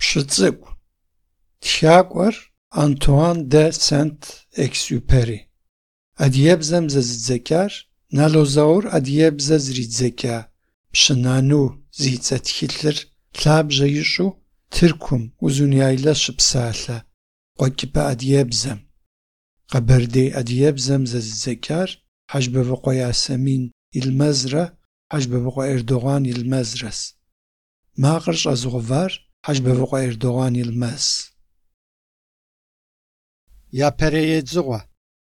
Şıtsıku. Txak'or Antoine de Saint-Exupéry. Adiyebzem zezdzekar, nalozaur adiyebze zridzeka. Pşınanu zitsetxilır, tlabje yişu, Türkum uzunyayla şıpsalha. Qokipa adiyebzem. Qaberdey adiyebzem zezdzekar, Hacbebeqo Yasemin ilmezra, Hacbebeqo Erdoğan ilmezras. Maqırş azğvar, Hacbebeqo Erdoğan ilmez. Yapereyedzığua.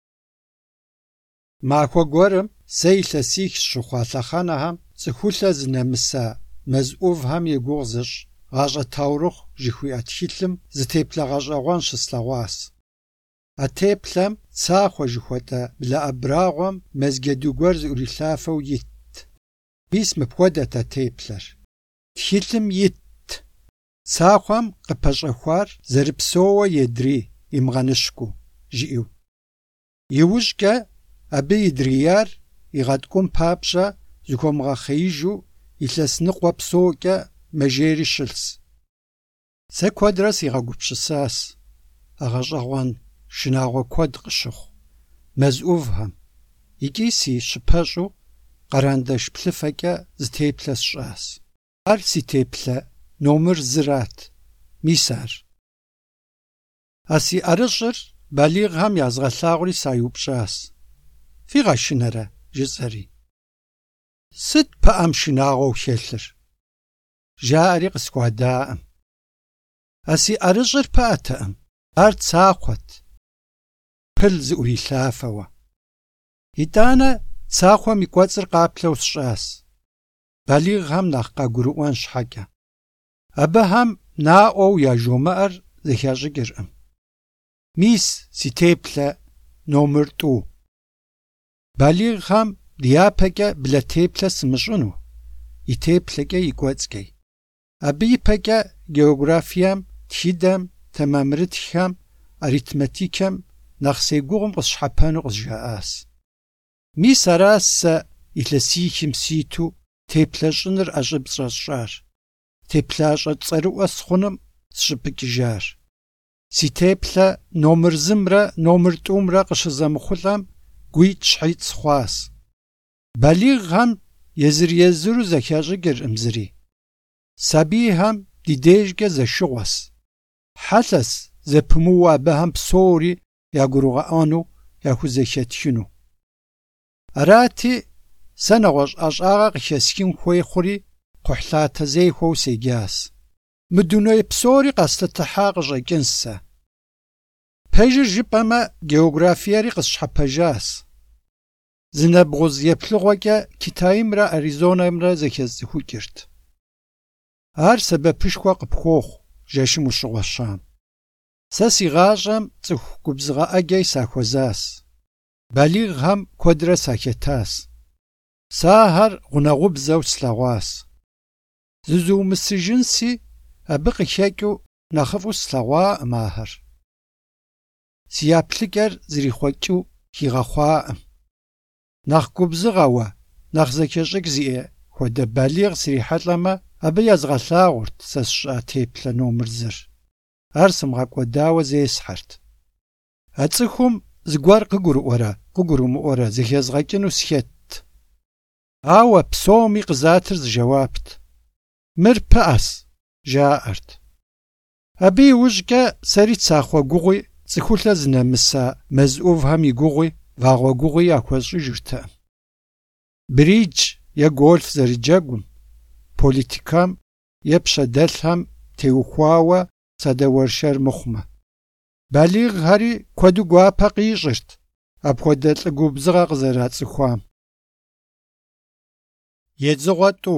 Maxo gorım seylesix şuxatlhaxanaham ts'xulhe zınemısa mez'uvham yêguğzış ğaş'e taurıx jıxui'atxilhım zıteplhe ğaş'eğuan şıslhağuas. Ateplhem tsaxo jıxuet'e bla'ebrağom mezgeduguer zı'urilhafeu yit. Mis mıpxuedet ateplher. Txilhım yit. Tsaxom khıpeş'exuar zerıpsoue yêdri imğanışku jı'eu. Yiujç'e abı yidriyar yiğatk'um papş'a zıxomğaxheijju yilhesnıkhue psoç'e mejjêri şıls. Se kuedre siğegupşısas, ğaş'eğuan şınağue kued khışıxhu, mez'uvhem, yiç'i si şıpeş'u kharandeşş plhıfeç'e zıtêplhe sş'as. Ar si têplhe nomır zırat, mis ar. A si arış'ır balîğhem yazğelhağuri sayupş'as. Fiğaşınere jıs'eri. Sıt pı'em şınağeu xelhır? Ja'eri khısxuada'em. A si arış'ır pı'ete'em. Ar tsaxhuet. Pıl zı'urilhafeue. Yit'ane tsaxhuem yi k'uets'ır khaplheu sş'as. Balîğhem nakh khagurı'uan şheç'e. Abıhem na'ueu ya jjomı'er zıxeş'ıç'ırkhım. Mis si têplhe nomır t'u. Balîğhem diyapeç'e ble têplhe sımış'ınu, yi têplheç'e yi k'uets'ç'ey. Abı yipeç'e geografiyem, txidem, temamırıtxem, aritmetikem nakh sêguğum khısşhepenu khızjja'as. Mis aras se yilhesixim situ têplheş'ınır 'eş'ıpş'e sş'ar. Têplaş'e ts'erı'ue sxhunım sşıpıç'ıjar. Si têplhe nomır zımre nomır t'umre khışızemıxhulh'em guit' şhit' sxhuas. Balîğhem yêzır-yêzıru zexeş'ıç'ırkhım zıri. Sabiyhem di dêjç'e zeşşığues. Helhes zepımıue abıhem psori yagurığe'enu yaxuzexetxınu. Arati se neğueş' 'eş'ağe khıxesxın xuêy xhuri kxhuhlhate zêyxueu sêcas. Mı dunêy psori kheslıtıha khış'eç'ın se. Pejjır jjıp'eme geografiyeri khısşhepejas. Zınebğuz yêplhığueç'e Kitayımre Arizonayımre zexezıxuç'ırt. Ar sebepışşxue khıpxuoxhu jjeşım vuşığueşam. Se si ğaş'em ts'ıxu gubzığe'ecey saxuezas. Balîğhem kuedre saxetas. Se ahar ğuneğubzeu slheğuas. Zızuumısıjjınsi abı khıxeç'ıu nexhıf'u slheğuakhım ahar. Si yaplhıç'er zırixhueç'ıu xiğexhuakhım. Nakh gubzığeue, nakh zexeş'ıç' zi'e xuede balîğ sırihhelh'eme abı yazğelhağurt se sş'a têplhe nomır zır. Ar sımğek'uedaue zêshert. A ts'ıxum zıguer khıgurı'uere zıxezğeç'ınu sxet. Aue psomi khızatır zıjjeuapt. Mır pı'es, jja'ert. Abı yiujç'e seri tsaxhue guğui ts'ıxulhe zınemısa mez'uvhem yi guğui vağue guğui yaxueş'ıjjırte'ım. Bridge ye golf zerıcegum, politikam ye pşedelhhem têuxuaue sadeuerşşer mıxhume. Balîğheri kuedu guape khiş'ırt, apxuede lh'ıgubzığe khızerats'ıxuam. Yêdzığue t'u.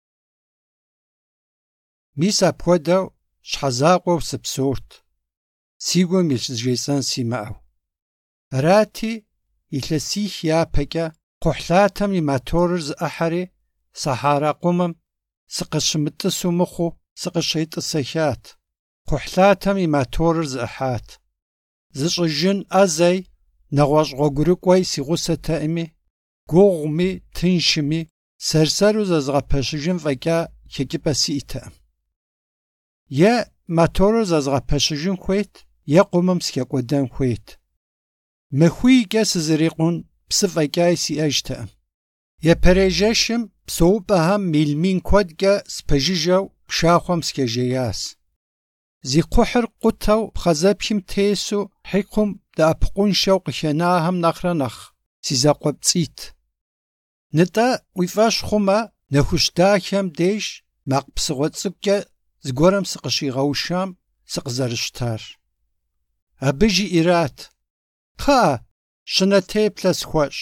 Mis apxuedeu şhezakhueu sıpsort. Si gum yilhızjjêts'en simı'eu. Arati yilhesix yapeç'e kxhuhlatem yi motorır zı'ıheri Sahara khumım sıkhışımıt'ısu mıxhu sıkhışêt'ısexat. Kxhuhlatem yi motorır zı'ıhat. Zış'ıjjın 'ezey neğueş' ğuegurık'uei si ğusete'ımi, guğumi, tınşşımi, serseru zezğepeşıjjın f'eç'a xeç'ıp'e si'ite'ım. Ye моторыр зэзгъэпэщыжын хуейт, е къумым схекӏуэдэн хуейт. Мыхуийкӏэ сызэрикъун псы фӏэкӏаи сиӏэжтэкъым. Епэрежэшым псэупӏэхэм мил-мин куэдкӏэ спэжыжэу пшахъуэм схежеяс. Зи кхъухьыр къутэу пхъэзэпхым тесу хьикъум дэӏэпыкъуншэу къыхенахэм нэхърэ нэхъ си зэкъуэпцӏитӏ. Нытӏэ уи фӏэщ хъумэ, нэхущ дахэм деж макъ псыгъуэ цӏыкӏукӏэ зыгуэрым сыкъыщигъэушам сыкъызэрыщтар. Абы жиӏэрат: «Кхъыӏэ, щынэ теплъэ схуэщӏ».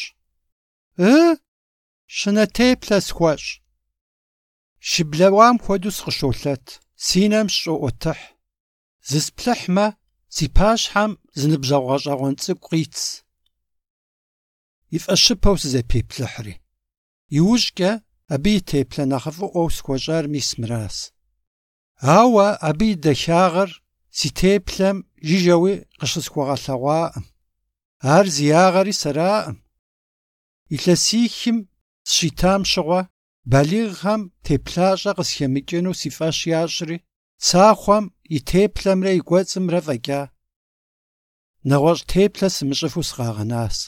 Щынэ теплъэ схуэщӏ. Щыблэуам хуэдэу сыкъыщолъэт, си нэм щӏоӏуэтыхь. Зысплъыхьмэ, си пащхьэм зы ныбжьэгъугъэщӏэгъуэн цӏыкӏу къитс. И фӏэщыпэу сызэпеплъыхьри. Иужькӏэ абы и теплъэ нэхъыфӏыӏуэу схуэщӏар мис мыращ. Ауэ абы и дахагъэр си теплъэм жыжьэуи къыщысхуэгъэлъэгъуакъым. Ар зи ягъэри сэраӏым. Илъэсихым сщитам щыгъуэ балигъхэм теплъащӏэ къысхемыкӏыну си фӏэщ ящӏри, цахъуэм и теплъэмрэ и гуэцӏымрэ фӏэкӏа. Нэгъуэщӏ теплъэ сымыщӏыфу сыкъагъэнащ.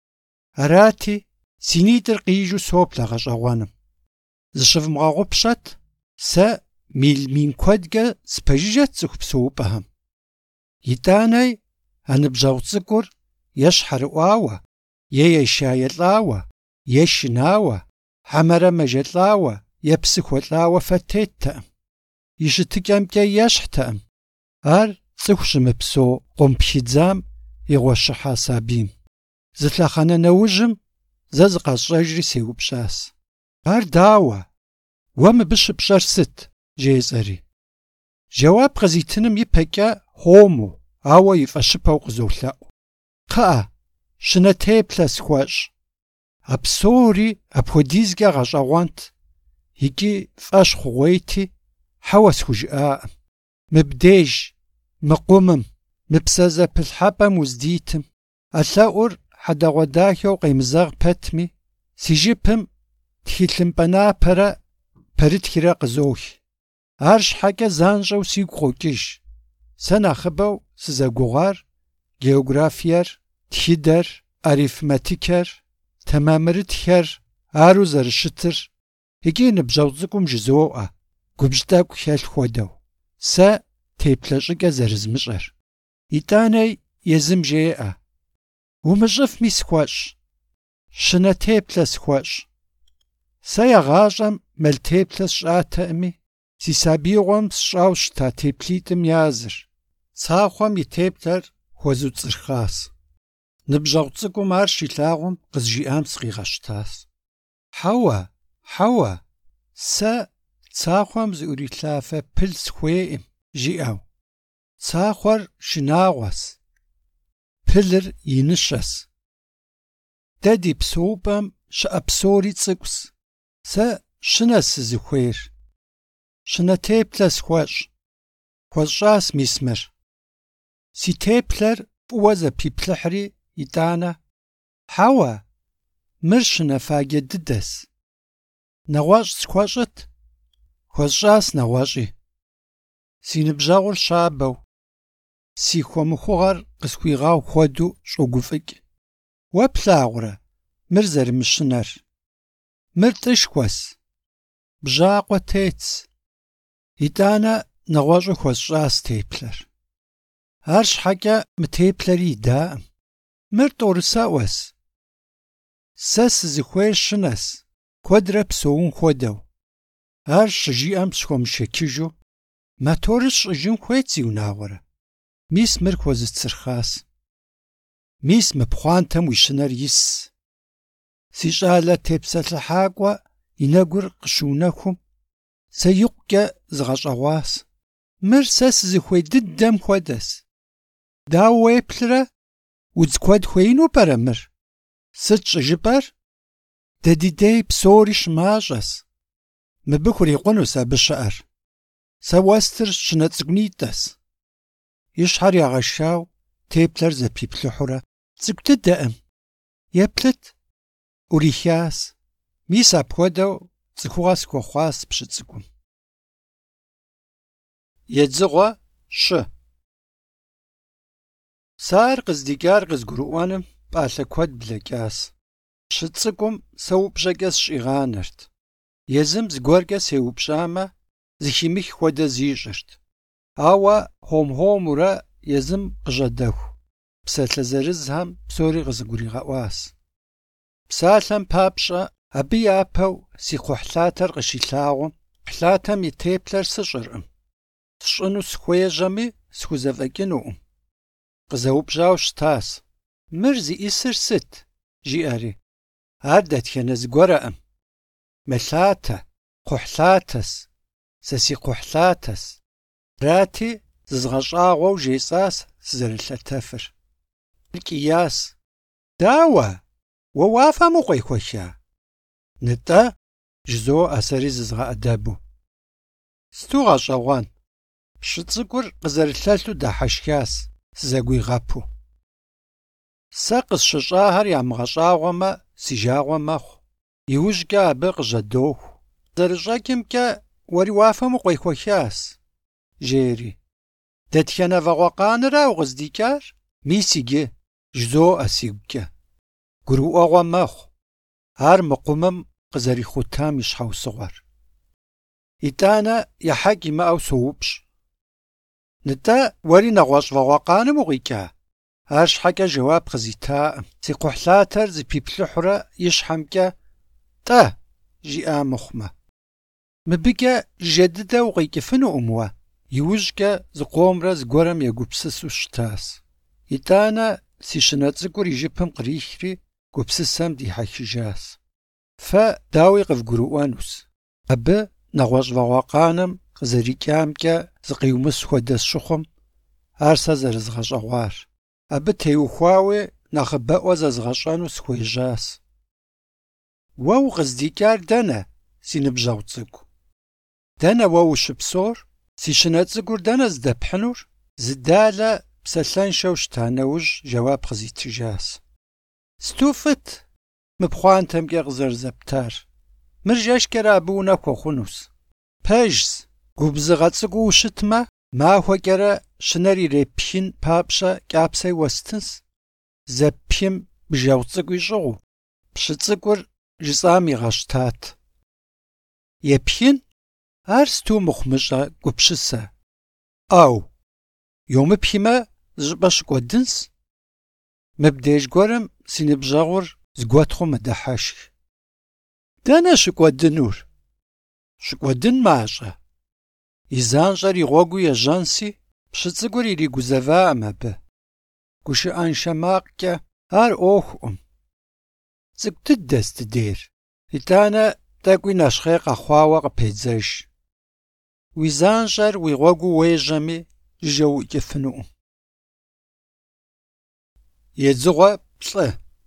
Арати, си нитӏыр къижу соплъ а гъэщӏэгъуэным. Зыщывмыгъэгъупщэт, сэ мил-мин куэдкӏэ спэжыжэт цӏыху псэупӏэхэм. Итӏанэи а ныбжьэгъу цӏыкӏур е щхьэрыӏуауэ, е ешаелӏауэ, е шынауэ, хьэмэрэ мэжэлӏауэ, е псы хуэлӏауэ фэтеттэкъым. И щытыкӏэмкӏэ ещхьтэкъым. Ар цӏыху щымыпсэу къомплъидзам игъуэщыхьа сабийм. Зы лъэхъэнэ нэужьым зэ зыкъэсщӏэжри сеупщӏащ: «Ар дауэ? Уэ мыбы щыпщӏэр сыт?» жесӏэри. Жэуап къызитыным ипэкӏэ хуэму, ауэ и фӏэщыпэу къызолъэӏу. «Кхъыӏэ, щынэ теплъэ схуэщӏ». А псори апхуэдизкӏэ гъэщӏэгъуэнт, икӏи фӏэщ хъугъуейти, хьэуэ схужыӏакъым. Мыбдеж, мы къумым, мы псэ зэпылъхьэпӏэм уздитым, ӏэлъэӏур хьэдэгъуэ дахэу къемызэгъ пэтми, си жыпым тхылъымпӏэ напэрэ пэрытхрэ къызох. Ар щхьэкӏэ занщӏэу сигу къокӏыж. Сэ нэхъыбэу сызэгугъар географиер, тхыдэр, арифметикэр, тэмэмырытхэр, ару зэрыщытыр, икӏи ныбжьэгъу цӏыкӏум жызоӏэ, губжь тӏэкӏу хэлъ хуэдэу. Сэ теплъэ щӏыкӏэ зэрызмыщӏэр. Итӏанэи езым жеӏэ: «Умыщӏыфми схуэщӏ. Щынэ теплъэ схуэщӏ». Сэ ягъащӏэм мэл теплъэ сщӏатэкъыми, си сабиигъуэм сщӏауэ щыта теплитӏым языр. Цахъуэм и теплъэр хуэзуцӏырхъащ. Ныбжьэгъу цӏыкӏум ар щилъагъум къызжиӏам сыкъигъэщтащ: «Хьэуэ, сэ цахъуэм зыӏурилъафэ пыл схуейӏым», жиӏэу. Цахъуэр шынагъуэс, пылыр иныщэс. Дэ ди псэупӏэм щыӏэ псори цӏыкӏущ. Сэ щынэщ сызыхуейр. Щынэ теплъэ схуэщӏ. Хуэсщӏащ мис мыр. Си теплъэр фӏыуэ зэпиплъыхьри, итӏанэ: «Хьэуэ, мыр щынафаджэ дыдэс. Нэгъуэщӏ схуэщӏыт?» Хуэсщӏащ нэгъуэщӏи. Си ныбжьэгъур щабэу, си хуэмыхугъэр къысхуигъэгъу хуэдэу щӏогуфӏыкӏ. Уэ плъагъурэ мыр зэрымыщынэр? Мыр тӏышхуэс, бжьакъуэ тетс. Итӏанэ нэгъуэщӏу хуэсщӏащ теплъэр. Ар щхьэкӏэ мы теплъэри идаӏым. Мыр тӏорысэӏуэс. Сэ сызыхуейр щынэс, куэдрэ псэун хуэдэу. Ар щыжиӏэм схуэмышэчыжу: «Моторыр сщӏыжын хуейт зи унагъуэрэ». Мис мыр хуэзысцырхъащ. Мис мы пхъуантэм уи щынэр ис. Си щӏалэ тепсэлъыхьакӏуэ и нэгур къыщыунэхум, сэ икъукӏэ зыгъэщӏэгъуащ. Мыр сэ сызыхуей дыдэм хуэдэс. Дауэ уеплърэ? Удз куэд хуеину пӏэрэ мыр? Сыт щӏыжыпӏэр? Дэ ди дей псори щымащӏэс. Мыбы хурикъунущ абы щыӏэр. Сэ уэстыр щынэ цӏыкӏунитӏэс. И щхьэр ягъэшау теплъэр зэпиплъыхьурэ: «Цӏыкӏу дыдэкъым. Еплъыт». ӏурихащ. Мис апхуэдэу цӏыхугъэ схуэхъуащ пщыцӏыкӏум. Едзыгъуэ шы. Сар къыздикӏар къызгурыӏуэным пӏалъэ куэд блэкӏащ. Пщы цӏыкӏум сэ упщӏэкӏэ сщӏигъанэрт. Езым зыгуэркӏэ сеупщӏамэ, зыхимых хуэдэ зищӏырт. Ауэ хом-хомурэ езым къыщӏэдэху псалъэ зырызхэм псори къызыгуригъэӏуащ. Псалъэм папщӏэ абы япэу си кхъухьлъатэр къыщилъагъум, кхъухьлъатэм и теплъэр сыщӏыркъым. Сщӏыну схуежьэми схузэфӏэкӏынукъым. Къызэупщӏауэ щытащ: «Мыр зиӏисыр сыт?» жиӏэри. Ар дэтхэнэ зыгуэркъым. Мэлъатэ, кхъухьлъатэс, сэ си кхъухьлъатэс. Арати, зызгъэщӏагъуэу жесӏащ сызэрылъэтэфыр. Кӏияс: «Дауэ? Уэ уафэм укъекӏуэха?» «НтӀэ», жызоӏэ сэри зызгъэӏэдэбу. «Сыту гъэщӏэгъуэн?» Пщы цӏыкӏур къызэрылъэлъу дахьэшхащ, сызэгуигъэпу. Сэ къысщыщӏахэр ямыгъэщӏагъуэмэ, си жагъуэ мэхъу. Иужькӏэ абы къыжьэдоху. Зэрыщӏэкӏымкӏэ уэри уафэм укъекӏуэхащ, жери. Дэтхэнэ вагъуэкъанэра укъыздикӏар? Мис иджы, жызоӏэ сигукӏэ. Гурыӏуэгъуэ мэхъу. Ар мыкъумым къызэрихутам и щхьэусыгъуэр. ИтӀанэ ехьэкӀ имыӀэу соупщӀ. НтӀэ уэри нэгъуэщӀ вагъуэкъаным укъикӀа? Ар щхьэкӀэ жэуап къызитаӏым. Си кхъухьлъатэр зыпиплъыхьурэ и щхьэмкӀэ «ТӀэ» жиӏа мыхъумэ. Мыбыкӏэ жьэ дыдэ укъикӀыфынукъым уэ. Иужькӏэ зыкъомрэ зыгуэрэм егупсысу щытащ. ИтӀанэ си щынэ цӏыкӏур и жыпым кърихри гупсысэм дихьэхыжащ. Фэ дауи къывгурыӏуэнущ. Абы нэгъуэщӀ вагъуэкъаным къызэрикӏамкӏэ зыкъиумыс хуэдэ сщыхъум, ар сэ зэрызгъэщӏэгъуар. Абы теухуауи нэхъыбэӏуэ зэзгъэщӏэну схуежьащ. Уэ укъыздикӏар дэнэ, си ныбжьэгъу цӏыкӏу? Дэнэ уэ ущыпсор? Си щынэ цӏыкӏур дэнэ здэпхьынур? Зыдалэ псэлъэншэу щыта нэужь жэуап къызитыжащ. Сту фӏыт мы пхъуантэмкӏэ къызэрызэптар. Мыр жэщкӏэрэ абы унэ хуэхъунущ. Пэжщ, губзыгъэ цӏыкӏуу ущытмэ, махуэкӏэрэ щынэр ирепхын папщӏэ кӏапсэ уэстынщ. Зэппхым бжэу цӏыкӏу ищӏыгъуу, пщы цӏыкӏур жысӏам игъэщтат. Епхын? Ар сту мыхъумыщӏэ гупщысэ. Ӏэу, йомыпхимэ, зыщӏыпӏэ щыкӏуэдынщ. Мыбдеж гуэрым си ныбжьэгъур зыгуэтхъу мэдыхьэшх. Дэнэ щыкӏуэдынур? Щыкӏуэдын мащӏэ. И занщӏэр и гъуэгу ежьэнси, пщы цӏыкӏур иригузэвакъым абы. Гушыӏэншэ макъкӏэ ар ӏуэхукъым. Цӏыкӏу дыдэс дыдейр. ИтӀанэ тӏэкӏуи нэщхъей къэхъуауэ къыпедзэж. Уи занщӏэр уи гъуэгу уежьэми, жыжьэу уикӏыфынукъым. Едзыгъуэ плӏы.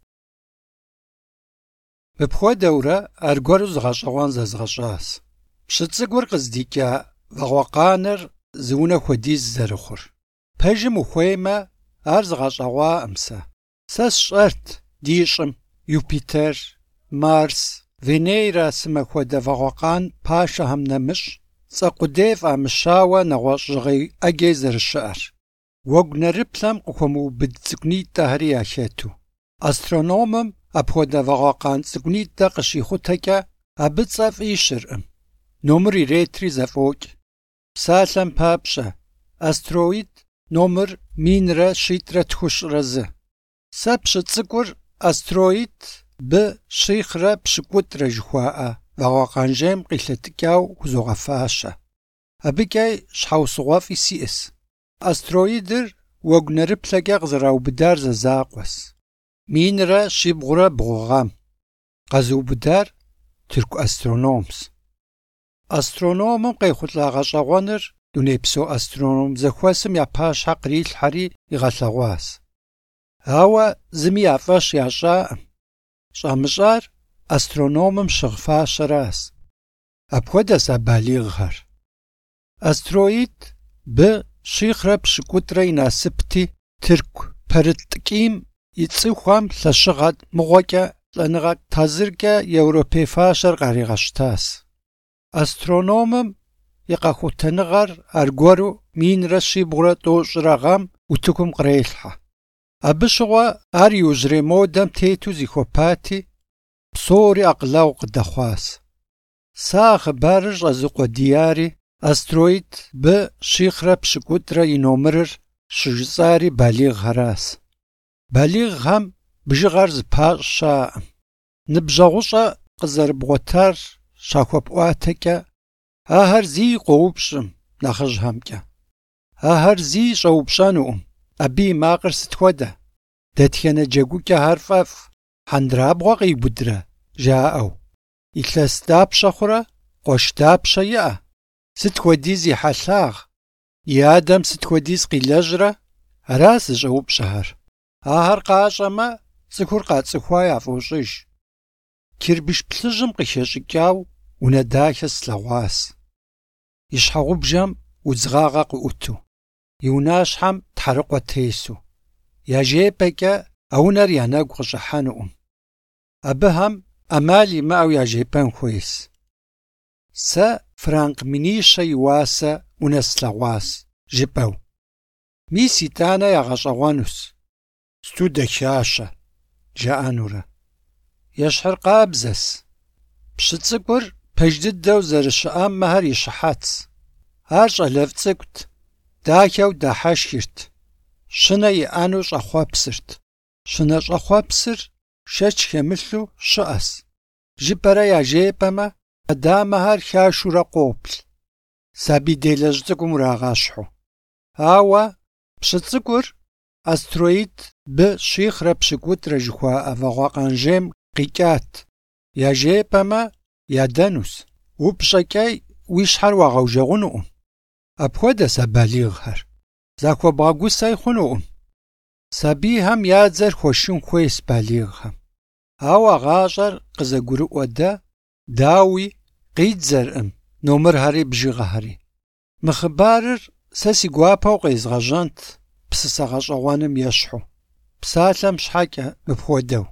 Мыпхуэдэурэ аргуэру зыгъэщӏэгъуэн зэзгъэщӏащ. Пщы цӏыкӏур къыздикӏа вагъуэкъанэр зы унэ хуэдиз зэрыхъур. Пэжым ухуеймэ, ар зыгъэщӏэгъуакъым сэ. Сэ сщӏэрт ди щӏым Юпитер, Марс, Венера сымахуэдэ вагъуэкъан пашэхэм нэмыщӏ цӏэ къудей фӏамыщауэ нэгъуэщӏ жьгъей ӏэгей зэрыщыӏэр. Уэгу нэрыплъэм къыхуэмыубыд цӏыкӏунитӏэхэри ялъэту. Астрономым апхуэдэ вагъуэкъан цӏыкӏунитӏэ къыщихъутэкӏэ абы цӏэ фӏищыркъым. Номыр иретри зэфӏокӏ. Псалъэм папщӏэ астероид номыр минрэ щитӏрэ тхущӏрэ зы. Сэ пщы цӏыкӏур астероид B-щихрэ пщыкӏутӏрэ жыхуаӏэ вагъуэкъан жейм къилъэтыкӏауэ хузогъэфащэ. Абыкӏэ щхьэусыгъуэфӏи сиӏэщ. Астероидыр уэгу нэрыплъэкӏэ къызэраубыдар зэзакъуэщ. Минрэ щибгъурэ бгъугъэм. Къэзыубыдар тырку астрономщ. Астрономым къехъулӏа гъэщӏэгъуэныр дунейпсо астроном зэхуэсым я пащхьэ кърилъхьэри игъэлъэгъуащ. Ауэ зыми я фӏэщ ящӏаӏым. Щӏамыщӏар астрономым щыгъ фащэращ. Апхуэдэщ а балигъхэр. Астероид B-щихрэ пщыкӏутӏрэ и насыпти, тырку пэрыт-тӏыкӏийм и цӏыхухэм лъэщыгъэ мыгъуэкӏэ лӏэныгъэ тазыркӏэ европей фащэр къаригъэщтащ. Астрономым и къэхутэныгъэр аргуэру минрэ щибгъурэ тӏощӏрэ гъэм утыкум кърелъхьэ. Абы щыгъуэ ар иужьрей модэм тету зихуэпати, псори акъылэгъу къыдэхъуащ. Сэ а хъыбарыр щӏэзыкъуэдияри, астероид Б-5-3 и номерыр щыжысӏари балигъхьэращ. Балигъхэм бжыгъэр зыпащӏ щаӏым. Ныбжьэгъущӏэ къызэрыбгъуэтар щахуэпӏуатэкӏэ, ахэр зыи къоупщӏым нэхъыжьхэмкӏэ. Ахэр зыи щӏэупщӏэнукъым, абы и макъыр сыт хуэдэ? Дэтхэнэ джэгукӏэхэр фӏэфӏ, хьэндырабгъуэ къиубыдрэ жаӏэу. Илъэс дапщэ хъурэ, къуэш дапщэ иӏэ? Сыт хуэдиз и хьэлъагъ? И адэм сыт хуэдиз къилэжьрэ? Ара зыщӏэупщӏэхэр. Ахэр къащӏэмэ, цӏыхур къацӏыхуа яфӏощӏыж. Кирбыш плъыжьым къыхещӏыкӏауэ унэ дахэ слъэгъуащ. И щхьэгъубжэм удзыгъагъэ къыӏуту, и унащхьэм тхьэрыкъуэ тесу. Я жепӏэкӏэ а унэр я нэгу къыщӏыхьэнукъым. Абыхэм ӏэмал имыӏэу яжепӏэн хуейщ. Сэ франк минищэ и уасэ унэ слъэгъуащ жыпӏэу. Мис итӏанэ ягъэщӏэгъуэнущ. Студэхащэ жаӏэнурэ. Ещхьыр къабзэс. Пщы цӏыкӏур пэж дыдэу зэрыщыӏэм мыхэр ищыхьэц. Ар щӏэлэфӏ цӏыкӏут, дахэу дахьэшхырт. Щынэ иӏэну щӏэхъуэпсырт. Щынэ щӏэхъуэпсыр шэч хемылъу щыӏэс. Жыпӏэрэ яжепӏэмэ, адамэхэр хашурэ къоплъ. Сабий делэжь цӏыкӏум урагъэщхьу. Ауэ пщы цӏыкӏур астероид Б-5-3 жыхуаӏэ вагъуэкъанжейм къикӏат. Яжепӏэмэ, ядэнущ. Упщӏэкӏэ уи щхьэр уагъэужэгъунукъым. Апхуэдэщ а балигъхэр. Захуэбгъэгусэ хъунукъым. Сабийхэм я дзэр хуэшын хуейщ балигъхэм. Ауэ гъащӏэр къызэгурыӏуэдэ, дауи къидзэркъым номерхэри бжыгъэхэри. Мы хъыбарыр сэ си гуапэу къезгъэжьэнт псысэ гъэщӏэгъуэным ещхьу. Псалъэм щхьэкӏэ мыпхуэдэу.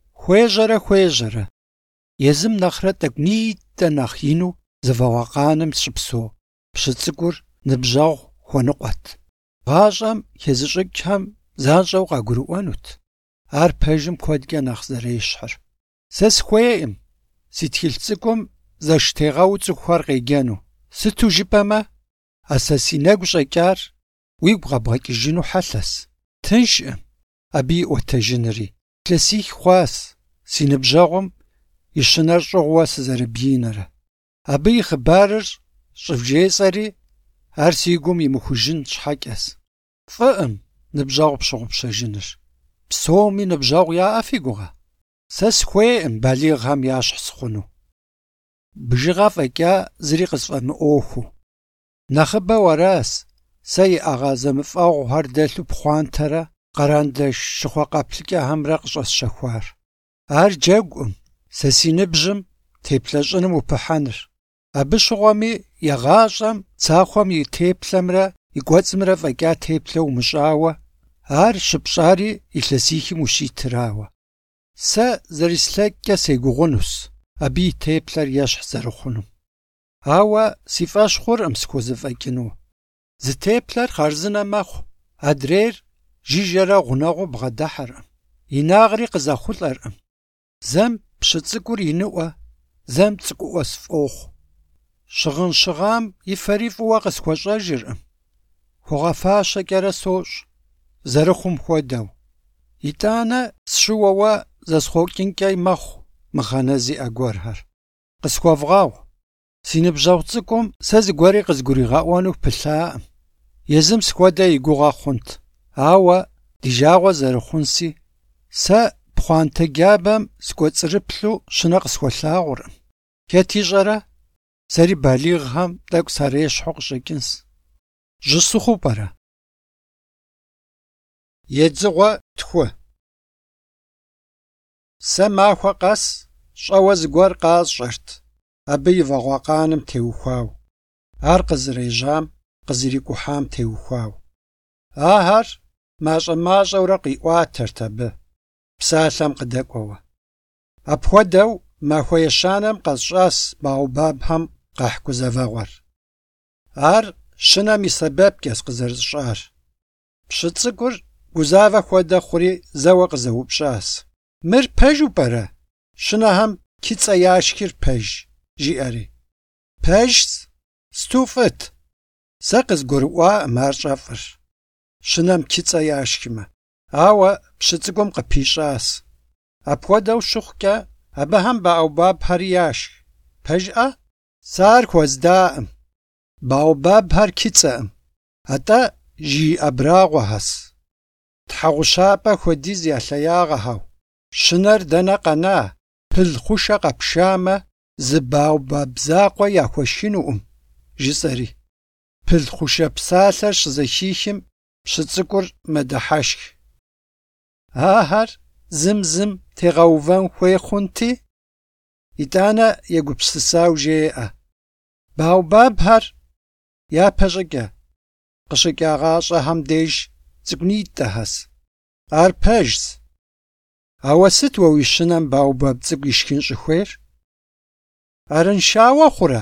Хуежьэрэ. Езым нэхърэ тӏэкӏунитӏэ нэхъ ину зэвэгъуэкъаным щыпсэу. Пщы цӏыкӏур ныбжьэгъу хуэныкъуэт. ГъащӀэм хезыщӀыкӀхэм занщӀэу къагурыӀуэнут. Ар пэжым куэдкӀэ нэхъ зэрещхьыр. Сэ схуейкъым си тхылъ цӀыкӀум зэштегъэу цӀыхухэр къеджэну. Сыту жыпӀэмэ, сэ си нэгу щӀэкӀар уигу бгъэбгъэкӀыжыну хьэлъэс. Тыншкъым абы иӀуэтэжынри. Илъэсих хъуас си ныбжьэгъум и щынэр щӀыгъуэ сызэрыбинэрэ. Абы и хъыбарыр щӀывжесӀэри, ар си гум имыхужын щхьэкӀэс. ФӀыӀым ныбжьэгъу пщыгъупщэжыныр. Псоми ныбжьэгъу яӀэ фи гугъэ? Сэ схуейкъым балигъхэм ящхь сыхъуну. Бжыгъэ фӀэкӀа зыри къысфӀэмыӀуэхуу. Нэхъыбэу аращ сэ иӀэгъэ зэмыфӀэгъухэр дэлъу пхъуантэрэ къэрандэш щыхъуэкъэплъыкӀэхэмрэ къыщӀэсщэхуар. Ар джэгукъым сэ си ныбжьым теплъэщӀыным упыхьэныр. Абы щыгъуэми егъащӀэм цахуэм и теплъэмрэ и кӀуэцӀымрэ фӀэкӀа теплъэу умыщӀауэ, ар щыпщӀари илъэсихым ущитырауэ. Сэ зэрыслъэкӀкӀэ сегугъунущ абы и теплъэр ещхь зэрыхъунум. Ауэ си фӀэщ хъуркъым схуэзыфӀэкӀыну. Зы теплъэр хъарзынэ мэхъу, адрейр жыжьэрэ гъунэгъуу бгъэдыхьэркъым. Инагъри къызэхъулӀэркъым. Зэм пщы цӀыкӀур иныӀуэ, зэм цӀыкӀуӀуэ сфӀохъу. Щыгъын щыгъам и фэри фӀыуэ къысхуэщӀэжыркъым. ХуэгъэфащэкӀэрэ сощӀ, зэрыхъум хуэдэу. ИтӀанэ сщыуэуэ зэсхъуокӀынкӀэ мэхъу мыхъэнэ зиӀэ гуэрхэр. Къысхуэвгъэгъу. Си ныбжьэгъу цӀыкӀум сэ зыгуэри къызгуригъэӀуэну пылъаӀым. Езым схуэдэ и гугъэ хъунт. Ауэ ди жагъуэ зэрыхъунси, сэ пхъуантэ джабэм скӀуэцӀрыплъу щынэ къысхуэлъагъуркъым. Хэт ищӀэрэ? Сэри балигъхэм тӀэкӀу сарешхьу къыщӀэкӀынщ. Жьысыхъуу пӀэрэ? Едзыгъуэ тху. Сэ махуэ къэс щӀэуэ зыгуэр къасщӀэрт, абы и вагъуэкъаным теухуау. Ар къызэрежьам, къызэрикӀухьам теухуау. Ахэр мащӀэ-мащӀэурэ къиӀуатэрт абы, псалъэм къыдэкӀуэуэ. Апхуэдэу махуэ ещанэм къэсщӀащ баобабхэм къэхь гузэвэгъуэр. Ар щынэм и сэбэпкӏэщ къызэрысщӏар. Пщы цӏыкӏур гузавэ хуэдэ хъури зэуэ къызэупщӏащ. Мыр пэжу пӏэрэ? Щынэхэм ки цӏэ яшхыр пэж, жиӏэри. Пэжщ, стуфӏыт. Сэ къызгурыӏуаӏым ар щӏэфӏыр. Щынэм ки цӏэ яшхмэ. Ауэ пщы цӏыкӏум къыпищӏащ. Апхуэдэу щыхъукӏэ, абыхэм баобабхьэри яшх. Пэжӏэ? Сэ ар хуэздаӏым. Баобабхьэр ки цӏэӏым. Атӏэ жий абрагъуэхьэс. Тхьэгъущапӏэ хуэдиз я лъэягъэхьэу. Щынэр дэнэ къэна, пыл хъушэ къэпшамэ, зы баобаб закъуэ яхуэшынуӏым, жысӏэри. Пыл хъушэ псалъэр щызэхихым, пщы цӏыкӏур мэдыхьэшх. Ахэр зым тегъэувэн хуей хъунти? ИтӀанэ егупсысау жеӏэ. Баобабхэр япэ щӏыкӏэ къыщыкӏагъащӏэхэм деж цӏыкӏунитӏэ хэс. Ар пэжщ. Ауэ сыт уэ уи щынэм баобаб цӏыкӏу ишхын щӏыхуейр? Арыншауэ хъурэ?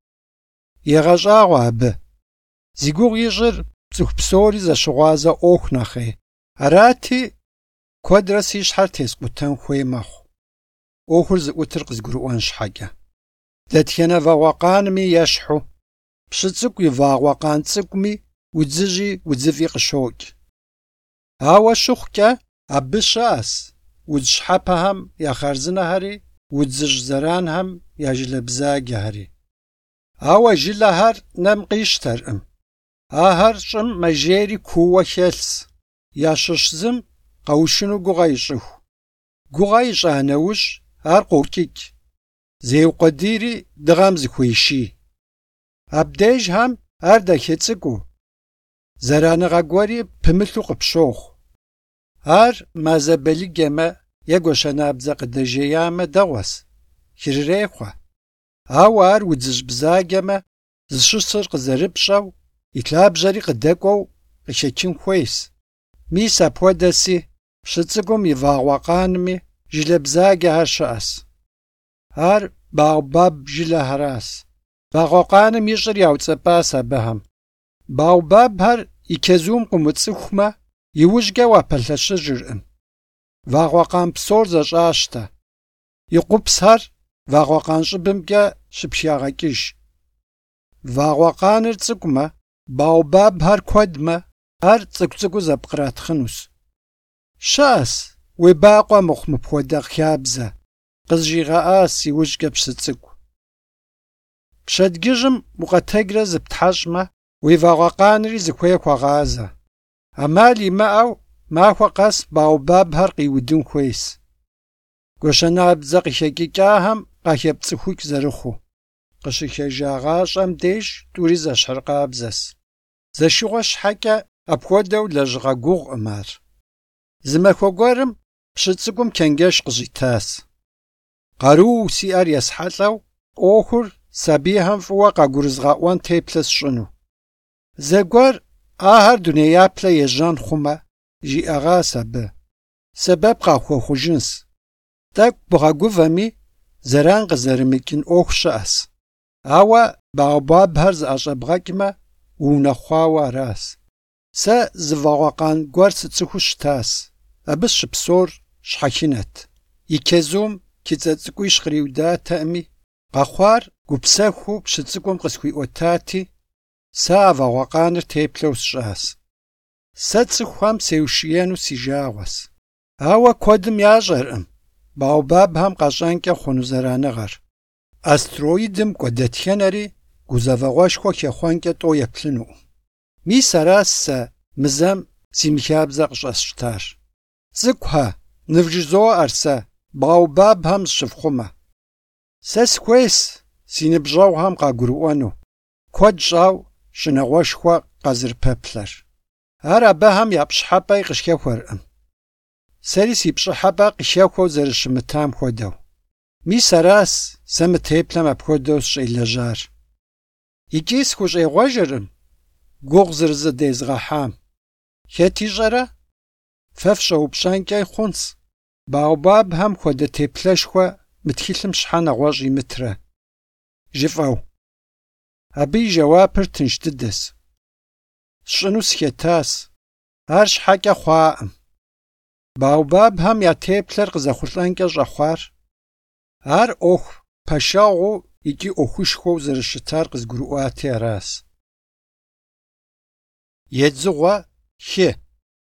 Егъэщӏагъуэ абы. Зи гугъу ищӏыр цӏыху псори зэщыгъуазэ ӏуэху нэхъей. Арати, куэдрэ си щхьэр тескъутэн хуей мэхъу. ӏуэхур зыӏутыр къызгурыӏуэн щхьэкӏэ. Дэтхэнэ вагъуэкъанми ещхьу, пщы цӏыкӏу и вагъуэкъан цӏыкӏуми удзыжьи удзыфӏи къыщокӏ. Ауэ щыхъукӏэ, абы щыӏэс удз щхьэпэхэм я хъарзынэхэри, удзыжь зэранхэм я жылэ бзаджэхэри. Ауэ жылэхэр нэм къищтэркъым. Ахэр щӏым мэжейри кууэ хэлъщ. Ящыщ зым къэушыну гугъэ ищӏыху. Гугъэ ищӏа нэужь ар къокӏыкӏ. Зеукъуэдийри дыгъэм зыхуеший. Абдежхэм ар дахецӏыкӏуу. Зэраныгъэ гуэри пымылъу къыпщохъу. Ар мазэбэлыджэмэ е гуэшэнабдзэ къыдэжеямэ дэгъуэс, хырырехъуэ. Ауэ ар удзыжь бзаджэмэ, зыщысыр къызэрыпщӏэу, и лъабжьэри къыдэкӏуэу къыхечин хуейщ. Мис апхуэдэси пщы цӏыкӏум и вагъуэкъанми жылэ бзаджэхэр щыӏэс. Ар баобаб жылэхэращ. Вагъуэкъаным ищӏыр яуцӏэпӏащ абыхэм. Баобабхэр и чэзум къыумыцӏыхумэ, иужькӏэ уапэлъэщыжыркъым. Вагъуэкъан псор зэщӏащтэ. И къупсхэр вагъуэкъан щӏыбымкӏэ щыпхягъэкӏыж. Вагъуэкъаныр цӏыкӏумэ, баобабхэр куэдмэ, ар цӏыкӏу зэпкъратхъынущ. Щыӏэс уебакъуэ мыхъу мыпхуэдэ хабзэ. Къызжигъэӏа си ужькӏэ пщы цӏыкӏу. Пщэдджыжьым укъэтэджрэ зыптхьэщӏмэ, уи вагъуэкъанри зыхуей хуэгъазэ. Ӏэмал имыӏэу махуэ къэс баобабхэр къиудын хуейщ. Гуэшэнабдзэ къыхекӏыкӏахэм къахепцӏыхук зэрыхъуу. Къыщыхэжа гъащӏэм деж тӏури зэщхьыркъабзэщ. Зэшыгъуэ щхьэкӏэ апхуэдэу лэжьыгъэ гугъукъым ар. Зы махуэ гуэрым пщы цӏыкӏум чэнджэщ къыщӏитащ. Къаруу сиӏэр есхьэлӏэу, ӏуэхур сабийхэм фӏыуэ къагурызгъэӏуэн теплъэ сщӏыну. Зэгуэр ахэр дунеяплъэ ежьэн хъумэ, жиӏэгъащ абы. Сэбэп къахуэхъужынщ. Тӏэкӏу бгъэгувэми, зэран къызэрымыкӏын ӏуэху щыӏэс. Ауэ баобабхэр зыӏэщӏэбгъэкӏмэ, уунэхъуауэ аращ. Сэ зы вагъуэкъан гуэр сыцӏыхуу щытащ. Абы щыпсор щхьэхынэт. И чэзум кицӏэ цӏыкӏуищ къриудатэӏыми, къэхъуар гупсэхуу пщы цӏыкӏум къысхуиӏуэтати, сэ а вагъуэкъаныр теплъэу сщӏащ. Сэ цӏыхухэм сеушиену си жагъуэщ. Ауэ куэдым ящӏэркъым баобабхэм къэщӏэнкӏэ хъуну зэраныгъэр. Астероидым кӏуэ дэтхэнэри гузэвэгъуэшхуэ хехъуэнкӏэ тӏу еплъынукъым. Мис аращ сэ мызэм си мыхабзэ къыщӏэсщтар. Цӏыкӏухьэ, ныбжьызоӏэр сэ баобабхэм зыщыфхъумэ. Сэ схуейщ си ныбжьэгъухэм къагурыӏуэну, куэд щӏауэ щӏыналъэшхуэ къэзырпэплъэр. Ар абыхэм я пщхьэпӏэ къыщхехуэркъым. Сэри си пщӏыхьэпӏэ къыхехуэу зэрыщымытам хуэдэу. Мис аращ сэ мы теплъэм апхуэдэу сщӏелэжьар. Икӏи схущӏегъуэжыркъым гугъу зэрызэдезгъэхьам. Хэт ищӏэрэ? Фэ фщӏэупщӏэнкӏэ хъунщ баобабхэм хуэдэ теплъэшхуэ мы тхылъым щхьэ нэгъуэщӏ имытрэ. Жыфӏэу. Абы и жэуапыр тынш дыдэс. Сщӏыну схетас. Ар щхьэкӏэ хъуаӏым. Баобабхэм я теплъэр къызэхъулӏэнкӏэ щӏэхъуар. Ар ӏуэху пэшэгъуу икӏи ӏуэхушхуэу зэрыщытар къызгурыӏуати аращ. Едзыгъуэ хы.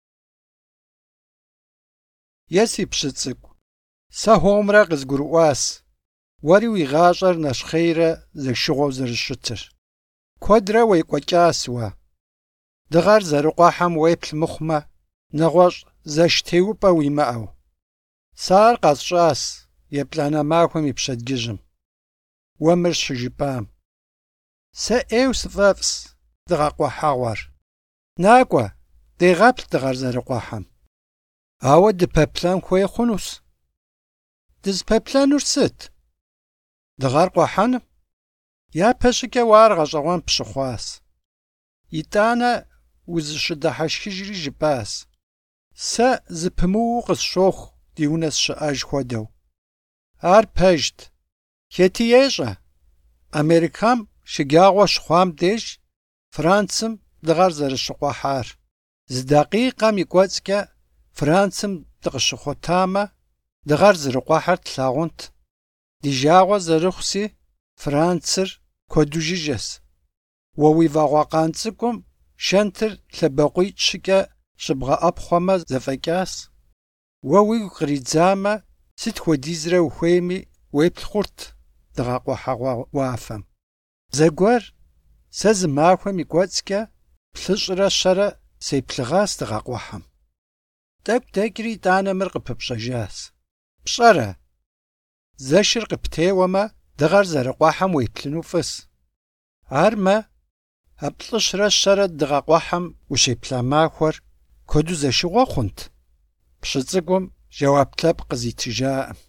Е си пщы цӏыкӏу, сэ хуэмурэ къызгурыӏуащ уэри уи гъащӏэр нэщхъейрэ зэшыгъуэу зэрыщытыр. Куэдрэ уекӏуэкӏащ уэ. Дыгъэр зэрыкъуэхьэм уеплъ мыхъумэ, нэгъуэщӏ зэш теупӏэ уимыӏэу. Сэ ар къэсщӏащ еплӏанэ махуэм и пщэдджыжьым. Уэ мыр щыжыпӏам. Сэ ӏейуэ сыфӏэфӏщ дыгъэкъуэхьэгъуэр. Накӏуэ, дегъэплъ дыгъэр зэрыкъуэхьэм. Ауэ дыпэплъэн хуей хъунущ. Дызыпэплъэнур сыт? Дыгъэр къуэхьэным? Япэ щӏыкӏэ уэ ар гъэщӏэгъуэн пщыхъуащ. ИтӀанэ узыщыдыхьэшхыжри жыпӏащ. Сэ зыпымыууэ къысщохъу ди унэ сщыӏэж хуэдэу. Ар пэжт. Хети ещӏэ. Америкэм шыджагъуэ щыхъуам деж Францым дыгъэр зэрыщыкъуэхьар. Зы дакъикъэм и кӏуэцӏкӏэ Францым дыкъыщыхъуэтамэ, дыгъэр зэрыкъуэхьэр тлъагъунт. Ди жагъуэ зэрыхъуси Францыр куэду жыжьэщ. Уэ уи вагъуэкъан цӏыкӏум шэнтыр лъэбакъуитӏ щыкӏэ щыбгъэӏэпхъуэмэ зэфӏэкӏащ. Уэ уигу къридзамэ, сыт хуэдизрэ ухуейми уеплъ хъурт дыгъэкъуэхьэгъуэ уафэм. Зэгуэр сэ зы махуэм и кӏуэцӏкӏэ плъыщӏрэ щэрэ сеплъыгъащ дыгъэкъуэхьэм. Тӏэкӏу дэкӏри итӏанэ мыр къыпыпщӏэжащ. Пщӏэрэ? Зэшыр къыптеуэмэ, дыгъэр зэрыкъуэхьэм уеплъыну фӏыс. Армэ, а плӏыщрэ щэрэ дыгъэкъуэхьэм ущеплъа махуэр куэду зэшыгъуэ хъунт? Пщы цӏыкӏум жэуап лъэпкъ къызитыжаӏым.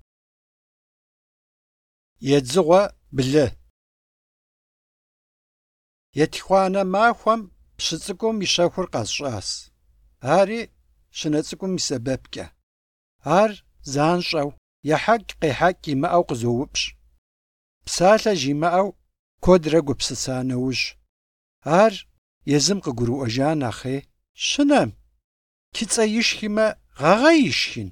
Едзыгъуэ блы. Етхуанэ махуэм пщы цӏыкӏум и щэхур къэсщӏащ. Ари щынэ цӏыкӏум и сэбэпкӏэ. Ар занщӏэу, ехьэкӏ-къехьэкӏ имыӏэу къызоупщӏ. Псалъэ жимыӏэу куэдрэ гупсыса нэужь. Ар езым къыгурыӏуэжа нэхъей. Щынэм, кыцӏэ ишхимэ, гъэгъэ ишхин?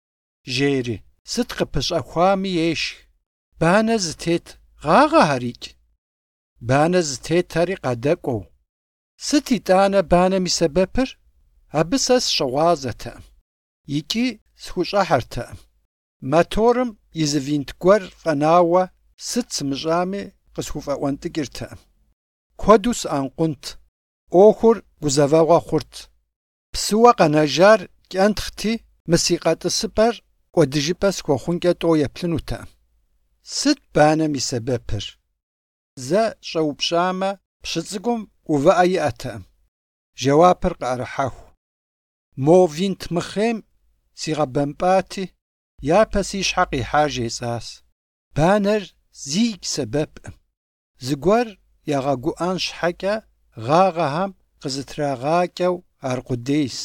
Жери, сыт къыпыщӏэхуами ешх. Банэ зытет гъагъэ арикӏ. Банэ зытетэри къадэкӏуэу. Сыт итӏанэ банэм и сэбэпыр? Абы сэ сщыгъуазэтэкъым. Икӏи схущӏыхьэртэкъым. Моторым и зы винт гуэр фӏэнауэ сыт сымыщӏами къысхуфӏэӏуэнтӏыкӏыртэкъым. Куэду сыӏэнкъунт. ӏуэхур гузэвэгъуэ хъурт. Псыуэ къэнэжар кӏэнтхъти, мы си къэтӏысыпӏэр кӏуэдыжыпӏэ схуэхъункӏэ тӏэу еплъынутэкъым. Сыт банэм и сэбэпыр? Зэ щӏэупщӏамэ, пщы цӏыкӏум ӏувыӏэ иӏэтэкъым. Жэуапыр къыӏэрыхьэху. Мо винт мыхъейм сигъэбэмпӏати, япэ си щхьэ къихьар жесӏащ. Банэр зигу сэбэпкъым. Зыгуэр ягъэгуӏэн щхьэкӏэ гъагъэхэм къызытрагъакӏэу аркъудейс.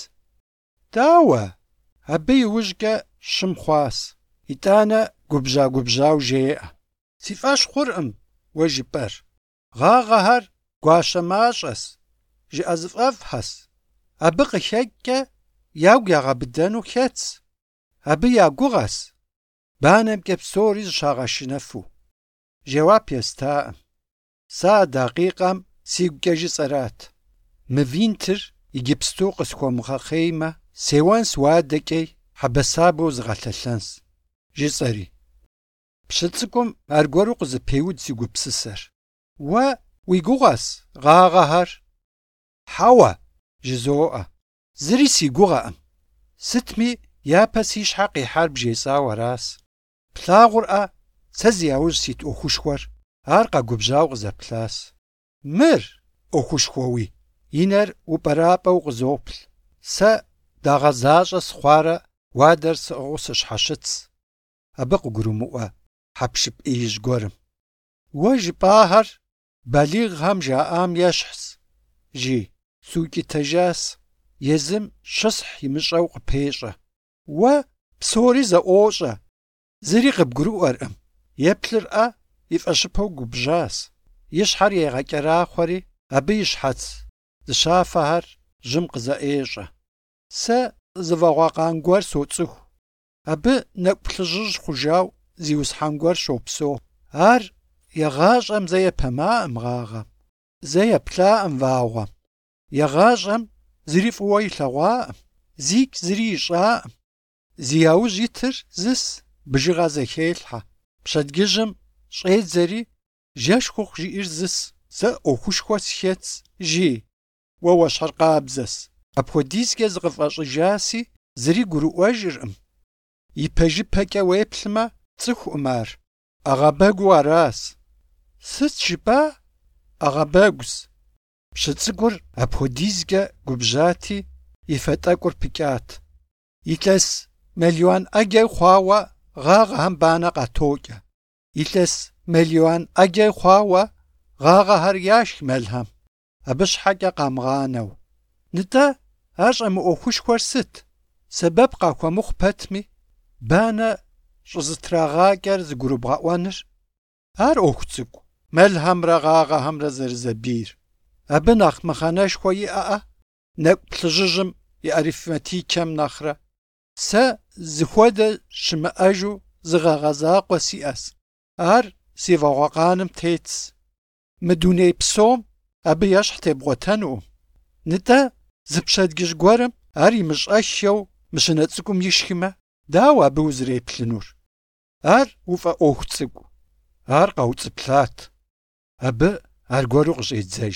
Дауэ? Абы иужькӏэ щым хъуащ. Итӏанэ губжьа-губжьау жеӏэ. Си фӏэщ хъуркъым уэ жыпӏэр. Гъагъэхэр гуащэ мащӏэс, жыӏэ зыфӏэфӏхэс. Абы къыхэкӏкӏэ ягу ягъэбыдэну хетс. Абы я гугъэс. Банэмкӏэ псори зыщагъэшынэфу. Жэуап естаӏым. Сэ а дакъикъэм сигукӏэ жысӏэрат. Мы винтыр иджыпсту къысхуэмыгъэхъеймэ, сеуэнс уадэкӏей хьэбэсабэу зыгъэлъэлъэнс. Жысӏэри. Пщы цӏыкӏум аргуэру къызыпеуд си гупсысэр. Уэ уи гугъэс гъагъэхэр? Хьэуэ, жызоӏэ. Зыри си гугъэкъым. Сытми япэ си щхьэ къихьар бжесӏауэ аращ. Плъагъурӏэ, сэ зи яужь сит ӏуэхушхуэр. Ар къэгубжьауэ къызэплъащ. Мыр ӏуэхушхуэуи. И нэр упӏэрапӏэу къызоплъ. Сэ дагъэзащӏэ схъуарэ уадэр сыӏыгъыу сыщхьэщыц. Абы къыгурымыӏуэ хьэпшып ӏеижь гуэрым. Уэ жыпӏахэр балигъхэм жаӏам ещхьщ. Жи, сукӏытэжащ. Езым щысхь имыщӏэу къыпещӏэ. Уэ псори зэӏуощӏэ. Зыри къыбгурыӏуэркъым. Еплъырӏэ, и фӏэщыпэу губжьащ. ишхьэр егъэкӏэрахъуэри абы и щхьэц зыщафэхэр жьым къызэӏещӏэ. Сэ зыфӏэгъуэкъан гуэр соцӏыху. Абы нэкӏу плъыжьыжь хъужауэ зиусхьэн гуэр щопсэу. Ар егъащӏэм зэ епэмаӏым гъагъэм, зэ еплъаӏым вагъуэм. Егъащӏэм зыри фӏыуэ илъэгъуаӏым, зигу зыри ищӏаӏым. Зи яужь итыр зыс бжыгъэ зэхелъхьэ. Пщэдджыжьым щӏедзэри жэщ хъуху жиӏэр зыс. Сэ ӏуэхушхуэ схец, жи, уэ уэщхьыр къабзэс. Апхуэдизкӏэ зыкъыфӏэщӏыжаси зыри гурыӏуэжыркъым. И пэжыпэкӏэ уеплъмэ, цӏыхуӏым ар. Ӏэгъэбэгу аращ. Сыт жыпӏа? Ӏэгъэбэгущ. Пщы цӏыкӏур апхуэдизкӏэ губжьати, и фэтӏэкӏур пыкӏат. Илъэс миллион ӏэджэ хъуауэ гъагъэхэм банэ къатокӏэ. Илъэс миллион ӏэджэ хъуауэ гъагъэхэр яшх мэлхэм, абы щхьэкӏэ къамыгъанэу. НтӀэ, ар щӏэмыӏуэхушхуэр сыт? Сэбэп къахуэмыхъу пэтми, банэ щӏызытрагъакӏэр зыгурыбгъэӏуэныр. Ар ӏуэху цӏыкӏу, мэлхэмрэ гъагъэхэмрэ зэрызэбийр. Абы нэхъ мыхъэнэшхуэ иӏэӏэ, нэкӏу плъыжьыжьым и арифметикэм нэхърэ. Сэ зыхуэдэ щымыӏэжу зыгъэгъэ закъуэ сиӏэщ. Ар си вагъуэкъаным тетщ. Мы дуней псом абы ещхь тебгъуэтэнукъым. НтӀэ, зы пщэдджыжь гуэрым ар имыщӏэшэу мыщынэ цӏыкӏум ишхымэ, дауэ абы узэреплъынур? Ар уфӏэ ӏуэху цӏыкӏу. Ар къэуцӏыплъат. Абы аргуэру къыщӏедзэж.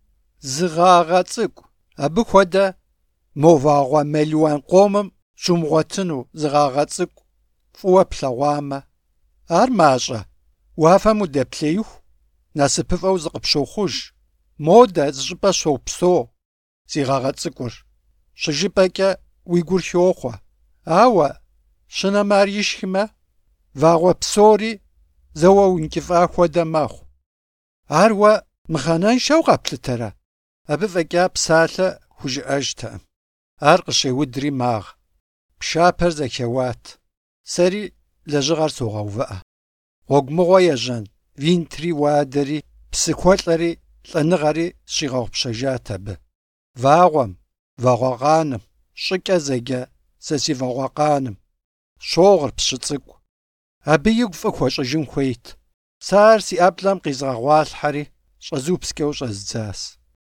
Зыгъагъэ цӏыкӏу, абы хуэдэ мо вагъуэ миллион къомым щумыгъуэтыну зыгъагъэ цӏыкӏу фӏыуэ плъэгъуамэ. Ар мащӏэ, уафэм удэплъеиху, насыпыфӏэу зыкъыпщохъуж. Модэ зыщӏыпӏэ щопсо си гъэгъэ цӏыкӏур. Щыжыпӏэкӏэ уи гур хохъуэ. Ауэ щынэмэ ар ишхымэ, вагъуэ псори зэуэ уинкӏыфӏа хуэдэ мэхъу. Ар уэ мыхъэнэншэу къэплъытэрэ? Абы фӏэкӏа псалъэ хужыӏэжтэкъым. Ар къыщеудри магъ. Пшапэр зэхеуат. Сэри лэжьыгъэр согъэувыӏэ. Гъуэгумыгъуэ ежьэн, винтри уадэри, псыхуэлӏэри, лӏэныгъэри сщигъэгъупщэжат абы. Вагъуэм, вагъуэкъаным, щӏыкӏэ зэджэ сэ си вагъуэкъаным щогъыр пщы цӏыкӏу. Абы игу фӏы хуэщӏыжын хуейт. Сэ ар си ӏэплӏэм къизгъэгъуалъхьэри щӏэзупскӏэу щӏэздзащ.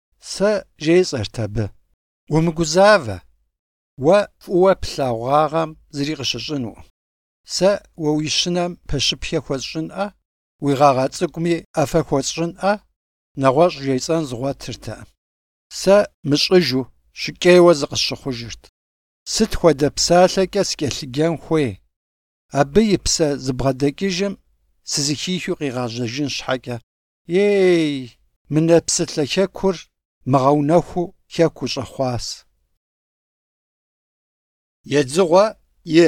Сэ жесӏэрт абы: умыгузавэ, уэ фӏыуэ плъагъуагъэм зыри къыщыщӏынукъым. Сэ уэ уи щынэм пэщыпхэ хуэсщӏынӏэ, уи гъэгъэ цӏыкӏуми ӏэфэ хуэсщӏынӏэ, нэгъуэщӏ жесӏэн зыгъуэтыртэкъым. Сэ мыщӏыжу щыкӏейуэ зыкъысщыхъужырт. Сыт хуэдэ псалъэкӏэ скӏэлъыджэн хуей? Абы и псэ зыбгъэдэкӏыжым сызыхихыу къигъэжьэжын щхьэкӏэ. Ей, мы нэпсылъэ хэкур мыгъэунэхуу хэку щӏэхъуащ. Едзыгъуэ и.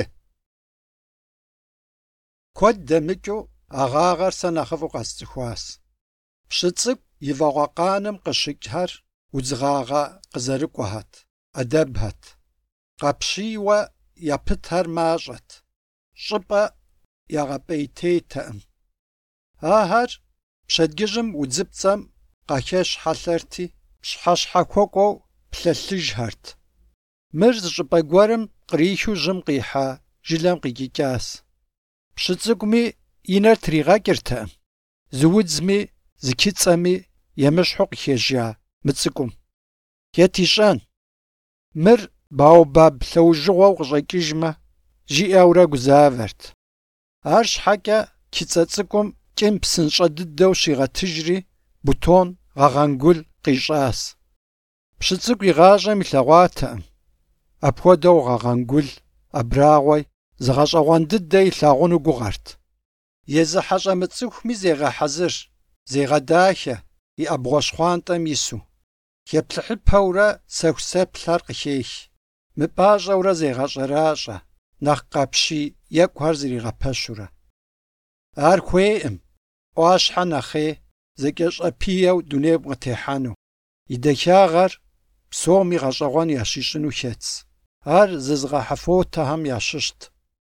Куэд дэмыкӏыу а гъагъэр сэ нэхъыфӏу къэсцӏыхуащ. Пщы цӏыкӏу и вагъуэкъаным къыщыкӏхэр удзыгъагъэ къызэрыкӏуэхьэт, ӏэдэбхьэт. Къапщийуэ япытхэр мащӏэт. Щӏыпӏэ ягъэпӏейтейтэкъым. Ахэр пщэдджыжьым удзыпцӏэм къахэщ хьэлъэрти, пщхьэщхьэ хуэкӏуэу плъэлъыжхэрт. Мыр зы щӏыпӏэ гуэрым кърихыу жьым къихьа жылэм къикӏыкӏащ. Пщы цӏыкӏуми и нэр тригъэкӏыртэкъым. Зы удзми, зы кыцӏэми емыщхьу къыхежьа мыцӏыкӏум. Ет ищӏэн. Мыр баобаб лъэужьыгъуэу къыщӏэкӏыжмэ, жиӏэурэ гузавэрт. Ар щхьэкӏэ кыцӏэ цӏыкӏум кӏым псынщӏэ дыдэу щигъэтыжри, бутон, гъэгъэнгул къищӏащ. Пщы цӏыкӏу и гъащӏэм илъэгъуатэкъым. Апхуэдэу гъэгъэнгул, абрагъуэ, зыгъэщӏэгъуэн дыдэ илъагъуну гугъэрт. Езы хьэщӏэ мыцӏыхуми зегъэхьэзыр, зегъэдахэ, и ӏэбгъуэщхъуантӏэм ису. Еплъыхьыпэурэ сэху-сэплъхэр къыхех. Мыпӏащӏэурэ зегъэщӏэращӏэ, нэхъ къапщий екӏухэр зригъэпэщурэ. Ар хуейӏым, ӏуащхьэ нэхъей, зэкӏэщӏэпиеу дунейм къытехьэну. И дахагъэр псоми гъэщӏэгъуэн ящищӏыну хетщ. Ар зызыгъэхьэфотэхэм ящыщт.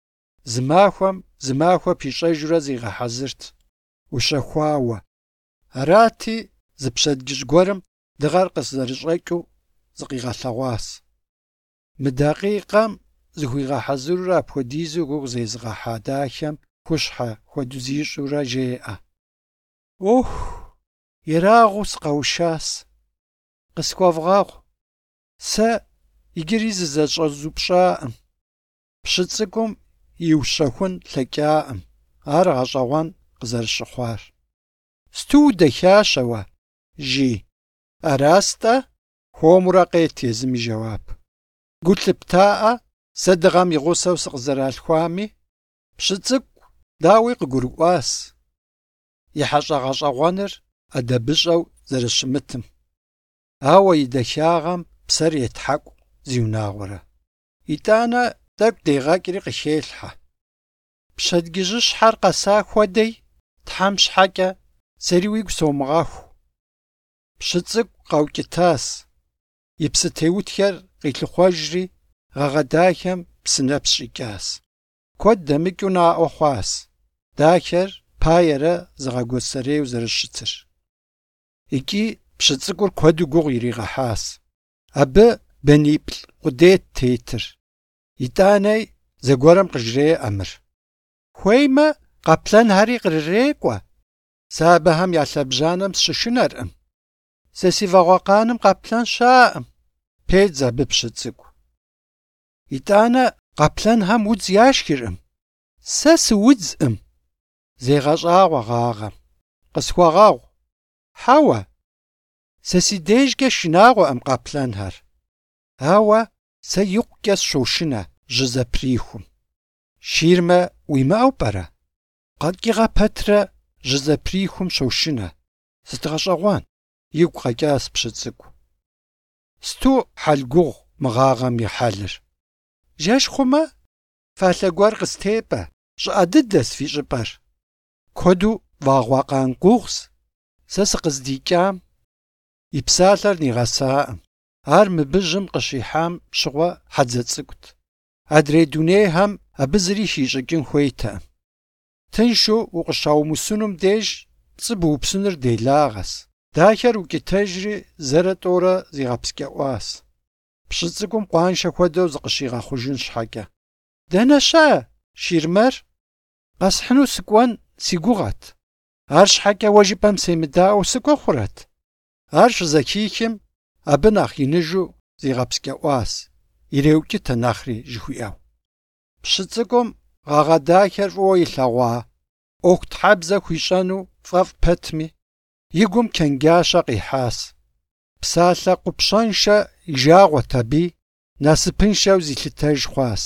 Зы махуэ пищӏэжурэ зигъэхьэзырт, ущэхуауэ. Арати зы пщэдджыжь гуэрым дыгъэр къызэрыщӏэкӏыу зыкъигъэлъэгъуащ. Мы дакъикъэм зыхуигъэхьэзырурэ апхуэдизу гугъу зезыгъэхьа дахэм хущхьэ хуэдэу зищӏурэ жеӏэ: «Ох, ерагъыу сыкъэушащ. Къысхуэвгъэгъу. Сэ иджыри зызэщӏэзупщӏаӏым. Пщы цӏыкӏум иущэхун лъэкӏаӏым. Ар гъэщӏэгъуэн къызэрыщыхъуар. Сту удэхащ уэ, жи. Арастӏэ? Хуэмурэ къет езым и жэуап. Гу лъыптаӏэ сэ дыгъэм и гъусэу сыкъызэралъхуами? Пщы цӏыкӏу дауи къыгурыӏуащ. И хьэщӏэгъэщӏэгъуэныр ӏэдэбыщӏэу зэрыщымытым. Ауэ и дахагъэм псэр етхьэкӏу зиунагъуэрэ. ИтӀанэ тӀэкӀу дегъэкӀри къыхелъхьэ. Пщэдджыжьыщхьэр къэса хуэдей Тхьэм щхьэкӀэ сэри уигу сомыгъэху. Пщы цӀыкӀу къэукӀытащ. И псы теутхэр къилъыхъуэжри гъэгъэдахэм псынэпс щӀикӀащ. Куэд дэмыкӀыу наӀуэ хъуащ. Дахэр паерэ зыгъэгуэсэрею зэрыщытыр. ИкӀи пщы цӀыкӀур куэду гугъу иригъэхьащ. Абы бэниплӏ къудейт тетыр. ИтӀанэи зэгуэрым къыжреӏэ мыр. Хуеймэ, къэплъэнхэри кърырекӀуэ. Сэ абыхэм я лъэбжьанэм сщышынэркъым. Сэ си вагъуэкъаным къэплъэн щаӏым. Педз абы пщы цӀыкӀу. ИтӀанэ къэплъэнхэм удз яшхыркъым. Сэ сыудзкъым. Зегъэщӏагъуэ гъагъэм. Къысхуэгъэгъу. Хьэуэ. Сэ си дежкӀэ шынагъуэкъым къэплъэнхэр. Ауэ сэ икъукӀэ сщошынэ жьы зэприхум. Ширмэ уимыӀэу пӀэрэ? КъэкӀи гъэпэтрэ жьы зэприхум щошынэ. ЗыдгъэщӀэгъуэн, игу къэкӀащ пщы цӀыкӀу. Сту хьэлгугъу мы гъагъэм и хьэлыр. Жэщ хъумэ, фалъэ гуэр къыстепӀэ. ЩӀыӀэ дыдэщ фи щӀыпӀэр. Куэду вагъуэкъан гугъущ. Сэ сыкъыздикӀам и псалъэр нигъэсакъым. Ар мыбыжьым къыщихьам щыгъуэ хьэдзэ цӀыкӀут. Адрей дунейхэм абы зыри хищӀыкӀын хуейтэкъым. Тыншу укъыщаумысынум деж пцӀы быупсыныр делагъэщ. Дахэр укӀытэжри зэрэ тӀорэ зигъэпскӀэӀуащ. Пщы цӀыкӀум къуаншэ хуэдэу зыкъыщигъэхъужын щхьэкӀэ. Дэнэ щэ, Ширмэр? Къэсхьыну сыкӀуэн си гугъэт. Ар щхьэкӀэ уэ жыпӀэм семыдаӀуэу сыкӀуэ хъурэт? Ар щызэхихым, абы нэхъ иныжу зигъэпскӀэӀуащ, иреукӀытэ нэхъри жыхуиӀэу. Пщы цӀыкӀум гъэгъэдахэр фӀыуэ илъэгъуа, Ӏуэхутхьэбзэ хуищӀэну фӀэфӀ пэтми, и гум чэнджащэ къихьащ. Псалъэ къупщэншэ и жагъуэт аби, насыпыншэу зилъытэж хъуащ.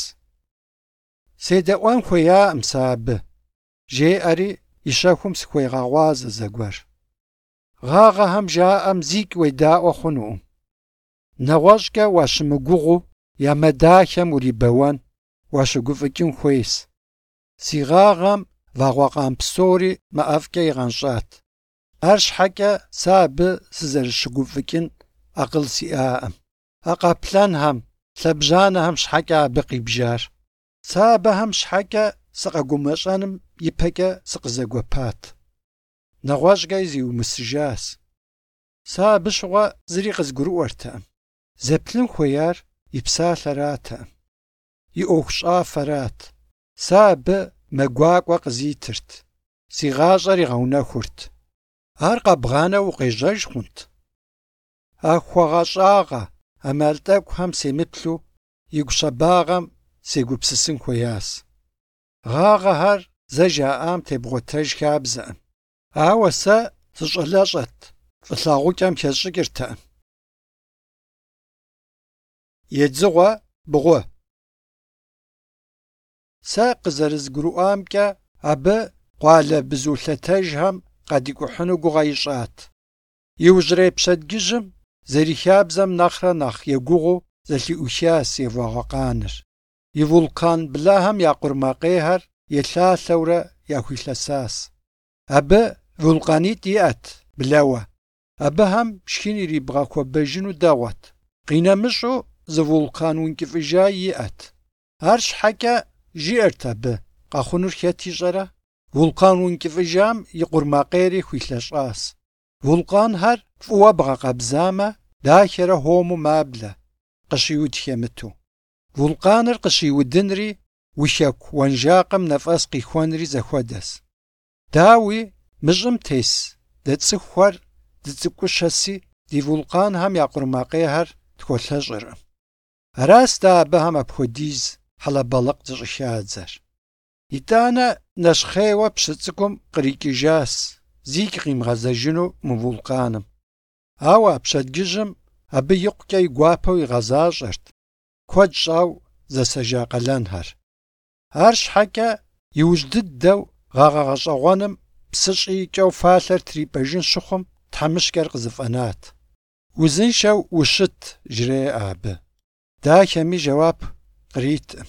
СедэӀуэн хуеяӀым сэ абы, жеӀэри и щэхум сыхуегъэгъуа зэгуэр. Гъагъэхэм жаӀэм зикӀ уедаӀуэ хъунукъым. НэгъуэщӀкӀэ уащымыгугъу, ямэдахэм урибэуэн, уащыгуфӀыкӀын хуейщ. Си гъагъэм вагъуэкъан псори мэӀэфӀкӀэ игъэнщӀат. Ар щхьэкӀэ сэ абы сызэрыщыгуфӀыкӀын акъыл сиӀаӀым. А къэплъэнхэм, лъэбжьанэхэм щхьэкӀэ абы къибжар. Сэ абыхэм щхьэкӀэ сыкъэгумэщӀэным ипэкӀэ сыкъызэгуэпат. НэгъуэщӀкӀэ зиумысыжащ. Сэ абы щыгъуэ зыри къызгурыӀуэртэкъым. Зэплъын хуеяр и псалъэратэкъым, и Ӏуэху щӀафэрат. Сэ абы мэгуакӀуэ къызитырт, си гъащӀэр игъэунэхурт. Ар къэбгъанэу укъежьэж хъунт. А хуэгъэщӀагъэ, Ӏэмал тӀэкӀухэм семыплъу игу щэбагъэм сегупсысын хуеящ. Гъагъэхэр зэ жаӀам тебгъуэтэж хабзэкъым. Ауэ сэ сыщӀэлэщӀэт, фӀылъагъукӀэм хесщӀыкӀыртэкъым. Едзыгъуэ бгъу. Сэ къызэрызгурыӀуамкӀэ, абы къуалэ бзулъэтэжхэм къадикӀухьыну гугъэ ищӀат. Иужьрей пщэдджыжьым зэрихабзэм нэхърэ нэхъ егугъуу зэлъиӀухащ евагъуэкъаныр. И вулкан блэхэм я къурмакъейхэр елъалъэурэ яхуилъэсащ. Абы вулканитӀ иӀэт блэуэ. Абыхэм шхын ирибгъэхуэбэжыну дэгъуэт. КъинэмыщӀу зы вулкан ункӀыфӀыжа иӀэт. Ар щхьэкӀэ жиӀэрт абы къэхъунур хэт ищӀэрэ? Вулкан ункӀыфӀыжам и къурмакъейри хуилъэщӀащ. Вулканхэр фӏыуэ бгъэкъэбзамэ, дахэрэ хуэму маблэ, къыщиуд хемыту. Вулканыр къыщиудынри уи хэку уэнжакъым нэфӏэс къихуэнри зэхуэдэс. Дауи мыщӏым тес дэ цӏыхухэр дыцӏыкӏущэси ди вулканхэм я къурмакъейхэр тхуолъэщӏыркъым. Аращ дэ абыхэм апхуэдиз хьэлэбэлыкъ зыщӏыхадзэр. ИтӀанэ нэщхъейуэ пщы цӏыкӏум кърикӏыжащ зигу къимыгъэзэжыну мы вулканым. Ауэ апщэдджыжьым абы икъукӏэ и гуапэу игъэзащӏэрт куэд щӏауэ зэсэжа къалэнхэр. Арщхьэкӏэ иужь дыдэу гъэгъэгъэщӏэгъуэным псы щӏийкӏэу фалъэр трипӏэжын щыхъум тхьэмыщкӏэр къызыфӏэнат. Узыншэу ущыт жреӏэ абы. Дахэми жэуап къриткъым.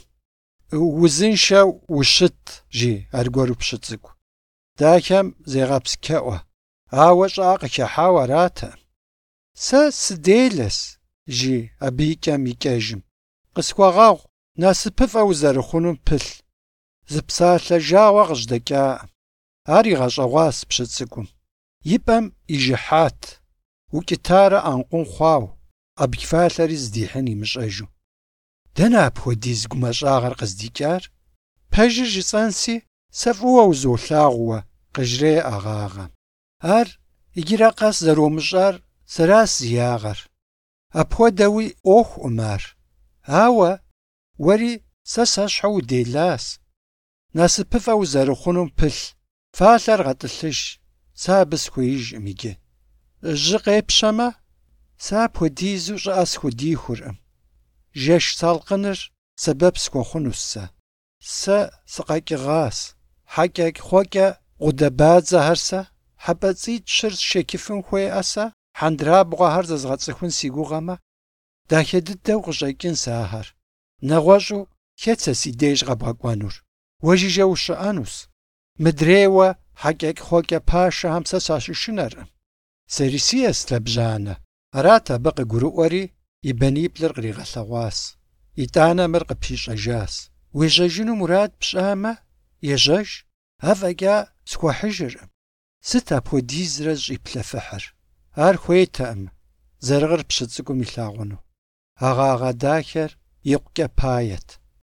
Узыншэу ущыт жи аргуэру пщы цӏыкӏу. Дахэм зегъэпсчэӏуэ, ауэ щӏыӏэ къыхехьауэ аратэкъым. Сэ сыделэс жи абы икӏэм икӏэжым. Къысхуэгъэгъу, насыпыфӏэ узэрыхъунум пылъ. Зы псалъэ жагъуэ къыжьдэкӏакъым. Ар игъэщӏэгъуащ пщы цӏыкӏум. И пӏэм ижыхьат, укӏытарэ ӏэнкъун хъуауэ, къэбгфалъэри здихьын имыщӏэжу. Дэнэ апхуэдиз гумэщӏагъэр къыздикӏар? Пэжыр жысӏэнси, сэ фӏыуэ узолъагъууэ, къыжреӏэ гъагъэм. Ар иджырэ къэс зэромыщӏар сэращ зи ягъэр. Апхуэдэуи ӏуэхуӏым ар. Ауэ уэри сэ сэщхьэу уделащ. Насыпыфӏэ узэрыхъунум пылъ. Фалъэр гъэтӏылъыж. Сэ абы схуеижкъым иджы. Жьы къепщэмэ, сэ апхуэдизу щӏыӏэ схудихуркъым. Жэш салкъыныр сэбэп схуэхъунущ сэ. Сэ сыкъэкӏыгъащ. Хьэкӏэ-хъуэкӏэ гъудабадзэхэр сэ, хьэпӏэцӏитӏ щыр сшекыфын хуеӏэ сэ, хьэндырабгъуэхэр зэзгъэцӏыхун си гугъэмэ. Дахэ дыдэу къыщӏэкӏын сэ ахэр. Нэгъуэщӏу хэт сэ си деж къэбгъэкӏуэнур? Уэ жыжьэ ущыӏэнущ. Мыдрейуэ хьэкӏэ-хъуэкӏэ пашэхэм сэ сащышынэркъым. Сэри сиӏэщ лъэбжьанэ. Арат абы къыгурыӏуэри и баниплӏыр къригъэлъэгъуащ. ИтӀанэ мыр къыпищӏэжащ. Уежьэжыну мурад пщӏамэ, ежьэж, афӏэкӏа схуэхьыжыркъым. Сыт апхуэдизрэ зыщӏиплъэфыхьыр? Ар хуейтэкъым зэрыгъыр пщы цӏыкӏум илъагъуну. Агъагъэ дахэр икъукӏэ пает.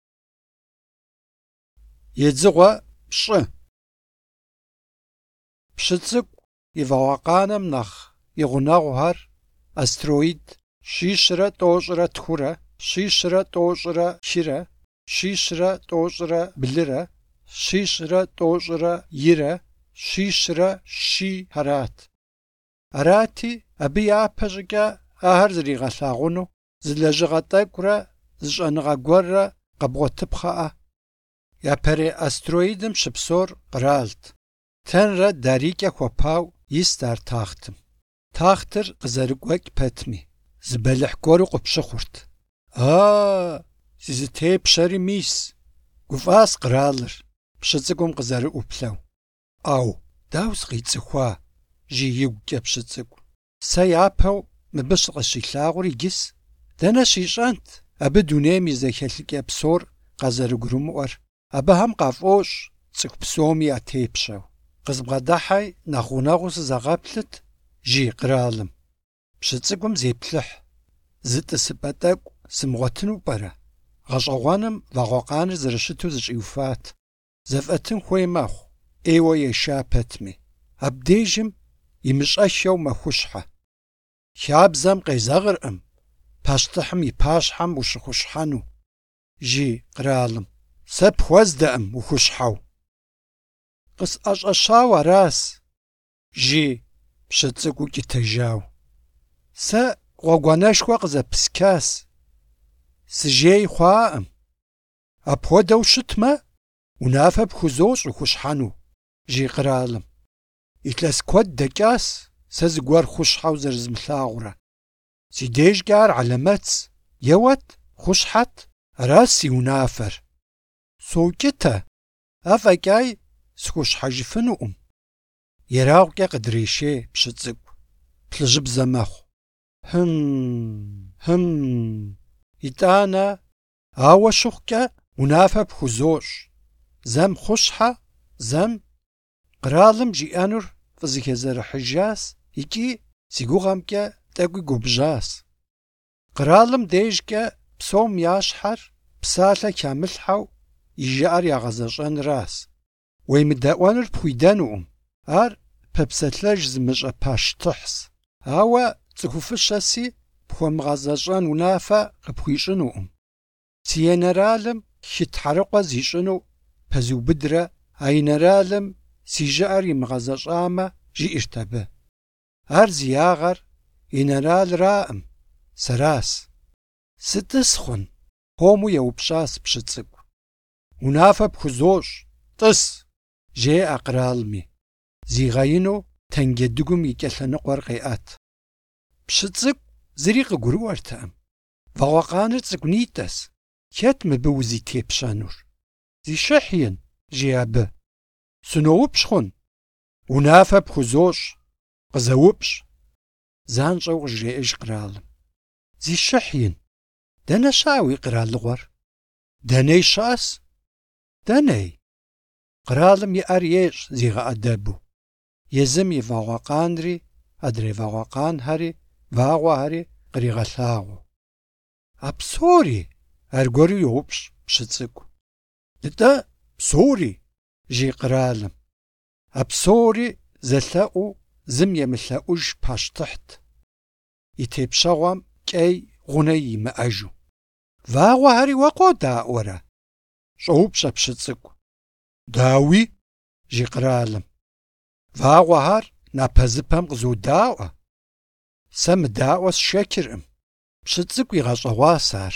Едзыгъуэ пщӏы. Пщы цӏыкӏу и вагъуэкъанэм нэхъ и гъунэгъухэр астероид щищрэ тӏощӏрэ тхурэ, щищрэ тӏощӏрэ шырэ, щищрэ тӏощӏрэ блырэ, щищрэ тӏощӏрэ ирэ, щищрэ щи хьэрат. Арати, абы япэ щӏыкӏэ ахэр зригъэлъагъуну зы лэжьыгъэ тӏэкӏурэ зы щӏэныгъэ гуэррэ къэбгъуэтыпхъэӏэ. Япэрей астероидым щыпсэур къралт. Тэнрэ дарикӏэ хуэпауэ ист ар тахтым. Тахтыр къызэрыкӏуэкӏ пэтми, зы бэлыхь гуэру къопщыхъурт. Зызытепщэри мис. Гуфӏащ къралыр, пщы цӏыкӏум къызэрыӏуплъэу. Ӏэу, дауэ сыкъицӏыхуа? Жи игукӏэ пщы цӏыкӏу. Сэ япэу мыбы щыкъыщилъагъур иджыс. Дэнэ щищӏэнт абы дунейм и зэхэлъыкӏэ псор къазэрыгурымыӏуэр. Абыхэм къафӏощӏ цӏыху псоми ятепщэу. Къызбгъэдыхьи нэхъ гъунэгъуу сызэгъэплъыт жи къралым. Пщы цӏыкӏум зеплъыхь. Зы тӏысыпӏэ тӏэкӏу сымыгъуэтыну пӏэрэ? Гъэщӏэгъуэным вагъуэкъаныр зэрыщыту зыщӏиуфат. Зэфӏэтын хуей мэхъу, ӏейуэ еша пэтми. Абдежым имыщӏэшэу мэхущхьэ. Хабзэм къезэгъыркъым, пащтыхьым и пащхьэм ущыхущхьэну. Жи къралым. Сэ пхуэздэкъым ухущхьэу. Къысӏэщӏэщауэ аращ. Жи пщы цӏыкӏуу кӏытэжау. Сэ гъуэгуанэшхуэ къызэпыскащ. Сыжей хъуаӏым. Апхуэдэу щытмэ, унафэ пхузощӏ ухущхьэну. Жи къралым. Илъэс куэд дэкӏащ сэ зыгуэр хущхьэу зэрызмылъагъурэ. Си дежкӏэ ар алэмэтщ. Еуэт, хущхьэт, аращ си унафэр. Сокӏытэ, афӏэкӏаи схущхьэжыфынукъым. Ерагъукӏэ къыдрешей пщы цӏыкӏу. Плъыжьыбзэ мэхъу. Итӏанэ, ауэ щыхъукӏэ унафэ пхузощӏ. Зэм хущхьэ, зэм. Къралым жиӏэнур фӏызыхезэрыхьыжащ икӏи си гугъэмкӏэ тӏэкӏуи губжьащ. Къралым дежкӏэ псом ящхьэр псалъэ хамылъхьэу и жыӏэр ягъэзэщӏэнращ. Уемыдэӏуэныр пхуидэнукъым, ар пэпсэлъэж зымыщӏэ пащтыхьщ. Ауэ цӏыхуфыщэси пхуэмыгъэзэщӏэн унафэ къыпхуищӏынукъым. Си енэралым хытхьэрыкъуэ зищӏыну пэзубыдрэ, а енэралым си жыӏэр имыгъэзэщӏамэ жиӏэрт абы. Ар зи ягъэр енэралраӏым, сэрас. Сытӏыс хъун? Хуэму еупщӏащ Пшыцӏыкӏу. Унафэ пхузощӏ, тӏыс, жеӏэ къралми. Зигъэину тенджэдыгум и кӏэлъэныкъуэр къеӏэт. Пшыцӏыкӏу зыри къыгурыӏуэртэкъым. Вагъуэкъаныр цӏыкӏунитӏэщ. Хэт мыбы узитепщэнур? Зищыхьин, жи абы. Сыноупщ хъун? Унафэ пхузощӏ, къызэупщ. Занщӏэу къыжреӏыж къралым. Зищыхьин, дэнэ щыӏэ уи къралыгъуэр? Дэней щыӏэс? Дэней? Къралым иӏэр ещӏ зигъэӏэдэбу. Езым и вагъуэкъанри, адрей вагъуэкъанхэри, вагъуэхэри къригъэлъагъуэу. А псори? Аргуэру йоупщ Пшыцӏыкӏу. Дытӏэ псори, жи къралым. А псори зэлъэӏуу зым емылъэӏуж пащтыхьт. И тепщэгъуэм кӏей гъунэ имыӏэжу. Вагъуэхэри уэ къодаӏуэрэ? Щӏоупщӏэ Пшыцӏыкӏу. Дауи? Жи къралым. Вагъуэхэр напэзыпэм къызодаӏуэ. Сэ мыдаӏуэ сшэчыркъым. Пшыцӏыкӏу игъэщӏэгъуащ ар.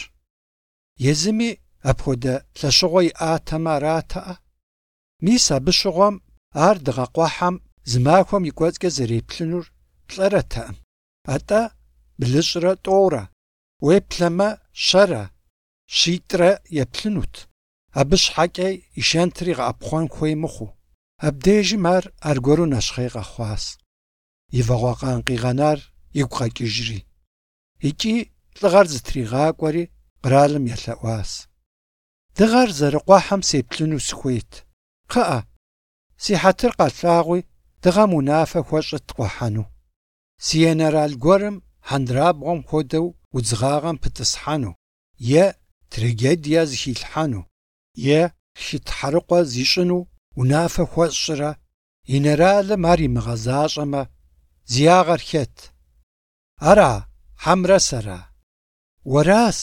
Езыми апхуэдэ лъэщыгъуэ иӏатэмэ аратэӏэ. Мис абы щыгъуэм ар дыгъэкъуэхьэм зы махуэм и кӏуэцӏкӏэ зэреплъынур плӏэрэтэкъым. Атӏэ блыщӏрэ тӏорэ, уеплъэмэ щэрэ, щитӏрэ еплъынут. Абы щхьэкӏэ и шэнтыр игъэӏэпхъуэн хуей мыхъуу. Абдежым ар аргуэру нэщхъей къэхъуащ. И вагъуэкъан къигъэнар игу къэкӏыжри. Икӏи лӏыгъэр зытригъакӏуэри къралым елъэӏуащ. Дыгъэр зэрыкъуэхьэм сеплъыну сыхуейт. Кхъыӏэ, си хьэтыр къэлъагъуи дыгъэм унафэ хуэщӏыт къуэхьэну. Си енэрал гуэрым хьэндырабгъуэм хуэдэу удзыгъагъэм пытӏысхьэну, е трагедие зыхилъхьэну, е хытхьэрыкъуэ зищӏыну унафэ хуэсщӏрэ, енэралым ар имыгъэзащӏэмэ, зи ягъэр хэт? Ара, хьэмрэ сэра? Уэрас.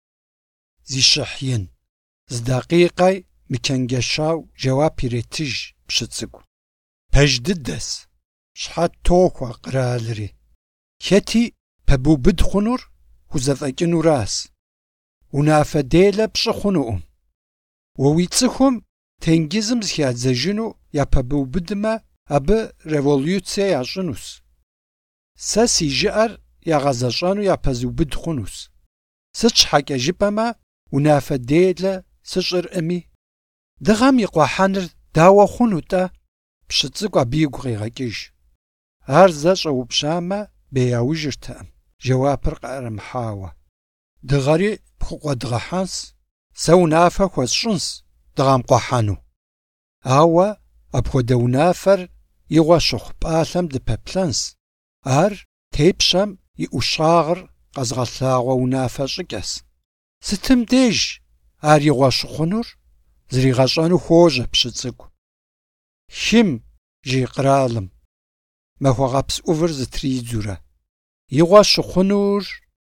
Зищыхь ин. Зы дакъикъэ мычэнджэщау жэуап иретыж Пшыцӏыкӏу. Пэж дыдэс. Щхьэт тохуэ къралри. Хэти пэбубыд хъунур хузэфӏэкӏынуращ. Унафэ делэ пщӏы хъунукъым. Уэ уи цӏыхум тенгизым зыхадзэжыну япэбубыдмэ, абы революцие ящӏынущ. Сэ си жыӏэр ягъэзэщӏэну япэзубыд хъунущ. Сыт щхьэкӏэ жыпӏэмэ, унафэ делэ сыщӏыркъыми. Дыгъэм и къуэхьэныр дауэ хъуну-тӏэ? Пшыцӏыкӏу абы игу къегъэкӏыж. Ар зэ щӏэупщамэ, беяужыртэкъым, жэуапыр къыӏэрымыхьауэ. Дыгъэри пхукъуэдгъэхьэнщ, сэ унафэ хуэсщӏынщ дыгъэм къуэхьэну. Ауэ апхуэдэ унафэр и гъуэ щыхъу пӏалъэм дыпэплъэнщ. Ар тепщэм и ӏущагъыр къэзгъэлъагъуэ унафэ щӏыкӏэщ. Сытым деж ар и гъуэ щыхъунур? Зригъэщӏэну хуожьэ Пшыцӏыкӏу. Хым, жи къралым. Махуэгъэпс ӏувыр зытридзурэ. И гъуэ щыхъунур?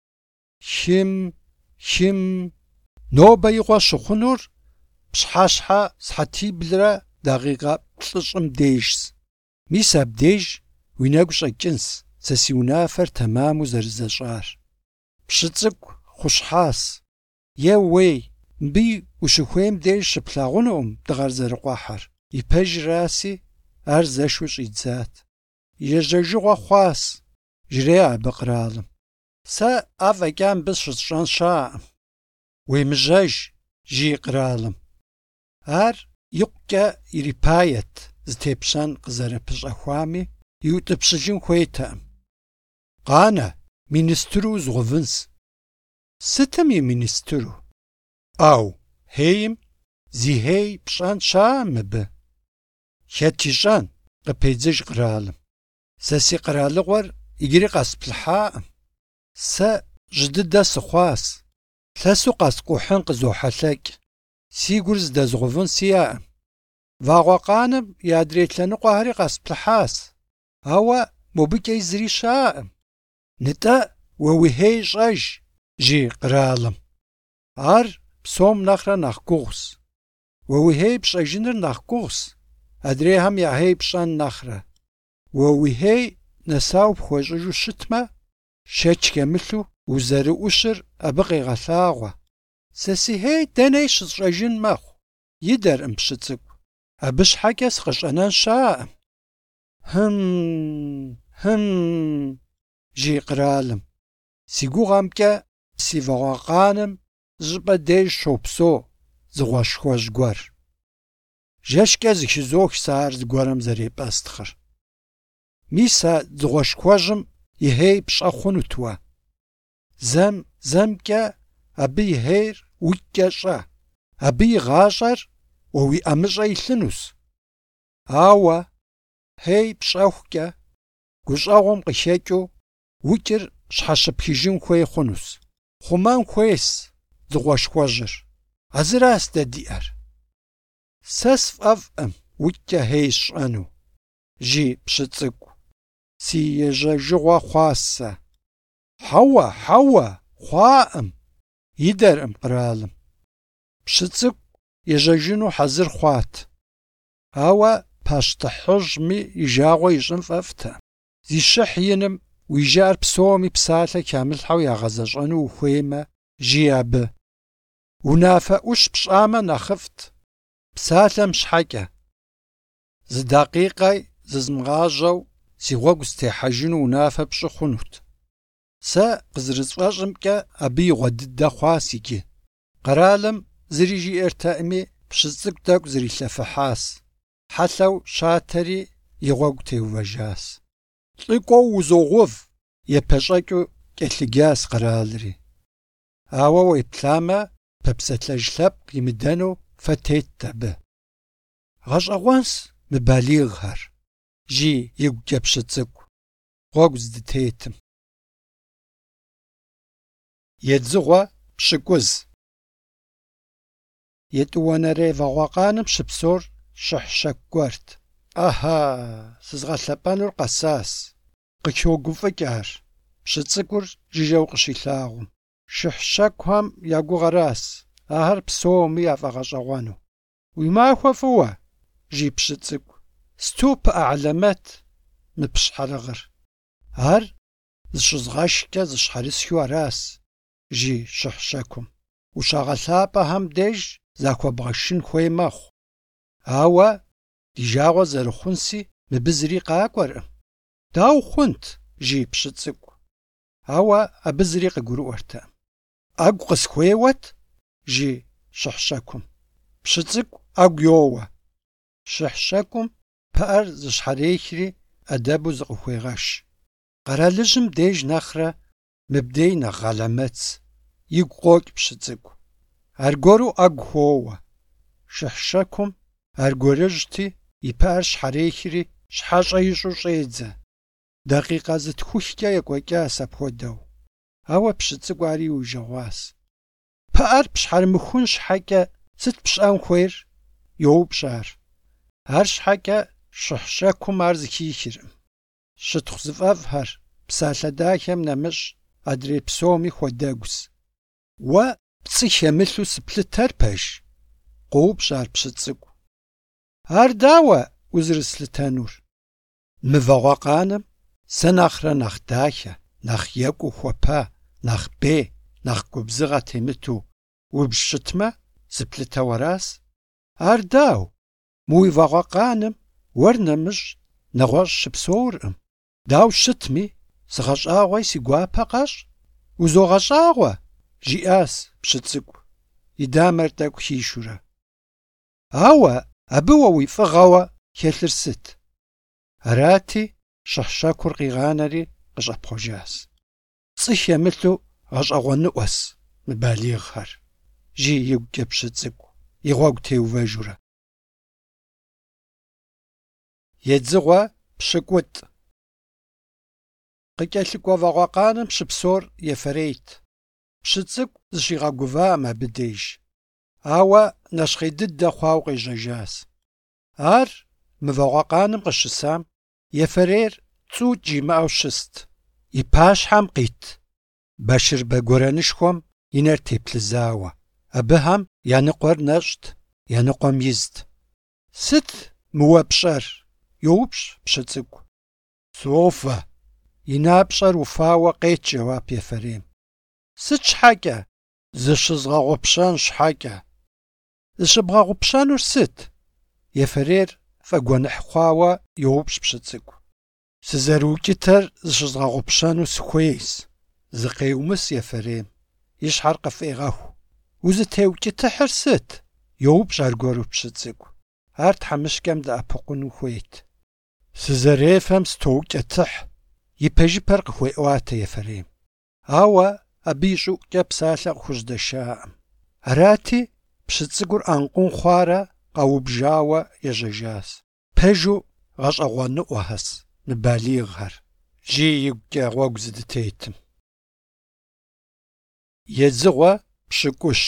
Хым. Нобэ и гъуэ щыхъунур пщхьэщхьэ схьэтиблрэ дакъикъэ плӏыщӏым дежщ. Мис абдеж уи нэгу щӏэкӏынщ сэ си унафэр тэмэму зэрызэщӏар. Пшыцӏыкӏу хъущхьащ. Еууей, мыбы ущыхуейм деж щыплъагъунукъым дыгъэр зэрыкъуэхьэр. Ипэжраси, ар зэшу щӏидзат. Ежьэжыгъуэ хъуащ, жреӏэ абы къралым. Сэ ӏэфӏэкӏа мыбы щысщӏэн щаӏым. Уемыжьэж, жи къралым. Ар икъукӏэ ирипает зытепщэн къызэрыпыщӏэхуами, иутӏыпщылын хуейтэкъым. Къанэ, министру узгъувынщ. Сытым и министру? Ӏэу, хейм зи хей пщӏэн щаӏэ мыбы. Хэт ищӏэн? Къыпедзыж къралым. Сэ си къэралыгъуэр иджыри къэсплъыхьакъым. Сэ жьы дыдэ сыхъуащ. Лъэсу къэскӀухьын къызохьэлъэкӀ. Си гур здэзгъэувын сиӀэкъым. Вагъуэ къанэм и адрей лъэныкъуэхэри къэсплъыхьащ. Ауэ мобыкӀэ зыри щаӀэкъым. НтӀэ уэ уи хей щӀэж, жи къэралым. Ар псом нэхърэ нэхъ гугъущ. Уэ уи хей пщӀэжыныр нэхъ гугъущ, адрейхэм я хей пщӀэн нэхърэ. Уэ уи хей нэсау пхуэщӀыжу щытмэ, шэч хемылъу узэрыӀущыр абы къегъэлъагъуэ. Сэ си хей дэней щысщӀэжын мэхъу, идэркъым пщы цӀыкӀу. Абы щхьэкӀэ сыкъыщӀэнэн щаӀэм. Жи къэралым. Си гугъэмкӀэ си вагъуэкъаным щӀыпӀэ деж щопсэу дзыгъуэшхуэжь гуэр. ЖэщкӀэ зыхизох сэ ар зыгуэрым зэрепӀэстхъыр. Мис а дзыгъуэшхуэжьым и хей пщӀэ хъунут уэ. ЗэмкӀэ абы и хейр уикӀкӀэ щӀэ. Абы и гъащӀэр уэ уи ӀэмыщӀэ илъынущ. Ауэ хей пщӀэхукӀэ гущӀэгъуэм къыхекӀыу укӀыр щхьэщыпхыжын хуей хъунущ. Хъумэн хуейщ дзыгъуэшхуэжьыр. А зыращ дэ диӀэр. Сэ сфӀэфӀкъым укӀкӀэ хей сщӀэну, жи пщы цӀыкӀу. Си ежьэжыгъуэ хъуащ сэ. Хьэуэ, хъуаӀым. Идэркъым къэралым. Пщы цӀыкӀу ежьэжыну хьэзыр хъуат. Ауэ пащтыхьыжьми и жагъуэ ищӀын фӀэфӀтэкъым. Зи щыхь иным уи жыӀэр псоми псалъэ хамылъхьэу ягъэзэщӀэну ухуеймэ, жи абы. Унафэ Ӏущ пщӀамэ нэхъыфӀт, псалъэм щхьэкӀэ. Зы дакъикъэ зызмыгъажьэу си гъуэгу зытехьэжыну унафэ пщӀы хъунут. Сэ къызэрысфӀэщӀымкӀэ абы и гъуэ дыдэ хъуащ иджы. Къэралым зыри жиӀэртэкъыми, пщы цӀыкӀу тӀэкӀу зрилъэфыхьащ. Хьэлъэу щатэри и гъуэгу теувэжащ. ЛӀыкӀуэу узогъув, епэщӀэкӀыу кӀэлъыджащ къэралри. Ауэ уеплъамэ, пэпсэлъэж лъэпкъ имыдэну фэ тетт абы. Гъэщӏэгъуэнщ мы балигъхэр, жи игукӏэ пщы цӏыкӏу, гъуэгу здытетым. Едзыгъуэ пщыкӏуз. Етӏуанэрей вагъуэкъаным щыпсэур щыхь щэку гуэрт. Ӏэхьа, сызгъэлъэпӏэнур къэсащ. Къычогуфӏыкӏар, пщы цӏыкӏур жыжьэу къыщилъагъум. Шыхь щэкухэм я гугъэращ, ахэр псоми яфӏэгъэщӏэгъуэну. Уи махуэ фӏыуэ, жи пщы цӏыкӏу. Сту пыӏэ алэмэт мы пщхьэрыгъыр. Ар зыщызгъэшкӏэ зыщхьэрысхыу аращ, жи щыхь щэкум. Ущагъэлъапӏэхэм деж захуэбгъэшын хуей мэхъу. Ауэ ди жагъуэ зэрыхъунси мыбы зыри къакӏуэркъым. Дауэ хъунт, жи пщы цӏыкӏу. Ауэ абы зыри къыгурыӏуэртэкъым. Ӏэгу къысхуейуэт, жи щыхь щэкум. Пщы цӏыкӏу ӏэгу йоуэ. Щыхь щэкум пыӏэр зыщхьэрехри ӏэдэбу зыкъыхуегъэш. Къэралыжьым деж нэхърэ мыбдей нэхъ гъэлэмэц. Игу къокӏ пщы цӏыкӏу. Аргуэру ӏэгу хоуэ. Шыхь щэкум аргуэрыжьти, и пыӏэр щхьэрехри щхьэщӏэ ищӏу щӏедзэ. Дакъикъэ зытхухкӏэ екӏуэкӏащ апхуэдэу. Ауэ пщы цӏыкӏу ари иужэгъуащ. Пыӏэр пщхьэрымыхун щхьэкӏэ сыт пщӏэн хуейр? Йоупщӏ ар. Ар щхьэкӏэ щыхь щэкум ар зыхихыркъым. Щытхъу зыфӏэфӏхэр псалъэ дахэм нэмыщӏ адрей псоми хуэдэгущ. Уэ пцӏы хемылъу сыплъытэр пэж? Къоупщӏ ар пщы цӏыкӏу. Ар дауэ узэрыслъытэнур? Мы вагъуэкъаным сэ нэхърэ нэхъ дахэ, нэхъ екӏуу хуэпа, нэхъ бей, нэхъ губзыгъэ темыту убж щытмэ, зыплъытэу аращ. Ар дау? Мы уи вагъуэкъаным уэр нэмыщӏ нэгъуэщӏ щыпсэуркъым. Дау щытми, сыгъэщӏагъуэи си гуапэ къэщӏ? Узогъэщӏагъуэ, жиӏащ пщы цӏыкӏу, и дамэр тӏэкӏу хишурэ. Ауэ абы уэ уи фӏыгъэуэ хэлъыр сыт? Арати, щыхь щэкур къигъанэри къыщӏэпхъуэжащ. Пцӏы хемылъу гъэщӏэгъуэныӏуэс мы балигъхэр, жи игукӏэ пщы цӏыкӏу, и гъуэгу теувэжурэ. Едзыгъуэ пщыкӏутӏ. Къыкӏэлъыкӏуэ вагъуэкъаным щыпсор ефэрейт. Пщы цӏыкӏу зыщигъэгувам абы деж. Ауэ нэщхъей дыдэ хъуауэ къежьэжащ. Ар мы вагъуэкъаным къыщысам ефэрейр цӏу кӏимыӏэу щыст. И пащхьэм къит башырбэ гуэрэнышхуэм и нэр теплъызауэ. Абыхэм я ныкъуэр нэщӏт, я ныкъуэм изт. «Сыт мыуэ пщӏэр?» – йоупщӏ пщы цӏыкӏу. «Софэ!» – и напщӏэр уфауэ къет жэуап ефэрейм. «Сыт щхьэкӏэ?» «Зыщызгъэгъупщэн щхьэкӏэ». «Зыщыбгъэгъупщэнур сыт?» Ефэрейр фӏэгуэныхь хъуауэ йоупщӏ пщы цӏыкӏу. «Сызэрыукӏытэр зыщызгъэгъупщэну сыхуейщ», – зыкъеумыс ефэрейм. И щхьэр къыфӏегъэху. «Узытеукӏытыхьыр сыт?» – йоупщӏ аргуэру пщы цӏыкӏу. Ар тхьэмыщкӏэм дэӏэпыкъуну хуейт. «Сызэрефэм стоукӏытыхь», – ипэжыпэр къыхуеӏуатэ ефэрейм. Ауэ абы и щӏыӏукӏэ псалъэ къыхужьдэшаӏым. Арати, пщы цӏыкӏур ӏэнкъун хъуарэ къэубжауэ ежьэжащ. Пэжу гъэщӏэгъуэныӏуэхэс мы балигъхэр, жей игукӏэ гъуэгу зыдытетым. Езыгъуэ пщыкӏущ.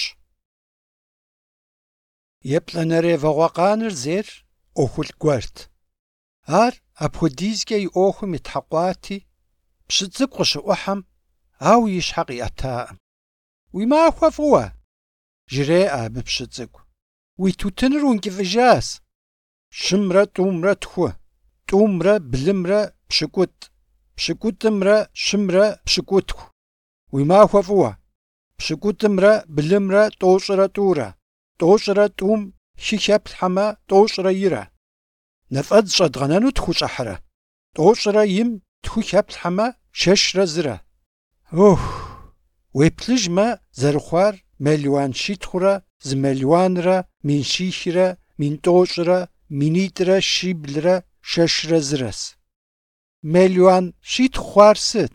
Еплӏэнэрей вагъуэкъаныр зейр ӏуэхулъ гуэрт. Ар апхуэдизкӏэ и ӏуэхум итхьэкъуати, пщы цӏыкӏу къыщыӏухьэм, ауэ и щхьэ къиӏэтаӏым. «Уи махуэ фӏыуэ!» – жреӏэ абы пщы цӏыкӏу. «Уи тутыныр ункӏыфӏыжащ. Щымрэ тӏумрэ тху, тӏумрэ блымрэ пщыкӏутӏ, пщыкӏутӏымрэ щымрэ пщыкӏутху. Уи махуэ фӏыуэ! Пщыкӏутӏымрэ блымрэ тӏощӏрэ тӏурэ, тӏощӏрэ тӏум хы хэплъхьэмэ тӏощӏрэ ирэ. Нэфӏэдз щӏэдгъэнэну тху щӏыхьрэ? Тӏощӏрэ им тху хэплъхьэмэ шэшрэ зырэ. Ох, уеплъыжмэ, зэрыхъуар мелуан щитхурэ, зы мелуанрэ, мин щихрэ, мин тӏощӏрэ, минитӏрэ щиблрэ, шэшрэ зырэс. Мелуан щитху хъуар сыт?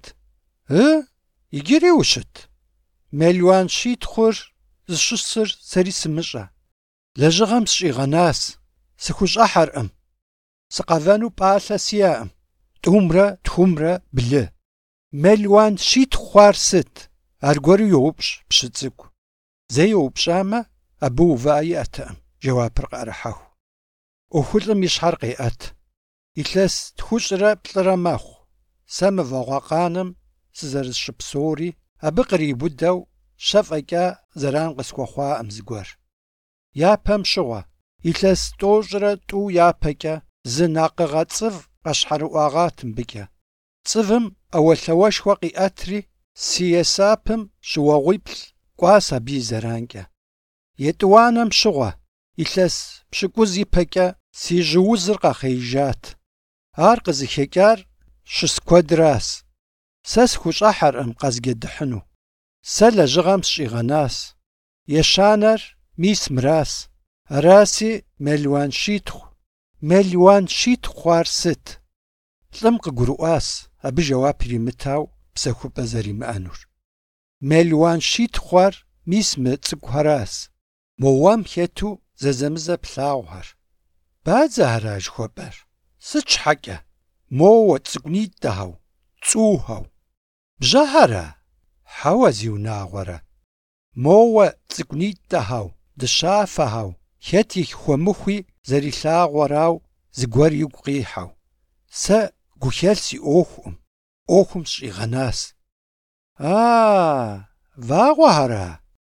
Иджыри ущыт. Мелуан щитхур зыщысыр сэри сымыщӏэ. Лэжьыгъэм сщӏигъэнащ, сыхущӏыхьэркъым. Сыкъэвэну пӏалъэ сиӏэкъым. Тӏумрэ тхумрэ блы. Мелуан щитху хъуар сыт? Аргуэру йоупщӏ пщы цӏыкӏу. Зэи йоупщӏамэ, абы увыӏэ иӏэтэкъым, жэуапыр къыӏэрыхьэху. ӏуэхулӏым и щхьэр къеӏэт. Илъэс тхущӏрэ плӏырэ мэхъу. Сэ мы вагъуэкъаным сызэрысщыпсэури, абы кърибудэу щэ фӏэкӏа зэран къысхуэхъуаӏым зыгуэр. Япэм щыгъуэ, илъэс тӏощӏрэ тӏу япэкӏэ зы накъыгъэ цӏыв къэщхьэрыӏуагъат мыбыкӏэ. Цӏывым ӏэуэлъауэшхуэ къиӏэтри, си есапым щыуэгъуиплӏ кӏуащ абы и зэранкӏэ. Етӏуанэм щыгъуэ, илъэс пщыкӏуз ипэкӏэ си жьыузыр къэхъеижат. Ар къызыхекӏар щыс куэдращ. Сэ схущӏыхьэркъым къэзгедыхьыну. Сэ лэжьыгъэм сщӏигъэнащ. Ещанэр мис мыращ. Араси мелуан щитху. Мелуан щитху хъуар сыт? Лӏым къыгурыӏуащ, абы жэуап иримытау псэхупӏэ зэримыӏэнур. Мелуан щитху хъуар мис мы цӏыкӏухэращ. Мо уэм хету зэзэмызэ плъагъухэр. Бадзэ ара жыхуэпӏэр? Сыт щхьэкӏэ? Моуэ цӏыкӏунитӏэхэу, цӏухэу. Бжьэхьэра? Хьэуэ зи унагъуэрэ. Моуэ цӏыкӏунитӏэхэу, дыщафэхэу, хэт и хуэмыхуи зэрилъагъуэрау зыгуэр игу къихьэу. Сэ гухэлъ си ӏуэхукъым, ӏуэхум сщӏигъэнащ. Вагъуэхьэра?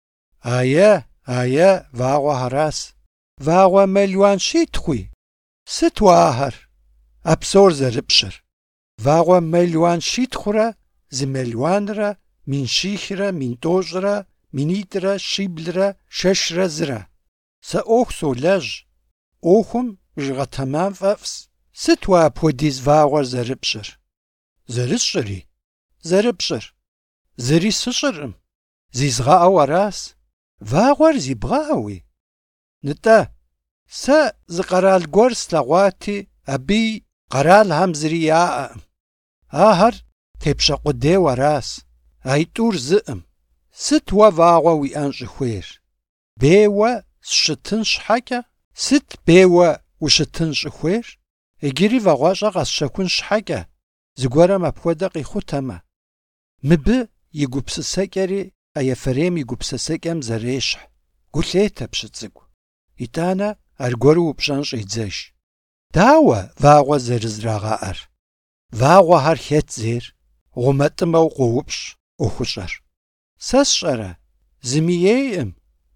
Ае, вагъуэхьэращ. Вагъуэ мелуан щитхуи? Сыт уэ ахэр? А псор зэрыпщыр. Вагъуэ мелуан щитхурэ, зы мелуанрэ, мин щихрэ, мин тӏощӏрэ, минитӏрэ, щиблрэ, шэшрэ зырэ. Сэ ӏуэху солэжь. Ӏуэхум жыгъэтэмам фӏэфӏщ. Сыт уэ апхуэдиз вагъуэр зэрыпщыр? Зэрысщӏыри? Зэрыпщӏыр. Зыри сыщӏыркъым. Зизгъэӏэу аращ. Вагъуэр зи бгъэӏэуи? НтӀэ, сэ зы къэрал гуэр слъэгъуати, абы къэралхэм зыри яӏэкъым. Ахэр тепщэкъудейуэ аращ. А и тӏур зыӏым. Сыт уэ вагъуэ уиӏэн щӏыхуейр? Бейуэ сщытын щхьэкӏэ? Сыт бейуэ ущытын щӏыхуейр? Иджыри вагъуэщӏэ къэсщэхун щхьэкӏэ зыгуэрым апхуэдэ къихутэмэ, мыбы и гупсысэкӏэри а Ефэрейм и гупсысэкӏэм зэрещхь. Гу лъетэ пщы цӏыкӏу. ИтӀанэ аргуэру упщӏэн щӏидзэж. Дауэ вагъуэ зэрызрагъэӏэр? Вагъуэхэр хэт зейр? Гъумэтӏымэу къоупщӏ ӏуэхущӏэр. Сэ сщӏэрэ? Зыми ейкъым.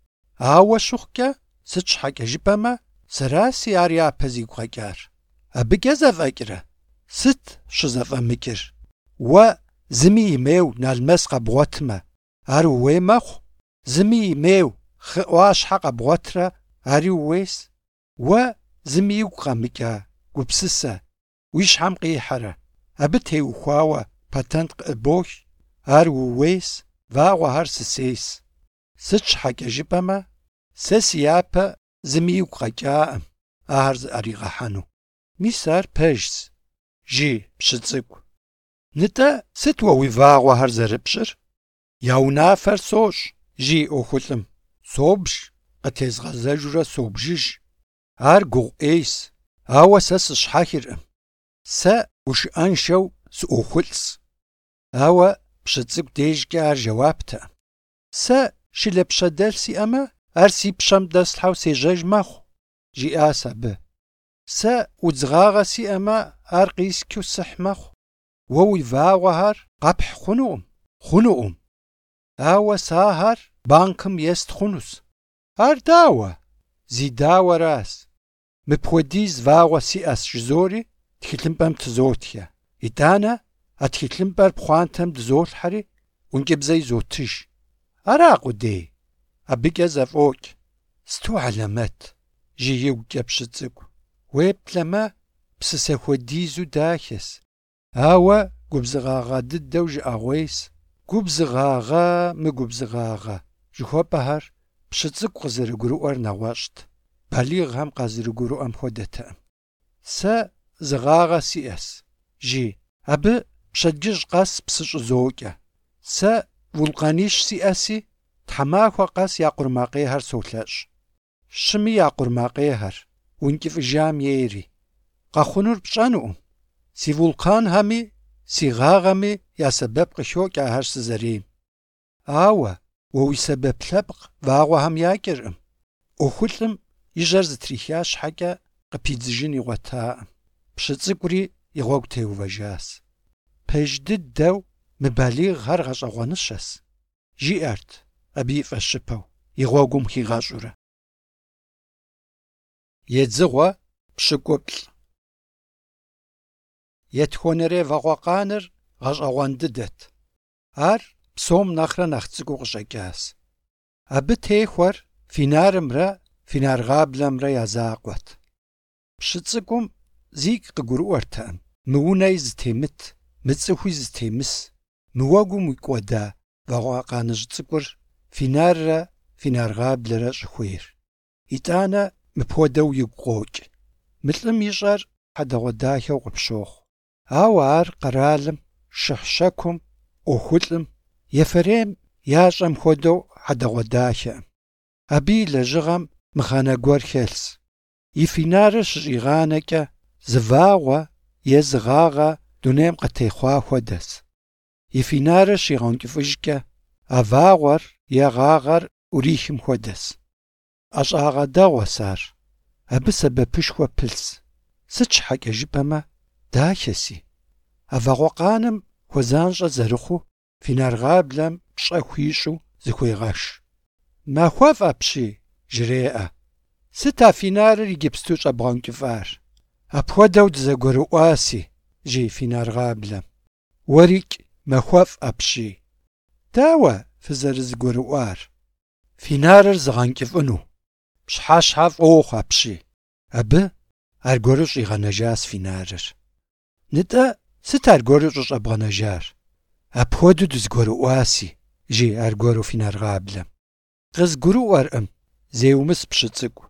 Ауэ щыхъукӏэ, сыт щхьэкӏэ жыпӏэмэ, сэраси ар япэ зигу къэкӏар. Абыкӏэ зэфӏэкӏрэ? Сыт щызэфӏэмыкӏыр? Уэ зыми имеу налмэс къэбгъуэтмэ, ар ууей мэхъу. Зыми имеу хы ӏуащхьэ къэбгъуэтрэ, ари ууейс. Уэ зыми игу къэмыкӏа, гупсысэ, уи щхьэм къихьэрэ. Абы теухуауэ патент къыӏыбох, ар ууейс, вагъуэхэр сысейс. Сыт щхьэкӏэ жыпӏэмэ, сэ си япэ зыми игу къэкӏаӏым, ахэр зыӏэригъэхьэну. Мис ар пэжщ, жи пщы цӏыкӏу. НтӀэ сыт уэ уи вагъуэхэр зэрыпщӏыр? Я унафэр сощӏ, жи ӏуэхулӏым. Собж, къытезгъэзэжурэ собжыж. Ар гугъу ӏейс, ауэ сэ сыщхьэхыркъым. Сэ гушыӏэншэу сыӏуэхулӏщ. Ауэ пщы цӏыкӏу дежкӏэ ар жэуаптэкъым. Сэ шылэпщэдэлъ сиӏэмэ, ар си пщэм дэслъхьэу сежьэж мэхъу, жиӏащ абы. Сэ удзгъагъэ сиӏэмэ, ар къисчу сыхь мэхъу. Уэ уи вагъуэхэр къэпхь хъунукъым. Ауэ сахэр банкым ест хъунущ. Ар дауэ? Зи дауэращ. Мыпхуэдиз вагъуэ сиӏэщ жызори тхылъымпӏэм тызотхе. ИтӀанэ а тхылъымпӏэр пхъуантэм дызолъхьэри ӏункӏыбзэ изотыж. Ара къудей? Абыкӏэ зэфӏокӏ. Сту алэмэт, жиигукӏэ пщы цӏыкӏу. Уеплъэмэ, псысэ хуэдизу дахэс. Ауэ губзыгъагъэ дыдэу жыӏэгъуейс. Губзыгъагъэ, мыгубзыгъагъэ жыхуэпӏэхэр пщы цӏыкӏу къызэрыгурыӏуэр нэгъуэщӏт. Балигъхэм къазэрыгурыӏуэм хуэдэтэкъым. Сэ зыгъагъэ сиӏэс, жи. Абы пщэдджыжь къэс псы щӏызокӏэ. Сэ вулкъанищ сиӏэси, тхьэмахуэ къэс я къурмакъейхэр солъэщӏ. Щыми я къурмакъейхэр, ункӏыфӏыжам ейри. Къэхъунур пщӏэнукъым. Си вулканхэми, си гъагъэми я сэбэп къыхокӏ ахэр сызэрейм. Ауэ уэ уи сэбэп лъэпкъ вагъуэхэм якӏэркъым. ӏуэхулӏым и жьэр зытриха щхьэкӏэ къыпидзыжын игъуэтакъым. Пщы цӏыкӏури и гъуэгу теувэжащ. Пэж дыдэу мы балигъхэр гъэщӏэгъуэныщэс, жиӏэрт абы и фӏэщыпэу, и гъуэгум хигъэщӏурэ. Едзыгъуэ пщыкӏуплӏ. Етхуэнэрей вагъуэкъаныр гъэщӏэгъуэн дыдэт. Ар псом нэхърэ нэхъ цӏыкӏуу къыщӏэкӏащ. Абы техуэр финарымрэ финаргъаблэмрэ я закъуэт. Пщы цӏыкӏум зигу къыгурыӏуэртэкъым. Мы унэи зытемыт, мы цӏыхуи зытемыс, мы уэгум уикӏуэда вагъуэкъаныжь цӏыкӏур финаррэ финаргъаблэрэ щӏыхуейр. ИтӀанэ мыпхуэдэу игу къокӏ. Мылӏым ищӏэр хьэдэгъуэдахэу къыпщохъу. Ауэ ар къэралым, шыхь-щэкум, ӏуэхулӏым, Ефэрейм ящӏэм хуэдэу хьэдэгъуэдахэкъым. Абы и лэжьыгъэм мыхъэнэ гуэр хэлъщ. И финарыр щыщӏигъанэкӏэ зы вагъуэ е зы гъагъэ дунейм къытехъуа хуэдэс. И финарыр щигъэункӏыфӏыжкӏэ, а вагъуэр е гъагъэр ӏурихым хуэдэс. ӏэщӏагъэ дэгъуэс ар. Абы сэбэпышхуэ пылъщ. Сыт щхьэкӏэ жыпӏэмэ, дахэси. А вагъуэкъаным хуэзанщӏэ зэрыхъуу финаргъаблэм пщӏэ хуищӏу зыхуегъэш. Махуэфӏ апщий, жреӏэ. Сыт а финарыр иджыпсту щӏэбгъэункӏыфӏар? Апхуэдэу дызэгурыӏуаси, жи финаргъаблэм. Уэрикӏ, махуэфӏ апщий. Дауэ фызэрызыгурыӏуар? Финарыр зыгъэнкӏыфӏыну. Пщхьэщхьэ фӏоухъу апщий. Абы аргуэру щӏигъэнэжащ финарыр. НтӀэ сыт аргуэру щӏыщӏэбгъэнэжар? Апхуэдэу дызыгурыӏуаси, жи аргуэру финаргъаблэм. Къызгурыӏуэркъым, зеумыс пщы цӏыкӏу.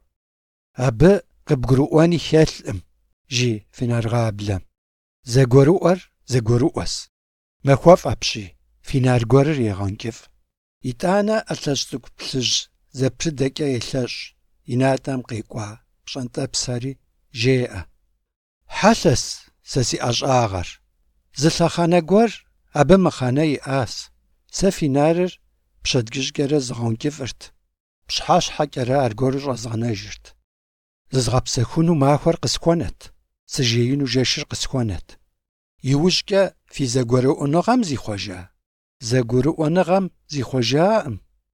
Абы къыбгурыӏуэни хэлъкъым, жи финаргъаблэм. Зэгурыӏуэр зэгурыӏуэс. Махуэфӏ апщий, финар гуэрыр егъэнкӏыфӏ. ИтӀанэ ӏэлъэщ цӏыкӏу плъыжь зэпрыдэкӏэ елъэщӏ, и натӏэм къекӏуа пщӏэнтӏэпсхэри жеӏэ. Хьэлъэс сэ си ӏэщӏагъэр. Зы лъэхъэнэ гуэр абы мыхъэнэ иӏащ. Сэ фи нарыр пщэдджыжькӏэрэ зыгъэункӏыфӏырт. Пщхьэщхьэкӏэрэ аргуэру щӏэзгъэнэжырт. Зызгъэпсэхуну махуэр къысхуэнэт, сыжеину жэшыр къысхуэнэт. Иужькӏэ фи зэгуэрыӏуэныгъэм зихъуэжа? Зэгурыӏуэныгъэм зихъуэжаӏым.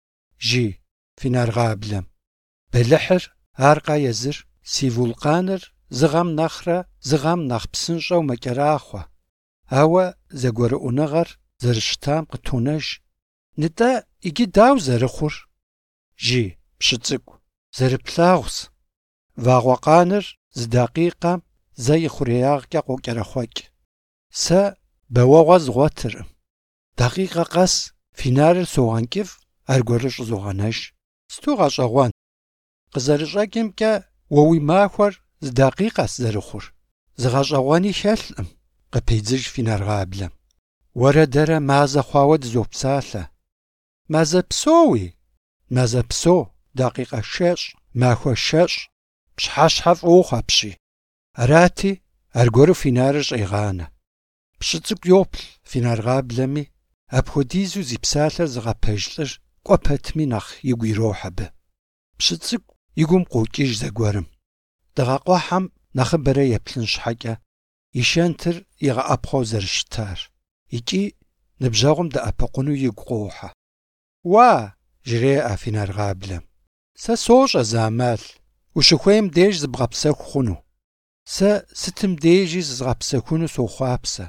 Жи фи наргъаблэм. Бэлыхьыр аркъэ езыр, си вулкъаныр зыгъэм нэхърэ зыгъэм нэхъ псынщӏэу мэкӏэрахъуэ. Ауэ зэгуэрыӏуэныгъэр зэрыщытам къытонэж. НтӀэ иджы дауэ зэрыхъур? Жи пщыцӏыкӏу. Зэрыплъагъущ. Вагъуэкъаныр зы дакъикъэм зэ и хъуреягъкӏэ къокӏэрэхъуэкӏ. Сэ бэуэгъуэ згъуэтыркъым. Дакъикъэ къэс фи нарыр согъэнкӏыфӏ, аргуэру щӏызогъэнэж. Сту гъэщӏэгъуэн. Къызэрыщӏэкӏымкӏэ уэ уи махуэр зы дакъикъэщ зэрыхъур. Зыгъэщӏэгъуэни хэлъкъым, къыпедзыж фи наргъаблэм. Уэрэ дэрэ мазэ хъуауэ дызопсалъэ. Мазэ псоуи? Мазэ псо, дакъикъэ шэщӏ, махуэ шэщӏ, пщхьэщхьэ фӏоухъу апщий. Арати, аргуэру фи нарыр щӏегъанэ. Пщыцӏыкӏу йоплъ фи наргъаблэми, апхуэдизу зи псалъэр зыгъэпэж лӏыр кӏуэ пэтми нэхъ игу ирохь абы. Пщыцӏыкӏу и гум къокӏыж зэгуэрым. Дыгъэкъуэхьэм нэхъыбэрэ еплъын щхьэкӏэ и шэнтыр игъэӏэпхъуэу зэрыщытар. Икӏи ныбжьэгъум дэӏэпыкъуну игу къохьэ. Уа, жреӏэ фи наргъаблэм. Сэ сощӏэ зы ӏэмал. Ущыхуейм деж зыбгъэпсэху хъуну. Сэ сытым дежи зызгъэпсэхуну сохъуапсэ.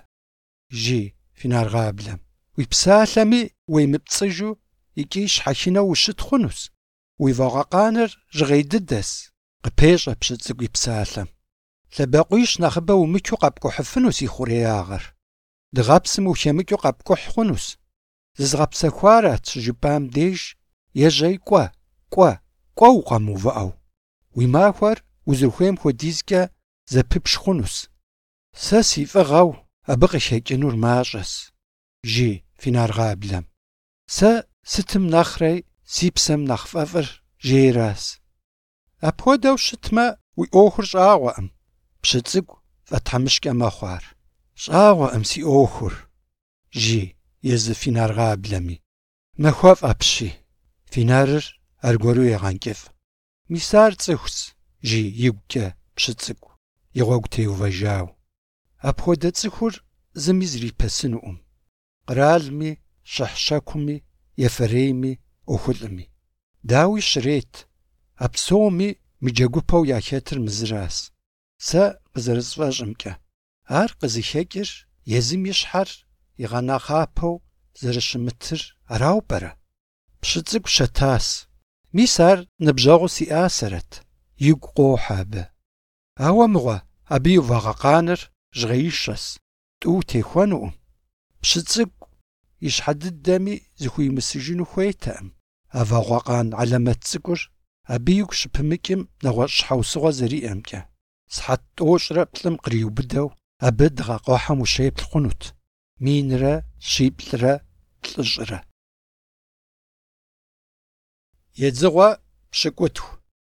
Жи фи наргъаблэм. Уи псалъэми уемыпцӏыжу икӏи щхьэхынэу ущыт хъунущ. Уи вагъуэкъаныр жьгъей дыдэс. Къыпещӏэ пщыцӏыкӏу и псалъэм. Лъэбакъуищ нэхъыбэ умычу къэпкӏухьыфыну си хъуреягъыр. Дыгъэпсым ухемыкӏыу къэпкӏухь хъунущ. Зызгъэпсэхуарат щыжыпӏам деж ежьей кӏуэ укъэмыувыӏэу. Уи махуэр узыхуейм хуэдизкӏэ зэпыпш хъунущ. Сэ си фӏыгъэу абы къыхекӏынур мащӏэс. Жи фи наргъаблэм. Сэ сытым нэхърэ си псэм нэхъ фӏэфӏыр жейрас. Апхуэдэу щытмэ, уи ӏуэхур щӏагъуэӏым. Пщыцӏыкӏу фӏэтхьэмыщкӏэ мэхъуар. Щӏагъуэӏым си ӏуэхур. Жи езы фи наргъаблэми. Махуэфӏ апщий. Фи нарыр аргуэру егъэнкӏыфӏ. Мис ар цӏыхущ, жи игукӏэ пщыцӏыкӏу, и гъуэгу теувэжауэ. Апхуэдэ цӏыхур зыми зрипэсынуӏым. Къралми, щыхь-щэкуми, ефэрейми, ӏуэхулӏми. Дауи щрет. А псоми мы джэгупэу яхэтыр мызыращ. Сэ къызэрысфӏэщӏымкӏэ. Ар къызыхекӏыр езым и щхьэр игъэнэхъапэу зэрыщымытыр арау пӏэрэ? Пщыцӏыкӏу щэтас. Мис ар ныбжьэгъу си ӏасэрэт. Игу къохьэ абы. Ауэ мыгъуэ, абы и вагъэкъаныр жьгъеишэс. Тӏу техуэнуӏым. Пщыцӏыкӏу и щхьэ дыдэми зыхуимысыжыну хуейтэкъым. А вагъуэкъан алэмэт цӏыкӏур абы игу щыпымыкӏым нэгъуэщӏ щхьэусыгъуэ зэриӏэмкӏэ. Схьэт тӏощӏрэ плӏым къриубыдэу абы дыгъэкъуэхьэм ущеплъ хъунут. Минрэ, щиплӏрэ, плӏыщӏрэ. Едзыгъуэ пщыкӏутху.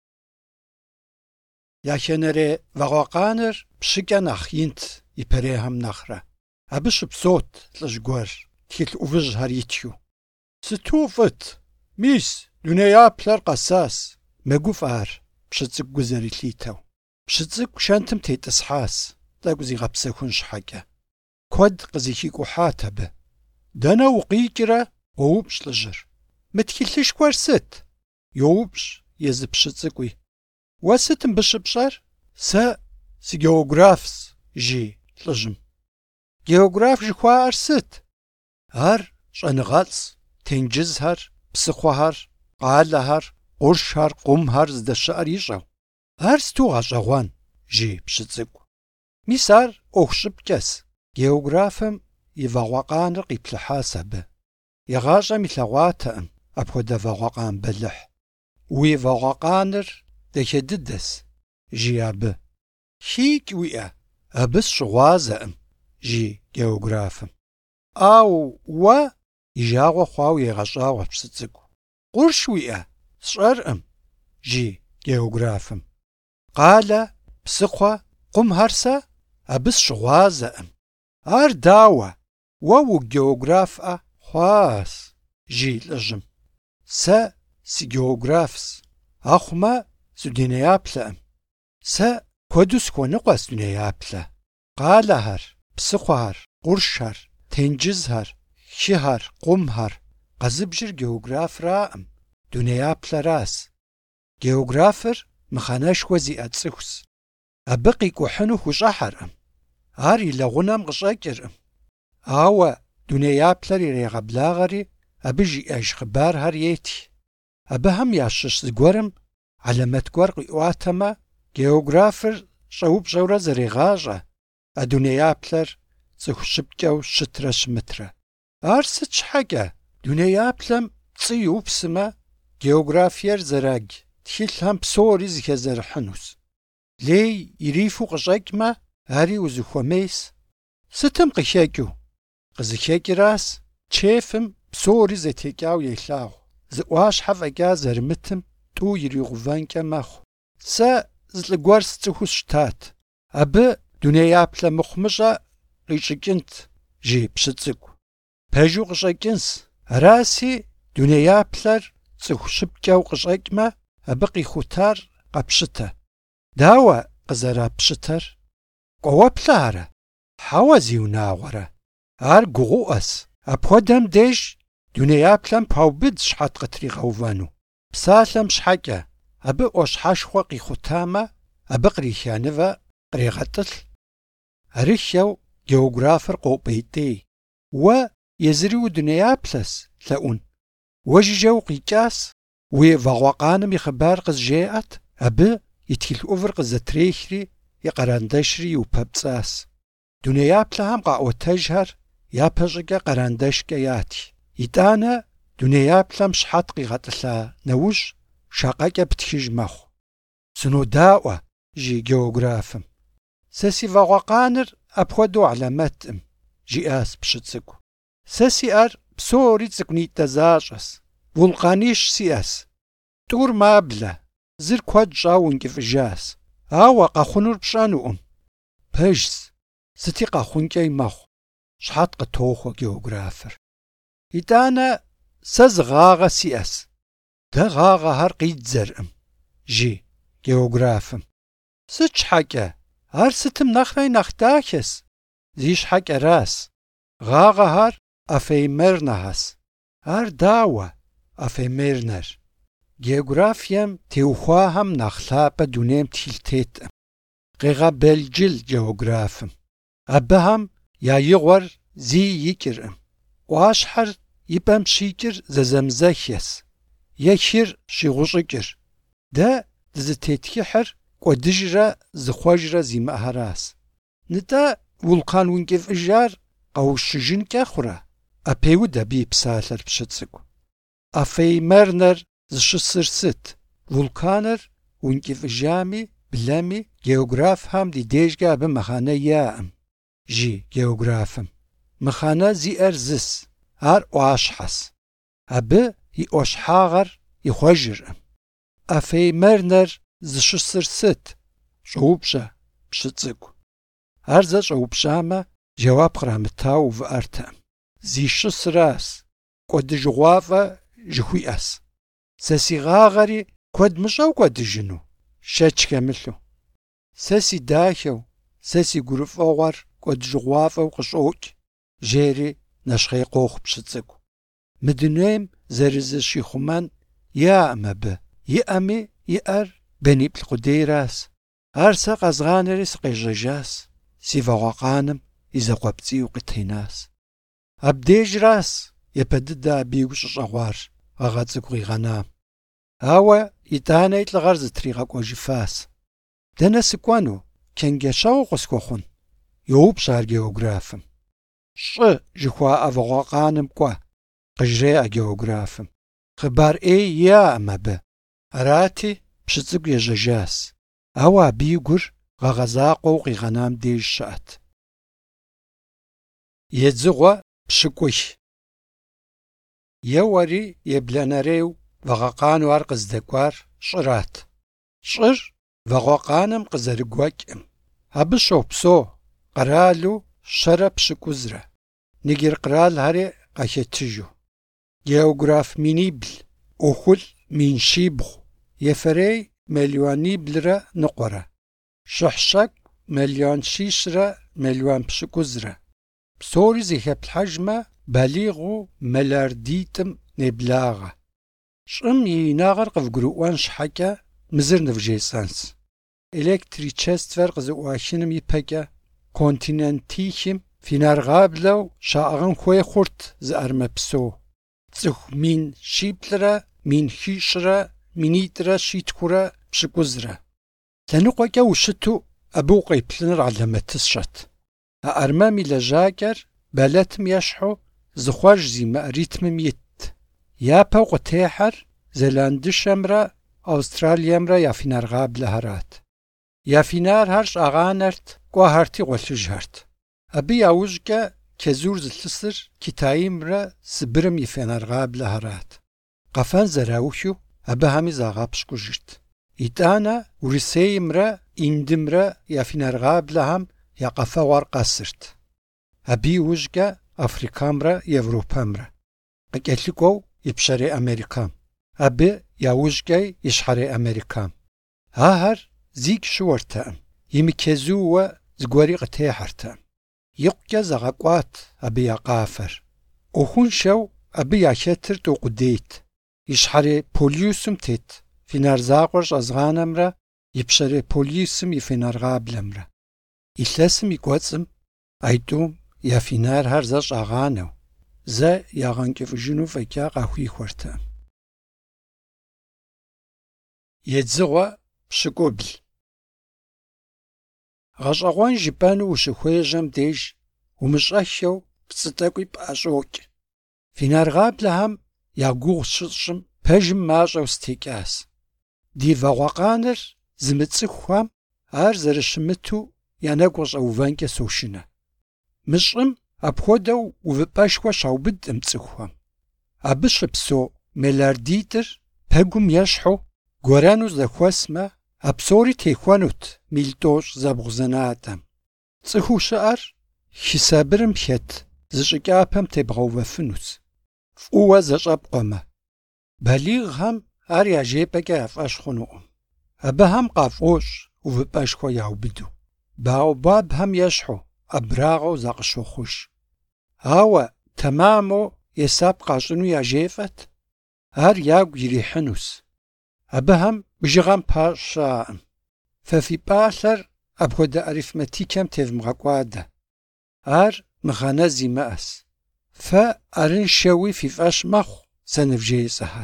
Яхэнэрей вагъуэкъаныр пщыкӏэ нэхъ инт и пэрейхьэм нэхърэ. Абы щыпсэут лӏыжь гуэр, тхылъ ӏувыжьхэр итхыу. Сыту фӏыт? Мис, дунеяплъэр къэсащ. Мэгуфӏ ар, пщыцӏыкӏу гу зэрилъитэу. Пщыцӏыкӏу шэнтым тетӏысхьащ, тӏэкӏу зигъэпсэхун щхьэкӏэ. Куэд къызыхикӏухьат абы. Дэнэ укъикӏрэ? Уоупщӏ лӏыжьыр. Мы тхылъышхуэр сыт? Йоупщӏ езы пщыцӏыкӏуи. Уэ сыт мыбы щыпщӏэр? Сэ си географщ, жи лӏыжьым. Географ жыхуаӏэр сыт? Ар щӏэныгъэлӏщ. Тенджызхэр, псыхъуэхэр, къалэхэр, къуршхэр, къумхэр здэщыӏэр ищӏэу. Ар сту гъэщӏэгъуэн, жи пщыцӏыкӏу. Мис ар ӏуэху щӏыпкӏэс. Географым и вагъуэкъаныр къиплъыхьащ абы. ЕгъащӀэм илъэгъуатэкъым апхуэдэ вагъуэкъан бэлыхь. Уи вагъуэкъаныр дахэ дыдэс, жи абы. ХикӀ уиӀэ? Абы сщыгъуазэкъым, жи географым. Ау, уэ? И жагъуэ хъуауэ егъэщӀагъуэ пщыцӏыкӏу. Къурш уиӀэ? Сщӏэркъым, жи географым. Къалэ, псыхъуэ, къумхэр сэ? Абы сщыгъуазэкъым. ар дауэ? Уэ угеограф-ӏэ хъуащ, жи лӏыжьым. Сэ сигеографщ. Ахъумэ сыдунеяплъэӏым. Сэ куэду схуэныкъуэщ дунеяплъэ. Къалэхэр, псыхъуэхэр, къуршхэр, тенджызхэр, хыхэр, къумхэр. Къэзыбжыр географраӏым, дунеяплъэращ. Географыр мыхъэнэшхуэ зиӏэ цӏыхущ. Абы къикӏухьыну хущӏыхьэркъым. Ар и лэгъунэм къыщӏэкӏыркъым. Ауэ дунеяплъэр ирегъэблагъэри, абы жиӏэж хъыбархэр ети. Абыхэм ящыщ зыгуэрым алэмэт гуэр къиӏуатэмэ, географыр щӏэупщӏэурэ зэрегъащӏэ, а дунеяплъэр цӏыху щыпкӏэу щытрэ щымытрэ. Ар сыт щхьэкӏэ дунеяплъэм пцӏы иупсымэ, географиер зэраг тхылъхэм псори зыхезэрыхьынущ. Лей ирифу къыщӏэкӏмэ, ари узыхуэмейс. Сытым къыхекӏыу? Къызыхекӏрас чефым псори зэтекӏауэ елъагъу. Зы ӏуащхьэ фӏэкӏа зэрымытым тӏу иригъувэнкӏэ мэхъу. Сэ зылӏыгуэр сцӏыхуу сщтат. Абы дунеяплъэ мыхъумыщӏэ къищӏыкӏынт, жи пщы цӏыкӏу. Пэжу къыщӏэкӏынщ. Араси дунеяплъэр цӏыху щыпкӏэу къыщӏэкӏмэ, абы къихутар къэпщытэ. Дауэ къызэрапщытэр? Кӏуэуэплъэ арэ? Хьэуэ зиунагъуэрэ? Ар гугъуӏэс. Апхуэдэм деж дунеяплъэм паубыд щхьэт къытригъэувэну. Псалъэм щхьэкӏэ абы ӏуащхьэшхуэ къихутамэ, абы къриханывэ кърегъэтӏылъ. Арыххэу географыр къопӏейтей. Уэ езыри удунеяплъэс, лъэӏун. Уэ жыжьэ укъикӏас, уи вагъуэкъаным и хъыбар къызжеӏэт, абы и тхылъ ӏувыр къызэтрехри, и къэрандэшри иупэпцӏас. Дунеяплъэхэм къаӏуэтэжхэр япэ щӏыкӏэ къэрандэшкӏэ яти. ИтӀанэ дунеяплъэм щхьэт къигъэтӏылъа нэужь шакъэкӏэ птхыж мэхъу. Сынодаӏуэ, жи географым. Сэ си вагъуэкъаныр апхуэдэу алэмэтӏым, жиӏащ пщы цӏыкӏу. Сэ сиӏэр псори цӏыкӏунитӏэ защӏэс. Вулкъанищ сиӏэс. Тӏур маблэ, зыр куэд щӏауэ ункӏыфӏыжащ. Ауэ къэхъунур пщӏэнукъым. Пэжщ, сыти къэхъункӏэ мэхъу. Щхьэт къытохуэ географыр. ИтӀанэ сэ зы гъагъэ сиӏэс. Дэ гъагъэхэр къидзэркъым, жи географым. Сыт щхьэкӏэ? Ар сытым нэхърэ нэхъ дахэс. Зи щхьэкӏэрас. Гъагъэхэр эфемернэхьэс. Ар дауэ эфемернэр? Географием теухуахэм нэхъ лъапӏэ дунейм тхылъ теткъым. Къегъэбелджыл географым. Абыхэм я игъуэр зи икӏыркъым. Ӏуащхьэр и пӏэм щикӏыр зэзэмызэхес, е хыр щигъущӏыкӏыр. Дэ дызытеткӏыхьыр кӏуэдыжрэ зыхъуэжрэ зимыӏэхэращ. НтӀэ вулкан ункӏыфӏыжар къэущыжынкӏэ хъурэ? Ӏэпеуд абы и псалъэр пщы цӏыкӏу. Эфемернэр зыщысыр сыт? Вулканыр ункӏыфӏыжами, блэми, географхэм ди дежкӏэ абы мыхьэнэ яӏэм, жи географым. Мыхьэнэ зиӏэр зыс, ар ӏуащхьэс. Абы и ӏуащхьагъэр ихъуэжыркъым. Эфемернэр зыщысыр сыт? Щӏэупщӏэ, пщы цӏыкӏу. Ар зэщӏэупщӏамэ, жэуап кърамытауэ увыӏэртэкъым. Зищысыращ, кӏуэдыжыгъуафӏэ жыхуиӏэс. Сэ си гъагъэри куэд мыщӏэу кӏуэдыжыну? Шэч хэмылъу. Сэ си дахэу, сэ си гурыфӏыгъуэр кӏуэдыжыгъуафӏэу къыщӏокӏ, жери нэщхъей къохъу пщы цӏыкӏу. Мы дунейм зэрызыщихъумэн яӏэм абы. Иӏэми иӏэр бэниплӏ къудейращ. Ар сэ къэзгъанэри сыкъежьэжащ. Си вагъуэкъаным и зэкъуэпцӏийуэ къытенащ. Абдежращ епэ дыдэ абийуэ щӏыщӏэгъуар гъэгъа цӏыкӏу къигъэнам. Ауэ итӏанэ и лӏыгъэр зытригъэкӏуэжыфащ. Дэнэ сыкӏуэну? Чэнджэщэгъу къысхуэхъун? Йоупщӏ ар географым. Щӏы жыхуаӏэ вагъуэкъаным кӏуэ, къыжреӏэ географым. Хъыбар ӏей яӏэм абы. Арати, пщы цӏыкӏу ежьэжащ. Ауэ абы и гур гъэгъэзакъуэу къигъэнам деж щыӏэт. Едзыгъуэ пщыкӏух. Еуэри еблэнэреу вагъуэкъану ар къыздэкӏуар щӏырат. Щӏыр вагъуэкъаным къызэрыгуэкӏым. Абы щопсэу къэралу شرب شکوزره نگیر قرال هری قاکتیجو گیوگراف مینیبل اوخل مینشیبخ یفری میلیونیبل را نقره شحشک میلیون شیش را میلیون شکوزره بسوری زیخب الحجم بلیغو ملاردیتم نبلاغه شم يناغر قفقروان شحكا مزر نفجيسانس إلكتريتشست فرق زواشنم يبكا كونتيننتيشم في نارغابلو شاغن خوي خورت زأرما بسو تسخ مين شيبلرا مين خيشرا مينيترا شيتكورا بشكوزرا تنقوكا وشتو أبو قيبلنر على ما تسشت أرمامي لجاكر بلاتم يشحو زخواج زي مأريتم يت يابا وقتيحر زلاندشمرا أستراليامرا يافينار غاب لهرات يافينار هرش أغانرت قوهرتي غلجهرت أبي ياوجكا كزور زلتسر كتايمرا سبرم يفينار غاب لهرات قفان زراوشو أبي همي زاغابش كجرت إتانا ورسيمرا إندمرا يافينار غاب لهم يقفا ورقاسرت أبي وجكا أفريكامرا يوروبامرا قلقو يبشري أمريكام أبي ياوجكي يشحري أمريكام هاهر زيك شورتام يمكزو زغوري قتيحرتام يقيا زغاقوات أبي يقافر أخون شو أبي ياشتر تو قديت يشحري بوليوسم تيت في نارزاقورش أزغانمرا يبشري بوليوسم يفينارغابلمرا إثلاسم يقواتسم أيتوم يافينار هرزاش أغانو زا ياغانكي فجنو فكا قاوي خورتام يتزغوا بشكوبل غشاغوان جيبانو وشخويجم ديج ومشاشيو بصدقوي باشوك في نارغاب لهم ياغوغ ششم بجم ماجو ستيكاس دي فاغوقانر زمتسخوام هر زرشمتو ياناغوش اوفانكا سوشنا مشم أبخودو وفباشوا شاوبد امتسخوام أبش بسو ملارديتر بهجم يشحو غورانو زخواسما أبصوري تيخوانوت ميلتوش زبغزناتم تسخو شعر حسابرم بخت زشكابم تبغو وفنوس فقوة زشاب قوما بليغ هم أريا جيبكا أفاش خنوهم أبهم قافوش وفباشوا ياوبدو باو باب هم يشحو أبراغو زاقشو خوش هاوا تمامو يساب قاشنو ياجيفت هر ياغو يريحنوس أبهم بجغام باشا ففي بالر أبخد أريثمتيكم تفمغاقوادا هر مغانازي ماس فأرن شوي في فاش مخو سنفجي سهر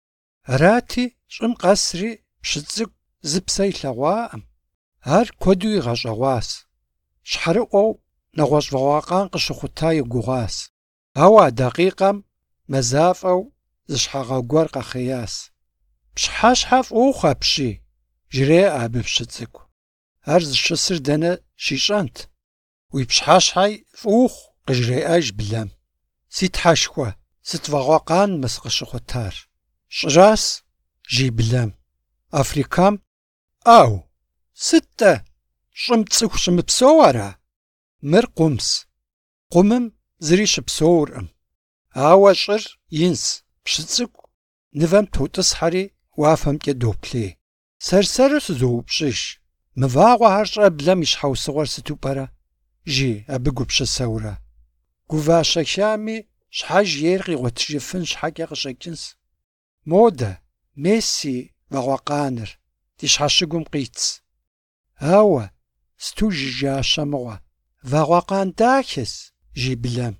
راتي شم قصري بشتزق زبسي لغوام هر كودو يغاجواس شحرقو نغوش فواقان قشخوتاي قغاس هوا دقيقة مزافو زشحاقا قوارقا خياس بشحاشحاف اوخا بشي جري ابي بشتزكو هرز الشسر دانا شيشانت ويبشحاشحاي فوخ قجري اج بلام سيت حاشكوا ست فواقان مسقشخوتار شراس جي بلام افريكام او ستة شمتسخ شمبسوارا مر قمس قمم زريش بسورم هاواشر ينس بشتسكو نفهم توتس حري وافهم كدوبلي سرسرس زوبشش مفاغو هرشا بلا مش حوصغر ستوبارا جي أبقو بشسورا قوفاشا شامي شحاج يرغي وتشفن شحاجة غشاكنس مودا ميسي وغوقانر تشحاشقوم قيتس هاوا ستوجي جا شمغوا وغوقان داكس جي بلام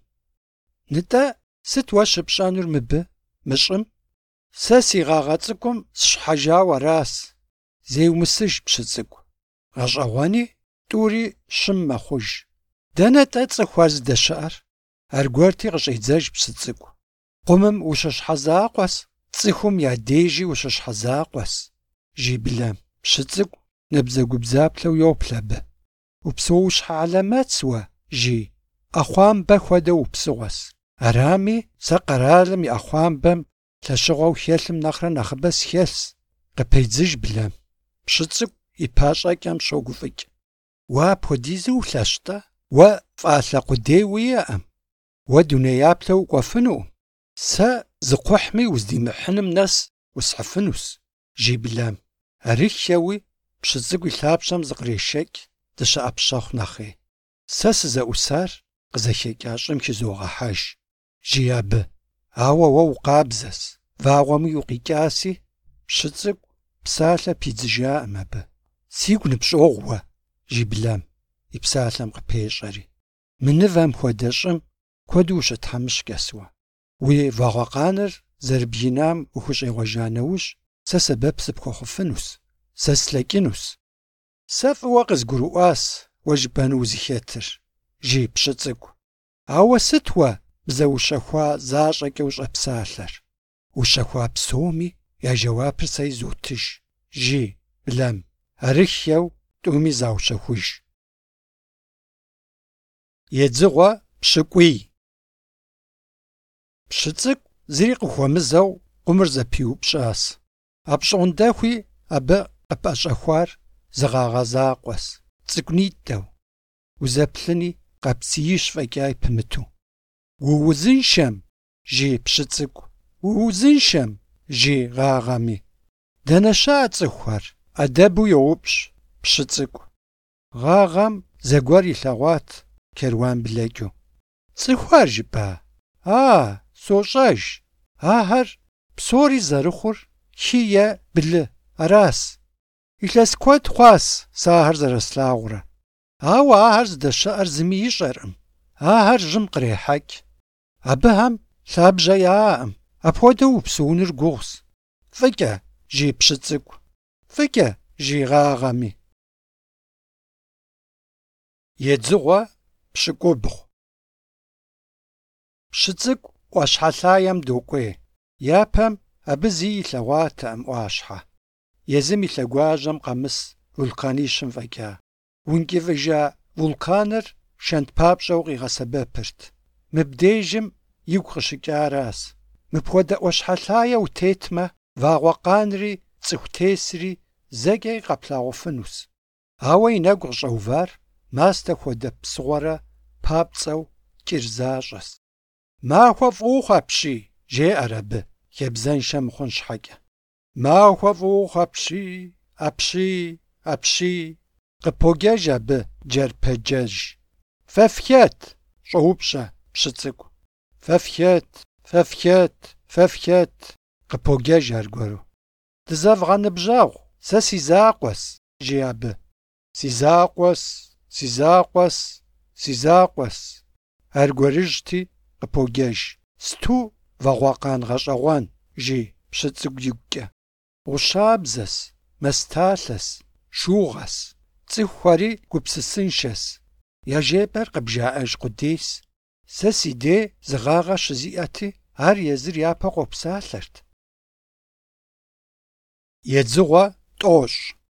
نتا ستواش بشانور مبه مشم ساسي غاغاتكم شحاجا وراس زي ومسج بشتزكو غشاواني توري شم خوج دانا تاتسخواز دشار أرغوارتي غشيتزاج بشتزكو قمم وشش حزاقواس تسيخوم يا ديجي وشش حزاقواس جي بلام بشتزكو نبزاقو بزابلو يوبلب وبسوش علامات سوا جي أخوان بخودا وبسواس أرامي ساقرالم يا أخوان بم تشغو خيالم نخرا نخبس خيالس قبيتزج بلام بشتزكو يباشا كام شوقفك وابوديزو لاشتا و ف'alhe khudêy vui'ekhım. Vue dunêyaple vuk'uefınukhım. Se zıkhuhmi vuzdimıhınım nes vus'hıfınus, jjiy blem. Arıxeui pşı ts'ık'u yilhapş'em zıkhrêşşeç' dışı'epşexhu nexhêy. Se sıze'usar khızexeç'a ş'ım xızoğehejj, jjiy abı. Aue vue vukhabzes, vağuemi vukhiç'asi, pşı ts'ık'u psalhe pidzıjja'ım abı. Sigu nıpş'oğu vue, jjiy blem, yi psalhem khıpêş'eri. Mınıvem xuede ş'ım kuedu vuşıthemışç'es vue. Vui vağuekhanır zerıbjinam vuxuş'êğuejja neuj se sebep sıpxuexhufınus, se slheç'ınus. Se f'ıue khızguru'uas vue jjıbenu vuzıxêtır, jjiy pşı ts'ık'u. Aue sıt vue bze vuşexua zaş'eç'e vuş'epsalher? Vuşexua psomi ya jjeuapır se yizotıjj, jjiy blem. Arıxeu t'umi zauşexujj. Yêdzığue pşık'uiy. Pşı ts'ık'u zıri khıxuemızeu khumır zepiupş'as. Apş'ondexui abı khıp'eş'exuar zığağezakhues, ts'ık'unit'eu, vuzeplhıni khaptsiyş f'eç'a yipımıtu. Vuuzınşşem, jjiy pşı ts'ık'u, vuuzınşşem, jjiy ğağemi. Dene şa'a ts'ıxuxer? Adebu youpş pşı ts'ık'u. Ğağem zeguer yilheğuat kervan bleç'u. Ts'ıxuar jjıba? Soş'ejj. Aher psori zerıxhur xi yê blı, aras. Yilhes kued xhuas se aher zerıslhağure. Aue aher zdeşı'er zımi yiş'erkhım. Aher jjım khrêheç'. Abıhem lhabje ya'ekhım. Apxuedeu vupsıunır guğuz. F'ıç'e, jjiy pşı ts'ık'u. F'ıç'e, jjiy ğağemi. Yêdzığue pşık'ubğu. Pşı ts'ık'u 'Uaşhelhayem dok'uêy. Yapem abı zi yilheğuatekhım 'Uaşhe. Yêzım yi lheguajem khamıs vulkanişım f'eç'a. Vunç'ıvıjja vulkanır şşent papş'eu khiğesebepırt. Mıbdêjım yigu khışıç'aras. Mıpxuede 'Uaşhelhaye vutêtme, vağuekhanri ts'ıxu têsri zeç'e kheplhağufınus. Aue yi negu khış'euvar maste xuede psığuere papts'eu ç'ır zaş'es. Maxue f'ıuxhu apşiy, jjê'er abı, xebzenşşe mıxhun şheç'e. Maxue f'ıuxhu apşiy, khıpogejj abı cerpecejj. Fe fxet, ş'oupş'e pşı ts'ık'u. Fe fxet, khıpogejj argueru. Dızevğenıbjeğu, se si zakhues, jjiy abı. Si zakhues. Arguerıjjti khıpogejj. Stu vağuekhan ğeş'eğuan, jjiy pşı ts'ık'u yiguç'e. Ğuşabzes, mestalhes, şşuğes, ts'ıxuxeri gupsısınşşes. Ya jêper khıbjja'ejj khudêys. Se si dê zığağe şızi'eti ar yêzır yape khopsalhert. Yêdzığue t'oş'.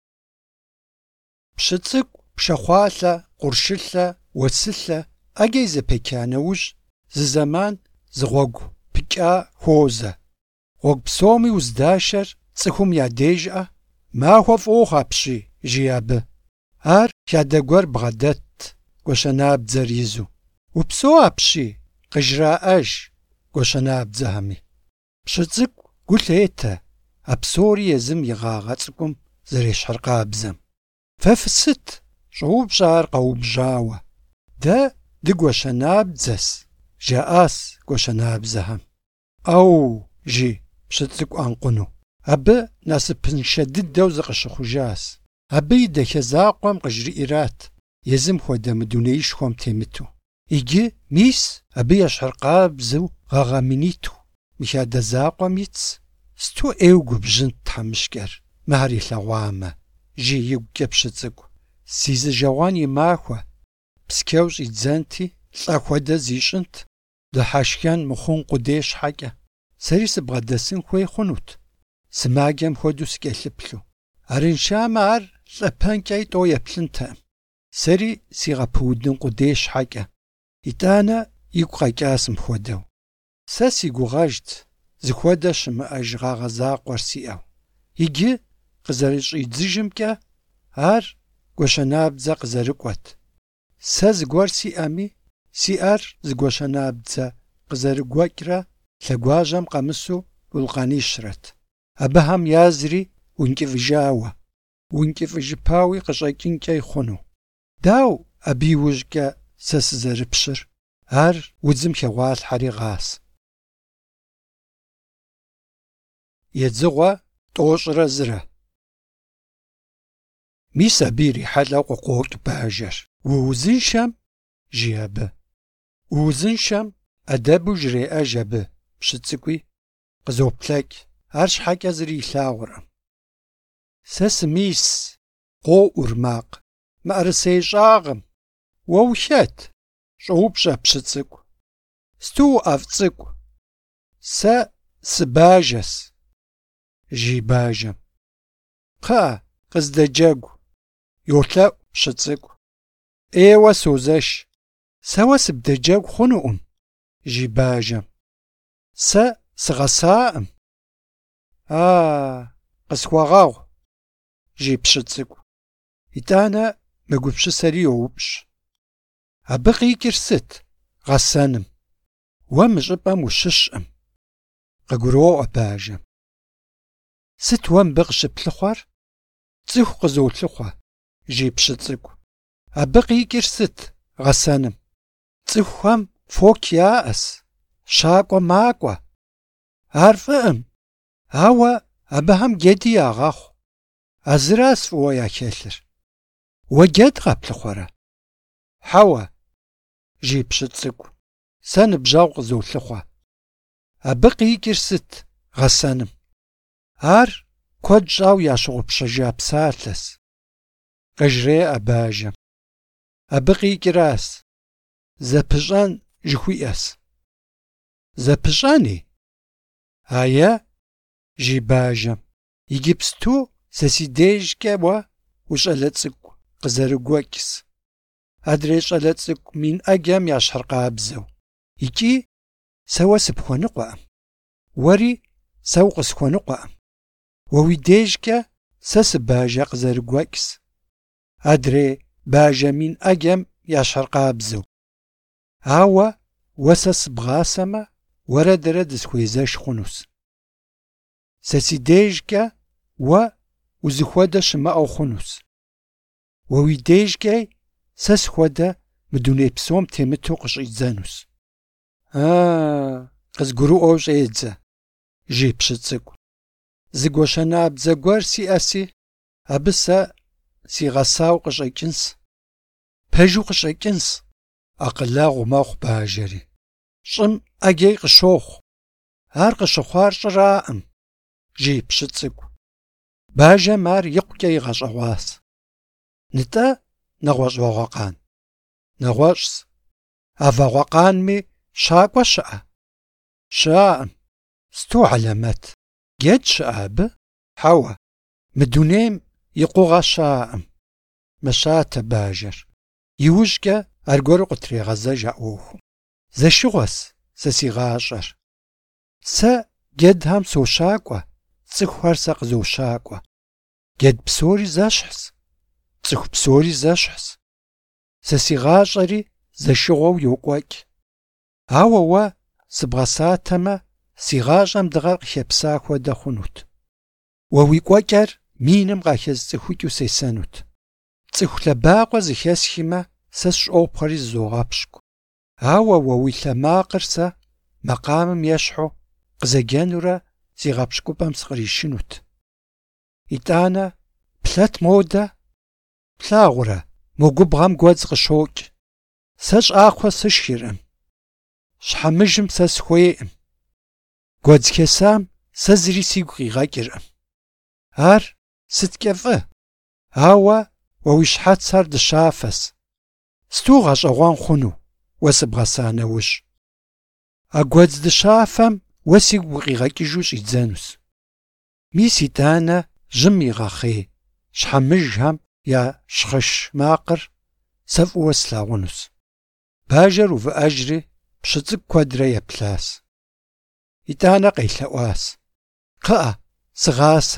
Pşı ts'ık'u pşşexhualhe, khurşşılhe, vuesılhe 'ece yizepeça neuj zı zeman zı ğuegu pıç'a xoze. Ğuegu psomi vuzdaşer ts'ıxum yadêjj'e. Maxue f'ıuxhu apşiy, jjiy abı. Ar xade guer bğedet, gueşenabdzer yizu. Vupseu apşiy, khıjra'ejj gueşenabdzehemi. Pşı ts'ık'u gu lhête a psori yêzım yi ğağe ts'ık'um zerêşher khabzem. Fe fısıt, ş'oupş'e ar kheubjjaue. De dıgueşenabdзes, jja'as gueşenabzehem. Jjiy pşı ts'ık'u ankhunu. Abı nasıpınşşe dıdeu zıkhışıxhujjas. Abı yi daxe zakhuem khıjri'irat, yêzım xuede mı dunêişşxuem têmıtu. Yicı mis abı yeşher khabzeu ğağeminitu. Mixade zakhuem yits, stu 'êyue gubjjınt themışç'er, mıher yilheğuame. Jjiy yiguç'e pşı ts'ık'u. Si zıjeuan yi maxue, psçeu ş'idzenti, lh'e xuede ziş'ınt, dıheşşxen mıxhun khudêy şheç'e. Seri sıbğedesın xuêy xhunut. Sımacem xuedeu sıç'elhıplhu. Arınşşame ar lh'epenç'e yit'eu yêplhıntekhım. Seri siğepıudın khudêy şheç'e. Yit'ane yigu kheç'asım xuedeu. Se si guğejjt, zıxuede şımı'ejj ğağe zakhuer si'eu. Yicı khızerış'idzıjjımç'e ar gueşenabdze khızerık'uet. Сэ зыгуэр сиӏэми, сиӏэр зыгуэшэнабдзэ къызэрыгуэкӏрэ лъэгуажьэм къэмысу вулкъанищрэт. Абыхэм язри ункӏыфӏыжауэ, ункӏыфӏыжыпауи къыщӏэкӏынкӏэ ихъуну. Дау абы иужькӏэ сэ сызэрыпщыр? Ар удзым хегъуалъхьэри гъас. Едзыгъуэ тӏощӏрэ зырэ. Мис абы ирихьэлӏэу къыкъокӏ бажэр. Уузыншэм жи абы. Уузыншэм ӏэдэбу жреӏэж абы пщыцӏыкӏуи къызоплъэкӏ. Ар щхьэкӏэ зыри илъагъуркъым. Сэ сымис, къоӏур макъ, мыӏэрысей щӏагъым. Уэ улъэт? Щӏоупщӏэ пщыцӏыкӏу. Сту уӏэфӏ цӏыкӏу. Сэ сыбажэс, жи бажэм. Кхъыӏэ, къыздэджэгу. Йолъэӏу пщыцӏыкӏу. Ӏейуэ созэш. Сэ уэ сыбдэджэгу хъунукъым, жи бажэм. Сэ сыгъэсаӏым. Къысхуэгъэгъу, жи пщыцӏыкӏу. Итӏанэ мыгупщысэри йоупщӏ. Абы къикӏыр сыт? Гъэсэным. Уэ мы щӏыпӏэм ущыщӏым. Къыгуроӏуэ бажэм. Сыт уэ мыбы къыщыплъыхъуэр? Цӏыху къызолъыхъуэ, жи пщыцӏыкӏу. Абы къикӏыр сыт? Гъэсэным. Цӏыхухэм фок яӏэс, щакӏуэ макӏуэ. Ар фӏыӏым, ауэ абыхэм джэди ягъэхъу. А зыращ фӏыуэ яхэлъыр. Уэ джэд къэплъыхъуэрэ? Хьэуэ, жи пщыцӏыкӏу. Сэ ныбжьэгъу къызолъыхъуэ. Абы къикӏыр сыт? Гъэсэным. Ар куэд щӏауэ ящыгъупщэжа псалъэс. Къыжреӏэ бажэм. Абы къикӏыращ. Зэпыщӏэн жыхуиӏэс. Зэпыщӏэни? Жи бажэм. Иджыпсту сэ си дежкӏэ уэ ущӏалэ цӏыкӏу къызэрыгуэкӏс. Адрей щӏалэ цӏыкӏу мин ӏэджэм ящхьыркъабзэу. Икӏи сэ уэ сыпхуэныкъуэкъым. Уэри сэ укъысхуэныкъуэкъым. Уэ уи дежкӏэ сэ сыбажэ къызэрыгуэкӏс. Адрей бажэ мин ӏэджэм ящхьыркъабзэу. Ауэ уэ сэ сыбгъасэмэ, уэрэдырэ дысхуезэш хъунущ. Сэ си дежкӏэ уэ узыхуэдэ щымыӏэу хъунущ. Уэ уи дежкӏэ сэ схуэдэ мы дуней псом темыту къыщӏидзэнущ. Къызгурыӏуэу щӏедзэ, жи пщыцӏыкӏу. Зыгуэшэнабдзэ гуэр сиӏэси, абы сэ сигъэсауэ къыщӏэкӏынс. Пэжу къыщӏэкӏынс. Акъылэгъу мэхъу бажэри. Щӏым ӏэджэи къыщохъу. Ар къыщыхъуар щӏыраӏым, жи пщыцӏыкӏу. Бажэм ар икъукӏэ игъэщӏэгъуащ. Нтӏэ нэгъуэщӏ вагъуэкъан? Нэгъуэщӏщ. А вагъуэкъанми щакӏуэ щыӏэ? Щыӏэкъым. Сту хьэлэмэт. Джэд щыӏэ абы? Хьэуэ. Мы дунейм и къугъэ щаӏым. Мэщатэ бажэр. Иужькӏэ аргуэру къытрегъэзэж а ӏуэхум. Зэшыгъуэс сэ си гъащӏэр. Сэ джэдхэм сощакӏуэ, цӏыхухэр сэ къызощакӏуэ. Джэд псори зэщхьщ, цӏыху псори зэщхьщ. Сэ си гъащӏэри зэшыгъуэу йокӏуэкӏ. Ауэ уэ сыбгъэсатэмэ, си гъащӏэм дыгъэр къыхепса хуэдэ хъунут. Уэ уи кӏуэкӏэр миным къахэзыцӏыхукӏыу сесэнут. Цӏыху лъэбакъуэ зыхэсхимэ, сэ сщӏопхъуэри зызогъэпщкӏу. Ауэ уэ уи лъэмакъыр сэ макъамым ещхьу къызэджэнурэ си гъэпщкӏупӏэм сыкъришынут. Итӏанэ плъэт модэ? Плъагъурэ, мо губгъэм гуэдз къыщокӏ. Сэ щӏакхъуэ сышхыркъым. Щхьэмыжым сэ схуейкъым. Гуэдз хесам сэ зыри сигу къигъэкӏыркъым. Ар сыткӏэ фӏы? Ауэ уэ уи щхьэцыр дыщафэс. Сту гъэщӏэгъуэн хъуну уэ сыбгъэса нэужь. А гуэдз дыщафэм уэ сигу укъигъэкӏыжу щӏидзэнущ. Мис итӏанэ жьым игъэхъей, щхьэмыжхэм я щхъыш макъыр сэ фӏыуэ слъагъунущ. Бажэр увыӏэжри пщыцӏыкӏу куэдрэ еплъащ. Итӏанэ къелъэӏуащ. Кхъыӏэ, сыгъасэ.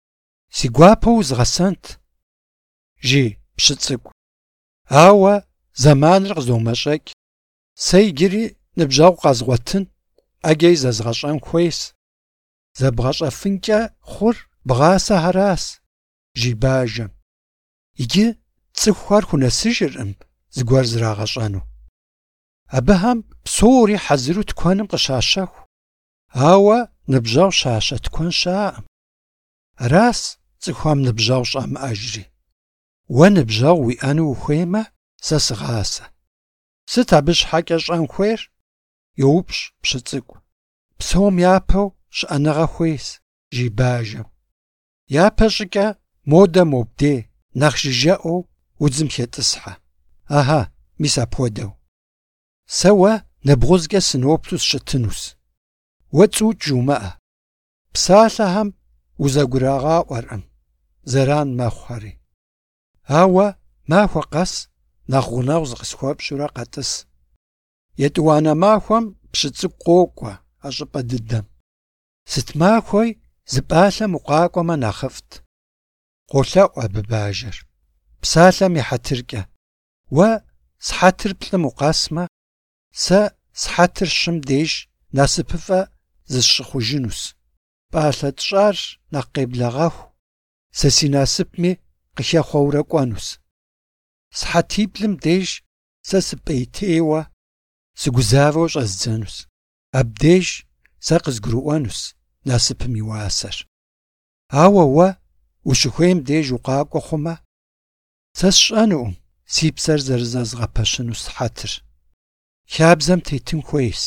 Си гуапэу узгъэсэнт, жи пщыцӏыкӏу. Ауэ Zamanır khızomeş'ek. Se yicıri nıbjağu khazğuetın, ege zezğeş'en xuês. Zebğeş'efınç'e xhur bğase heras, ji bajem. Yicı ts'ıxuxer xunesıjjırkhım zıguer zırağeş'enu. Abıhem psori hazıru tkwanım khışaşexu. Aue nıbjağu şaşe tkwan şa'ım. Ras ts'ıxuam nıbjağu ş'amı'ejri. Vue nıbjağu ui'enu vuxuêyme, se sığase. Sıt abı şheç'e ş'en xuêyr? Youpş pşıts'ık'u. Psom yapeu ş'enığe xuês, ji bajem. Yape ş'ıç'e mode mobdê, nexh jıje'eu vudzım xêt'ıshe. Aha, mis apxuedeu. Se vue nebğuzç'e sınoptu sşıtınus. Vue ts'uç' jjoume'e. Psalhexem vuzegurağa'uerkhım, zeran mexhueri. Aue maxue khes nexh ğuneğu zıkhısxuepş'ure khet'ıs. Yêt'uane maxuem pşıts'ık'u khok'ue a ş'ıp'e dıdem. Sıt maxuei zı p'alhem vukhak'ueme nexhıft. Kholhe'u abı bajer. Psalhem yi hetırç'e. Vue shetır plh'ım vukhesme, se shetır şım dêjj nasıpıf'e zısşıxhujjınus. P'alhe tş'ar nekh khêbleğexu, se si nasıpmi khıxexhueure k'uenus. Shetiplım dêjj se sıp'êytêue, sıguzaveu ş'ezdzenus. Abdêjj se khızgurı'uenus nasıpım yi uaser. Aue vue vuşıxuêym dêjj vukhak'ue xhume, se sş'enukhım si pser zerızezğepeşınu shetır. Xabzem têtın xuês.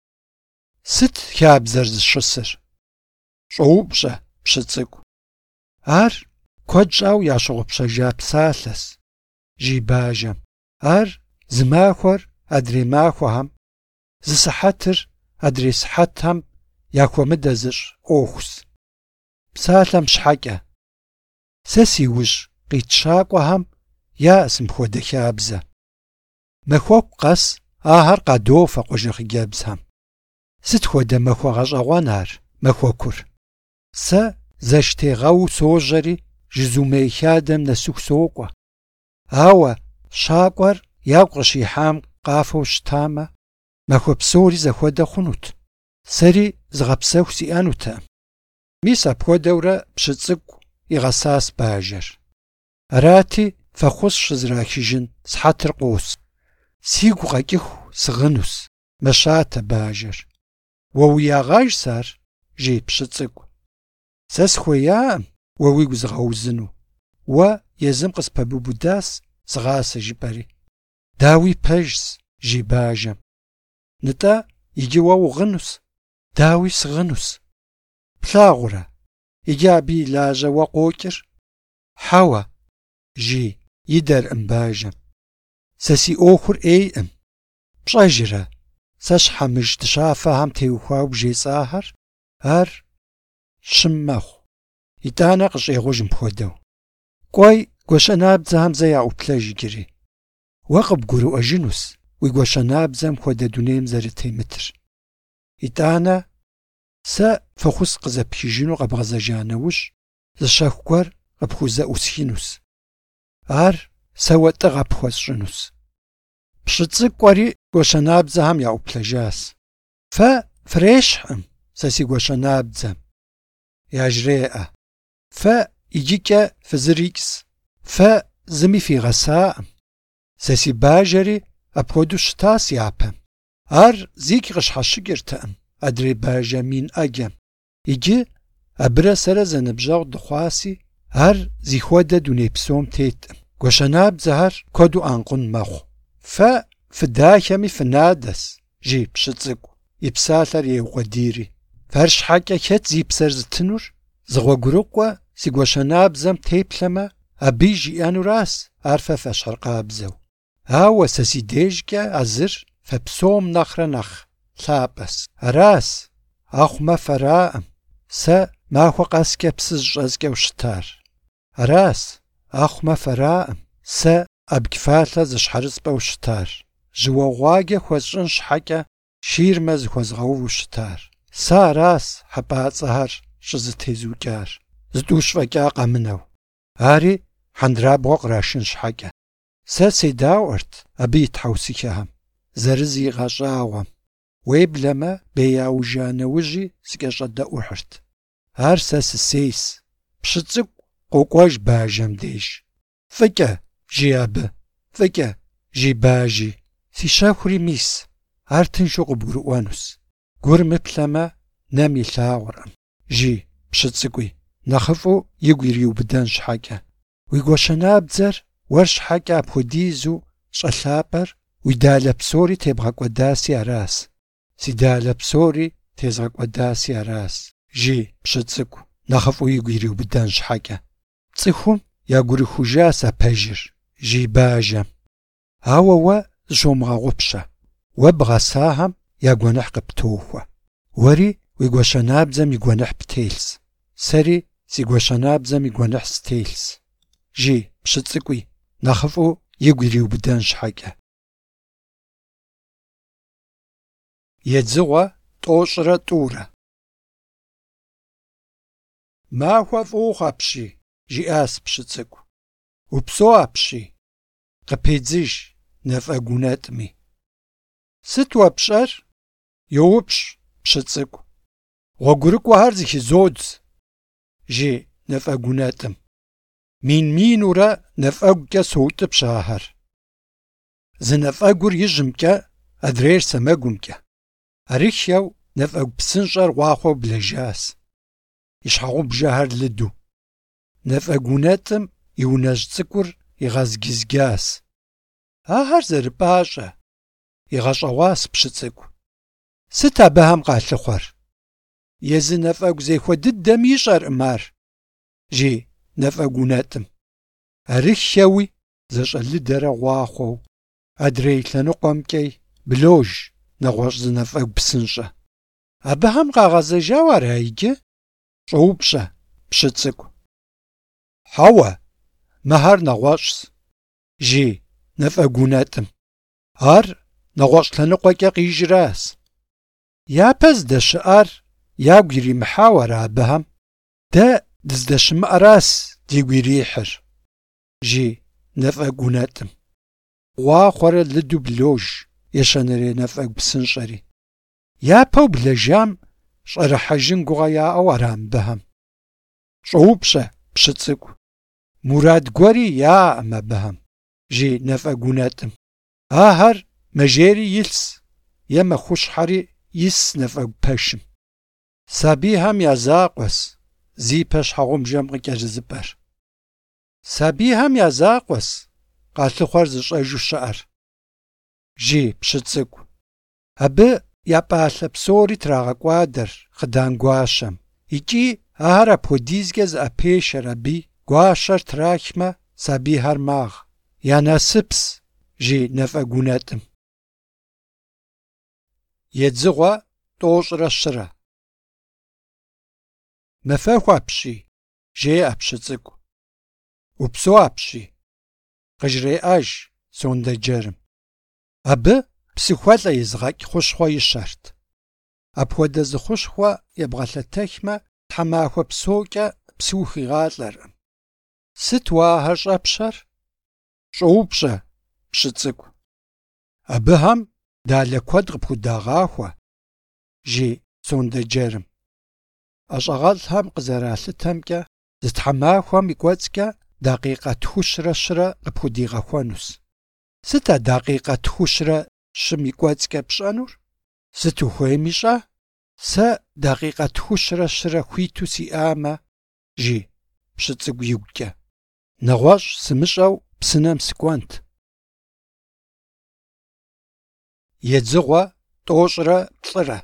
Sıt xabzer zışısır? Ş'oupş'e pşıts'ık'u. Ar kued ş'au yaşığupşejja psalhes, ji bajem. Ar zı maxuer adrêy maxuexem, zı sıhetır adrêy sıhetxem yaxuemıde zış' 'uexus. Psalhem şheç'e. Se si vuj khitşak'uexem ya'sım xuede xabze. Maxueku khes ahar khadofe khuejjexhıcebzxem. Sıt xuede maxue ğeş'eğuen ar, maxuekur? Se zeştêğeu sojeri ji zumêy xadem nesıxu sok'ue. Aue şak'uer yagu khışiham khafeu şıtame, maxue psori zexuede xhunut. Seri zığepsexu si'enutekhım. Mis apxuedeure pşıts'ık'u yiğesas bajer. Arati fexhus şızraxıjjın shetır khos. Sigu kheç'ıxu sığınus, meşate bajer. Vue vuiağajj ar, ji pşıts'ık'u. Se sxuêya'ım vue wigu zığeuzınu. Vue yêzım khıspebubudas zığase jjıp'eri. Daui pejjs, ji bajem. Nıt'e yicı vue vuğınus, daui sığınus. Plhağure, yicı abi ilaje vue khoç'ır. Heue, ji yider'ım bajem. Se si 'uexur 'êy'ım. Pş'ejjre, se şhemıjj dışafexem têuxuaue bjjêts'aher, ar şım mexhu. Yit'ane khış'êğujjım pxuedeu. K'uey gueşenabdzexem ze ya'uplhejj yicıri. Vue khıbgurı'uejjınus vui gueşenabdzem xuede dunêym zerıtêmıtır. Yit'ane se fexhus khızepxıjjınu khebğezejja neuj zı şexu guer khıpxuze'usxinus. Ar se vue t'ı khepxuesş'ınus. Pşıts'ık'ueri gueşenabdzexem ya'uplhejjas. Fe frêşh'ım se si gueşenabdzem. Yajrê'e. Fe yicıç'e fızırik's. Fe zımi fiğesa'ım. Se si bajeri apxuedeu şıtas yapem. Ar zik khışheşıç'ırtekhım adrêy bajemin 'ecem. Yicı abıre sere zenıbjağu dıxhuasi ar zixuede dunêy psom têt'ım. Gueşenabdzexer kuedu ankъun mexhu. Fe fıdaxemi fınades, ji pşıts'ık'u. Yipsalher yêukhediri. Fer şheç'e xet zi pser zıtınur? Zığuegurık'ue si gueşenabdzem têplheme, abı jji'enuras ar fe feşherkhabzeu. Aue se si dêjjç'e azır fe psom nexhre nexh lhap'es. Aras axhume fera'ım. Se maxue khesç'e psı zış'ezç'eu şıtar. Aras axhume fera'ım. Se abgıfalhe zışherısp'eu şıtar. Jıueğuace xuesş'ın şheç'e şirme zıxuezğeuvu şıtar. Se aras hep'ats'exer ş'ızıtêzuç'ar. Zıt'uş'feç'a khemıneu. Ari hendrabğue khraşşın şheç'e. Сэ седаӏуэрт абы и тхьэусыхэм, зэрызигъэщӏауэм. Уеблэмэ, беяужа нэужьи сыкӏэщӏэдэӏухьырт. Ар сэ сысейс. Пщыцӏыкӏу къокӏуэж бажэм деж. «Фӏыкӏэ», жи абы. «Фӏыкӏэ», жи бажи. «Си щэхури мис, ар тыншу къыбгурыӏуэнущ. Гур мыплъэмэ, нэм илъагъуркъым», жи пщыцӏыкӏуи, нэхъыфӏу игу ириубыдэн щхьэкӏэ. Уи гуащэнабдзэр уэр щхьэкӏэ апхуэдизу щӏэлъапӏэр уи далэ псори тебгъэкӏуэдаси арас. «Си далэ псори тезгъэкӏуэдаси арас», жи пщыцӏыкӏу, нэхъыфӏу игу ириубыдэн щхьэкӏэ. «Цӏыхум ягурыхужащ а пэжыр», жи бажэм. «Ауэ уэ зыщумыгъэгъупщэ. Уэ бгъэсагъэм я гуэныхь къыптохуэ. Уэри уи гуащэнабдзэм и гуэныхь птелъщ. Сэри си гуащэнабдзэм и гуэныхь стелъщ», жи пщыцӏыкӏуи, нэхъыфӏу игу ириубыдэн щхьэкӏэ. Едзыгъуэ тӏощӏрэ тӏурэ. «Махуэ фӏыуэ апщий», жиӏащ пщыцӏыкӏу. «Упсэу апщий», къыпедзыж нэфӏэгунэтӏми. «Сыт уэ пщӏэр?» йоупщӏ пщыцӏыкӏу. «Гъуэгурыкӏуэхэр зыхизодз», жи нэфӏэгунэтӏым. «Мин-минурэ нэфӏэгукӏэ соутӏыпщ ахэр. Зы нэфӏэгур ижьымкӏэ, адрейр сэмэгумкӏэ». Арыххэу нэфӏэгу псынщӏэр гъуахъуэу блэжащ. И щхьэгъубжэхэр лыду. Нэфӏэгунэтӏым и унэжь цӏыкӏур игъэзгизгащ. Ахэр зэрыпӏащӏэ, игъэщӏэгъуащ пщыцӏыкӏу. «Сыт абыхэм къалъыхъуэр?» «Езы нэфӏэгу зехуэ дыдэм ищӏэркъым ар», жи нэфӏэгунэтӏым. Арыххэуи зэщӏэлыдэрэ гъуахъуэу, адрей лъэныкъуэмкӏэ блож нэгъуэщӏ зы нэфӏэгу псынщӏэ. «Абыхэм къагъэзэжауэ ара иджы?» щӏоупщӏэ пщыцӏыкӏу. «Хьэуэ, мыхьэр нэгъуэщӏщ», жи нэфӏэгунэтӏым. «Ар нэгъуэщӏ лъэныкъуэкӏэ къижращ. Япэ здэщыӏар ягу иримыхьауэ ара абыхэм? Дэ дыздэщымыӏэращ дигу ирихьыр», жи нэфӏэгунэтӏым. Гъуахъуэрэ лыду блож ещэнэрей нэфӏэгу псынщӏэри. Япэу блэжам щӏэрыхьэжын гугъэ яӏэу ара мыбыхэм? Щӏоупщӏэ пщыцӏыкӏу. «Мурад гуэри яӏэкъым абыхэм», жи нэфӏэгунэтӏым. Ахэр мэжейри илъщ е мэхъущхьэри ис нэфӏэгу пэшым. Сабийхэм я закъуэс зипэ щхьэгъубжэм къыкӏэрызыпӏэр. «Сабийхэм я закъуэс къалъыхъуэр зыщӏэжу щыӏэр», жи пщыцӏыкӏу. Абы я пӏалъэ псори трагъэкӏуадэр хъыдан гуащэм, икӏи ахэр апхуэдизкӏэ зыӏэпешэр аби гуащэр трахмэ, сабийхэр магъ. «Я насыпс», жи нэфӏэгунэтӏым. Едзыгъуэ тӏощӏрэ щырэ. «Мэфэху апщий», жеӏэ пщыцӏыкӏу. «Упсэу апщий», къыжреӏэж сондэджэрым. Абы псыхуэлӏэ изыгъэкӏ хущхъуэ ищэрт. Апхуэдэ зы хущхъуэ ебгъэлъэтэхмэ, тхьэмахуэ псокӏэ псы ухуигъалӏэркъым. «Сыт уэ ахэр щӏэпщэр?» щӏоупщӏэ пщыцӏыкӏу. «Абыхэм далэ куэд къыпхудагъахуэ», жи сондэджэрым. ӏэщӏагъэлӏхэм къызэралъытэмкӏэ, зы тхьэмахуэм и кӏуэцӏкӏэ дакъикъэ тхущрэ щырэ къыпхудигъэхуэнущ. Сыт а дакъикъэ тхущрэ щым и кӏуэцӏкӏэ пщӏэнур? Сыт ухуейми щӏэ? Сэ дакъикъэ тхущрэ щырэ хуиту сиӏамэ, жи пщыцӏыкӏу игукӏэ. Нэгъуэщӏ сымыщӏэу псынэм сыкӏуэнт. Едзыгъуэ тӏощӏрэ плӏырэ.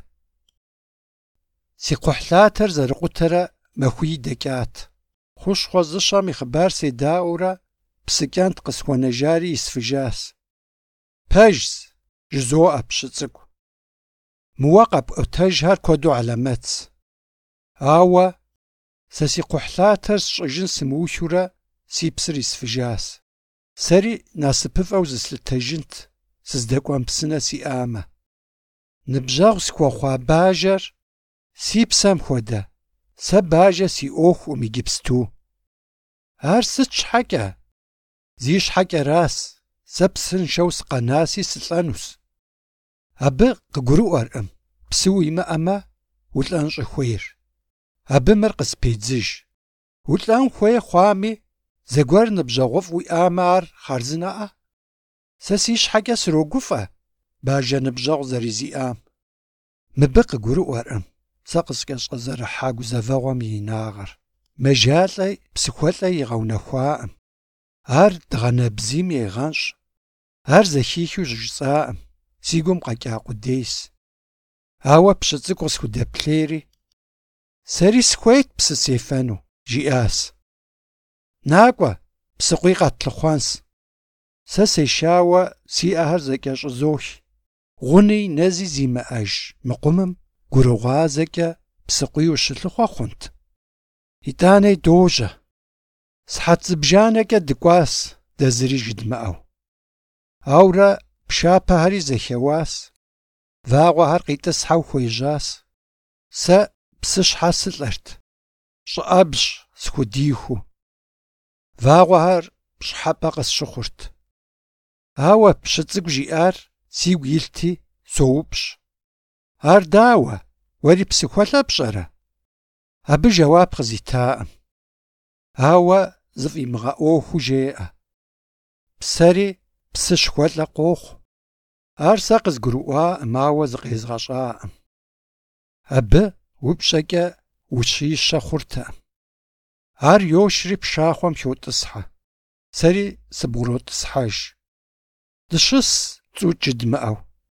Си кхъухьлъатэр зэрыкъутэрэ махуий дэкӏат. Хущхъуэ зыщӏэм и хъыбар седаӏуэурэ псыкӏэнт къысхуэнэжари исфыжащ. «Пэжщ», жызоӏэ пщыцӏыкӏу. Мыуэ къэпӏуэтэжхэр куэду алэмэтщ. Ауэ сэ си кхъухьлъатэр сщӏыжын сымыулъурэ си псыр исфыжащ. Сэри насыпыфӏэу зыслъытэжынт, сыздэкӏуэн псынэ сиӏамэ. Ныбжьэгъу схуэхъуа бажэр си псэм хуэдэ. Сэ бажэ си ӏуэхуӏым иджыпсту. Ар сыт щхьэкӏэ? Зи щхьэкӏэращ сэ псыншэу сыкъэнаси сылӀэнущ. Абы къыгурыӀуэркъым, псы уимыӀэмэ, улӀэн щӀыхуейр. Абы мыр къыспедзыж. УлӀэн хуей хъуами, зэгуэр ныбжьэгъуфӀ уиӀамэ, ар хъарзынэӀэ? Сэ си щхьэкӀэ срогуфӀэ бажэ ныбжьэгъу зэрызиӀам. Мыбы къыгурыӀуэркъым сэ къыскӀэщӀэзэрыхьа гузэвэгъуэм и инагъыр. МэжалӀэ псыхуэлӀэ игъэунэхуаӀым. Ар дгъэнэбзийм егъэнщӀ. Ар зэхихыу жысӀаӀым. Си гум къэкӀа къудейс. Ауэ пщы цӀыкӀу къысхудэплъейри, сэри схуейт псы сефэну, жиӀащ. НакӀуэ, псыкъуий къэтлъыхъуэнщ. Сэ сешауэ си Ӏэхэр зэкӀэщӀызохи. Гъуни нэзи зимыӀэж мыкъумым гурыгъуазэкӀэ псыкъуий ущылъыхъуэ хъунт. ИтӀанэи дожьэ. Сыхьэт зыбжанэкӀэ дыкӀуащ дэ зыри жыдмыӀэу. Ауэрэ пшапэхэри зэхеуащ. Вагъуэхэр къитӀысхьэу хуежьащ. Сэ псы щхьэ сылӀэрт, щӀыӀэбжь схудихыу. Вагъуэхэр пщӀыхьэпӀэ къысщыхъурт. Ауэ пщы цӀыкӀу жиӀар сигу илъти соупщӀ. Ар дауэ, уэри псыхуэлӀэ пщӀэрэ? Абы жэуап къызитаӀым. Ауэ зыфӀимыгъэӀуэхуу жеӀэ. Псэри псы щхуэлӀэ къохъу. Ар сэ къызгурыӀуаӀым, ауэ зыкъезгъэщӀаӀым. Абы упщӀэкӀэ ущищэ хъуртэкъым. Ар йошри пшахъуэм хиотӀысхьэ. Сэри сыбгъротӀысхьэж. Дыщыс цӀу джыдмыӀэу.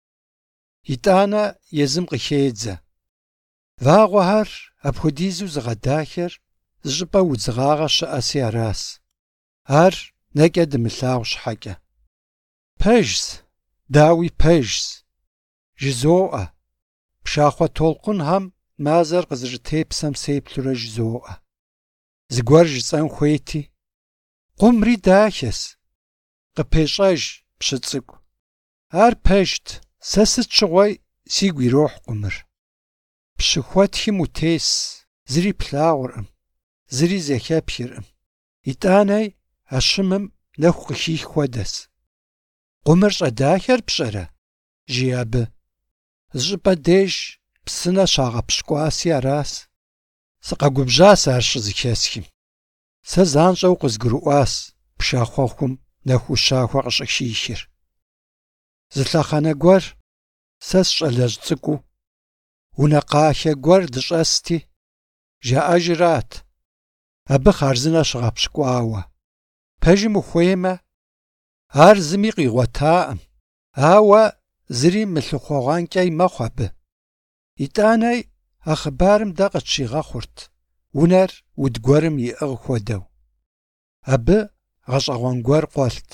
ИтӀанэ езым къыхедзэ. Вагъуэхэр апхуэдизу зыгъэдахэр зыщӀыпӀэ удзыгъагъэ щыӀэси аращ. Ар нэкӀэ дымылъагъу щхьэкӀэ. Пэжщ, дауи пэжщ. ЖызоӀэ. Пшахъуэ толкъунхэм мазэр къызэрытепсэм сеплъурэ жызоӀэ. Зыгуэр жысӀэн хуейти. Къумри дахэс. КъыпещӀэж пщы цӀыкӀу. Ар пэжт. Сэ сыт щыгъуэи сигу ирохь къумыр. Пщыхуэтхым утес. Зыри плъагъуркъым. Зыри зэхэпхыркъым. ИтӀанэи а щымым нэху къыхих хуэдэс. Къумыр щӀэдахэр пщӀэрэ? Жи абы. ЗыщӀыпӀэ деж псынэ щагъэпщкӀуаси аращ. Сыкъэгубжьащ ар щызыхэсхым. Сэ занщӀэу къызгурыӀуащ пшахъуэхъум нэху щахуэ къыщӀыхихыр. Зы лъэхъэнэ гуэр сэ сщӀалэжь цӀыкӀуу унэ къахэ гуэр дыщӀэсти, жаӀэжырат. Абы хъарзынэ щыгъэпщкӀуауэ. Пэжым ухуеймэ, ар зыми къигъуэтаӀым. Ауэ зыри мылъыхъуэгъуэнкӀэ мэхъу абы. ИтӀанэи а хъыбарым дэ къытщигъэхъурт, унэр уд гуэрым иӀыгъ хуэдэу. Абы гъэщӀэгъуэн гуэр къуэлът.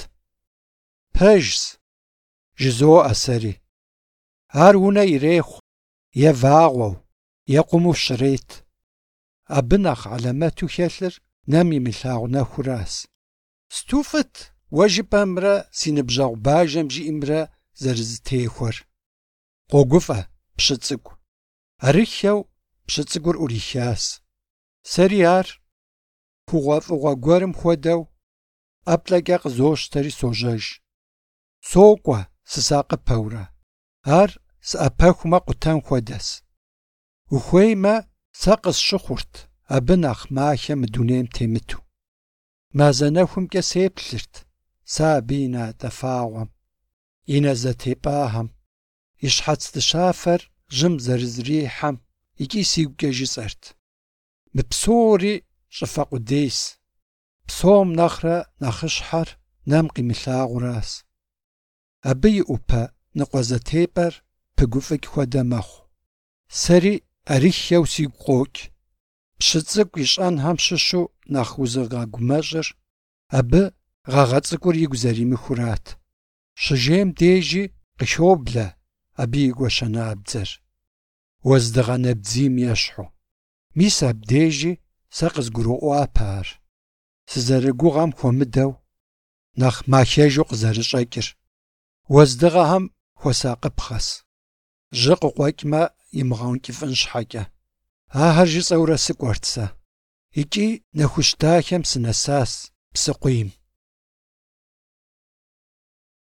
Пэжщ, жызоӀэ сэри. Ар унэ ирехъу, е вагъуэу, е къуму щрет. Абы нэхъ алэмэту хэлъыр нэм имылъагъу нэхуращ. Сту фӀыт уэ жыпӀэмрэ си ныбжьэгъу бажэм жиӀэмрэ зэрызэтехуэр. КъогуфӀэ пщы цӀыкӀу. Арыххэу пщы цӀыкӀур Ӏурихащ. Сэри ар пхугъуэфӀыгъуэ гуэрым хуэдэу ӀэплӀэкӀэ къызощтэри сожьэж. СокӀуэ сысакъыпэурэ. Ар сыӀэпэхумэ къутэн хуэдэс. Ухуеймэ, сэ къысщыхъурт абы нэхъ махэ мы дунейм темыту. МазэнэхумкӀэ сеплъырт сэ абы и натӀэфагъуэм, и нэ зэтепӀагъэм, и щхьэц дыщафэр жьым зэрызрихьэм икӀи сигукӀэ жысӀэрт. Мы псори щӀыфэ къудейс. Псом нэхърэ нэхъыщхьэр нэм къимылъагъуращ. Абы и Ӏупэ ныкъуэзэтепӀэр пыгуфӀыкӀ хуэдэ мэхъу. Сэри Арыххэу сигу къокӀ. Пщы цӀыкӀу ищӀэнхэм щыщу нэхъ узыгъэгумэщӀыр абы гъэгъэ цӀыкӀур игу зэримыхурат. Щыжейм дежи къыхоблэ абы и гуэшэнабдзэр, уэздыгъэ нэбдзийм ещхьу. Мис абдежи сэ къызгурыӀуапэ ар. Сызэрыгугъэм хуэмыдэу, нэхъ махэжу къызэрыщӀэкӀыр. Уэздыгъэхэм хуэсакъыпхъэс. Жьы къыкъуэкӀмэ имыгъэункӀыфӀын щхьэкӀэ. Ахэр жысӀэурэ сыкӀуэрт сэ. ИкӀи нэхущ дахэм сынэсащ псыкъуийм.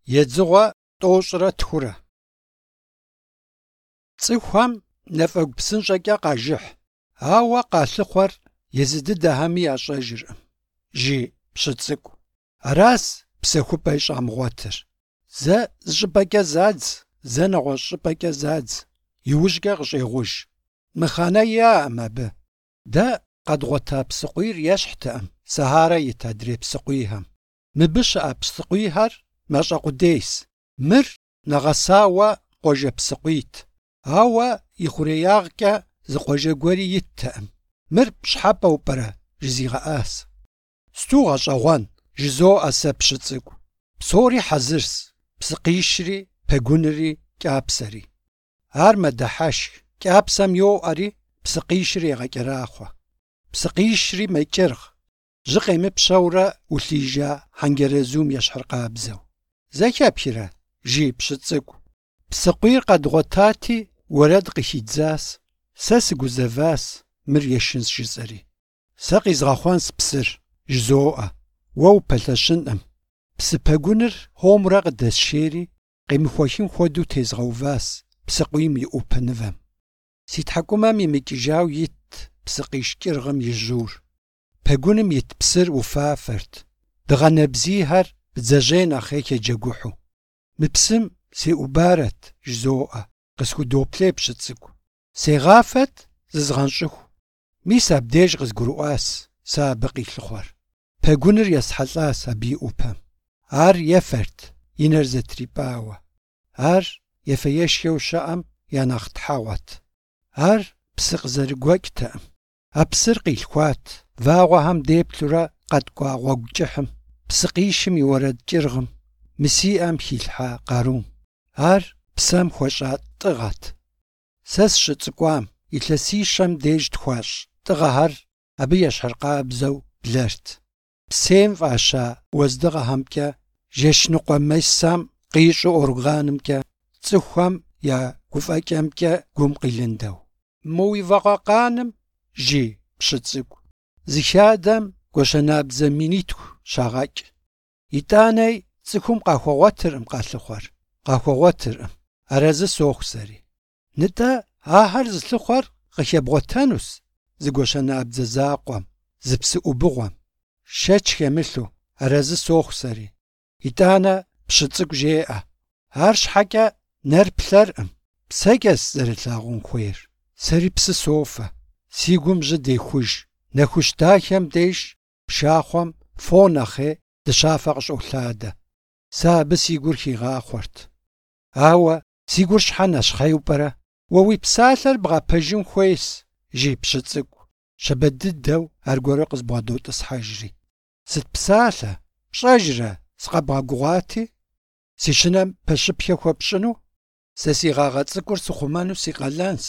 Edzığo t'oş'ıre txure. Ts'ıxuam nef'egu psınş'eç'e khajjıh, aue khalhıxhuer yêzı dıdexemi yaş'ejjırkhım. Jı pşıts'ık'u. Aras psexup'e yiş'amığuetır. Ze zış'ıp'eç'e zadz, ze neğueş' ş'ıp'eç'e zadz. Yiujç'e khış'êğuj. Mıxane ya'em abı. De khedğueta psıkhuir yêşhtıkhım. Sahara yit adrêy psıkhuihem. Mıbı şı'e psıkhuihэр meş'e khudêys. Mır neğesaue khuejje psıkhuit. Aue yixhurêyağç'e zı khuejje gueri yittıkhım. Mır pşhe'e p'ere jıziğe'as. Stu ğeş'eğuen jızo'e se pşıts'ık'u. Psori hazırs. Psıkhişri, pegunri, ç'apseri. Ar medeheşşx. Ç'apsem yo'eri psıkhişri yêğeç'eraxhue. Psıkhişri meç'ırğ. Jı khêmıpşeure ulhija hengerezum yêşhırkhabzeu. Zekepşire jı pşıts'ık'u. Psıkhuir khedğuetati vuered khıxidzas. Se sıguzevas mır yêşşıns jjıs'eri. Se khizğexhuan spsır jzo'e. Vue vupelheşınkhım. Psı pegunır homre khıdesşêri khêmıxuexın xuedeu têzğeuvas psıkhuim yi 'upınıvem. Si thek'umem yimıç'ıjjau yit psıkhişç'ırğım yi jur. Pegunım yit psır vufafert. Dığenebziher bdzejêy nexhêy xêceguhu. Mı psım sê'ubaret jzo'e. Khısxudoplêy pşıts'ık'u. Sêğafet zızğenş'ıxu. Mis abdêjj khızgurı'uas se abı khilhıxhuer. Pegunır yêshelh'as abı yi 'upem. Ar yêfert yiner zetrip'aue. Ar yêfeêşşxeu şı'em ya nexh thauet. Ar psı khızerıgueç'tekhım. A psır khilhxuat. Vağuexem dêplhure khedk'ua ğuegu psıkhişım yi vueredç'ırğım. Mısi'em xilhha kharum. Ar psem xueş'a t'ığet. Se sşıts'ık'uam yilhesişem dêjj txuaş' t'ığexer abı yêşhırkhabzeu blert. Psêym f'aşa vuezdığexemç'e jjeşnıkhue mesam khiş'ı organımç'e ts'ıxuxem ya guf'eç'emç'e gum khilındeu. Mı vuiveğe khanım jı pşıts'ık'u. Zıxadem goşenabze minitxu şağeç'. Yit'aney ts'ıxum khaxueğuetırkhım khalhıxhuer. Khaxueğuetırkhım. Arezı soxu seri. Nıt'e aher zılhıxhuer khıxebğuetenus zı goşenabze zakhuem, zı psı'ubığuem. Şeç xemılhu arezı soxu seri. Yit'ane pşıts'ık'u jê'e. Ar şheç'e ner plherkhım. Pseç'es zerılhağun xuêyr. Seri psı sofe. Si gum jı dêxuj. Nexuş daxem dêjj pşşaxhuem fo nexhêy dışafe khış'olhade. Se abı si gur xiğaxhuert. Aue si gur şhe neşxhêyu p'ere? Vue vui psalher bğepejjın xuêyş jı pşıts'ık'u. Şebedıdeu arguere khızbğedot'ıshejjri. Sıt psalhe? Pş'ejjre sıkhebğeguğati? Si şınem peşıpxe xuepş'ınu? Se si ğağe ts'ık'ur sıxhumenu si khalens.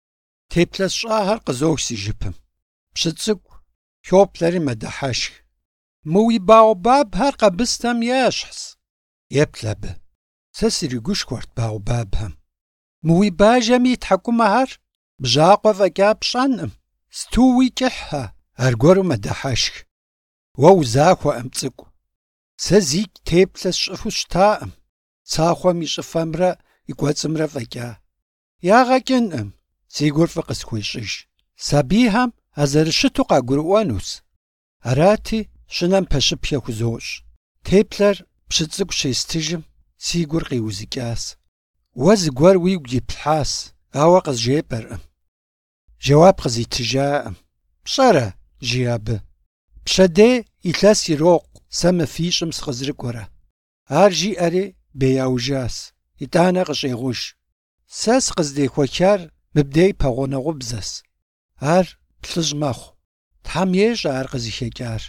Têple sş'aher khızox si jjıpım. Pşıts'ık'u xoplери medeheşşx. Mı vui baobabher khebıstem yêşhs. Yêplh abı. Se sıriguşşxuert baobabhem. Mı vui bajjemi yi thek'umeher bjakhuue f'eç'a pş'enkhım. Stu vui ç'ıhhe argueru medeheşşx. Vue vuzaxue'ım ts'ık'u. Se ziç' têple sş'ıfu ştakhım. Tsaxhuem yi ş'ıfemre yi k'uets'ımre f'eç'a. Yağeç'ınkhım. Si gur f'ı khısxuêş'ıjj. Sabiyhem a zerışıtu khagurı'uenus. Arati şınem peşıpxe xuzoş'. Têpler pşıts'ık'u şêstıjjım si gur khiuzıç'as. Vue zıguer vuigu yiplhas, aue khızjjêp'erkhım. Jewab khızitıjja'ım. Pş'ere jı abı. Pşedêy yilhes yirokhu se mı fiş'ım sıkhızırık'uere. Ar jji'eri bêyaujjas. Yit'ane khış'êğuj. Se sıkhızdêxueçar mıbdêy peğuneğubzes. Ar plhıj mexhu. Them yêş'e ar khızıxeç'ar.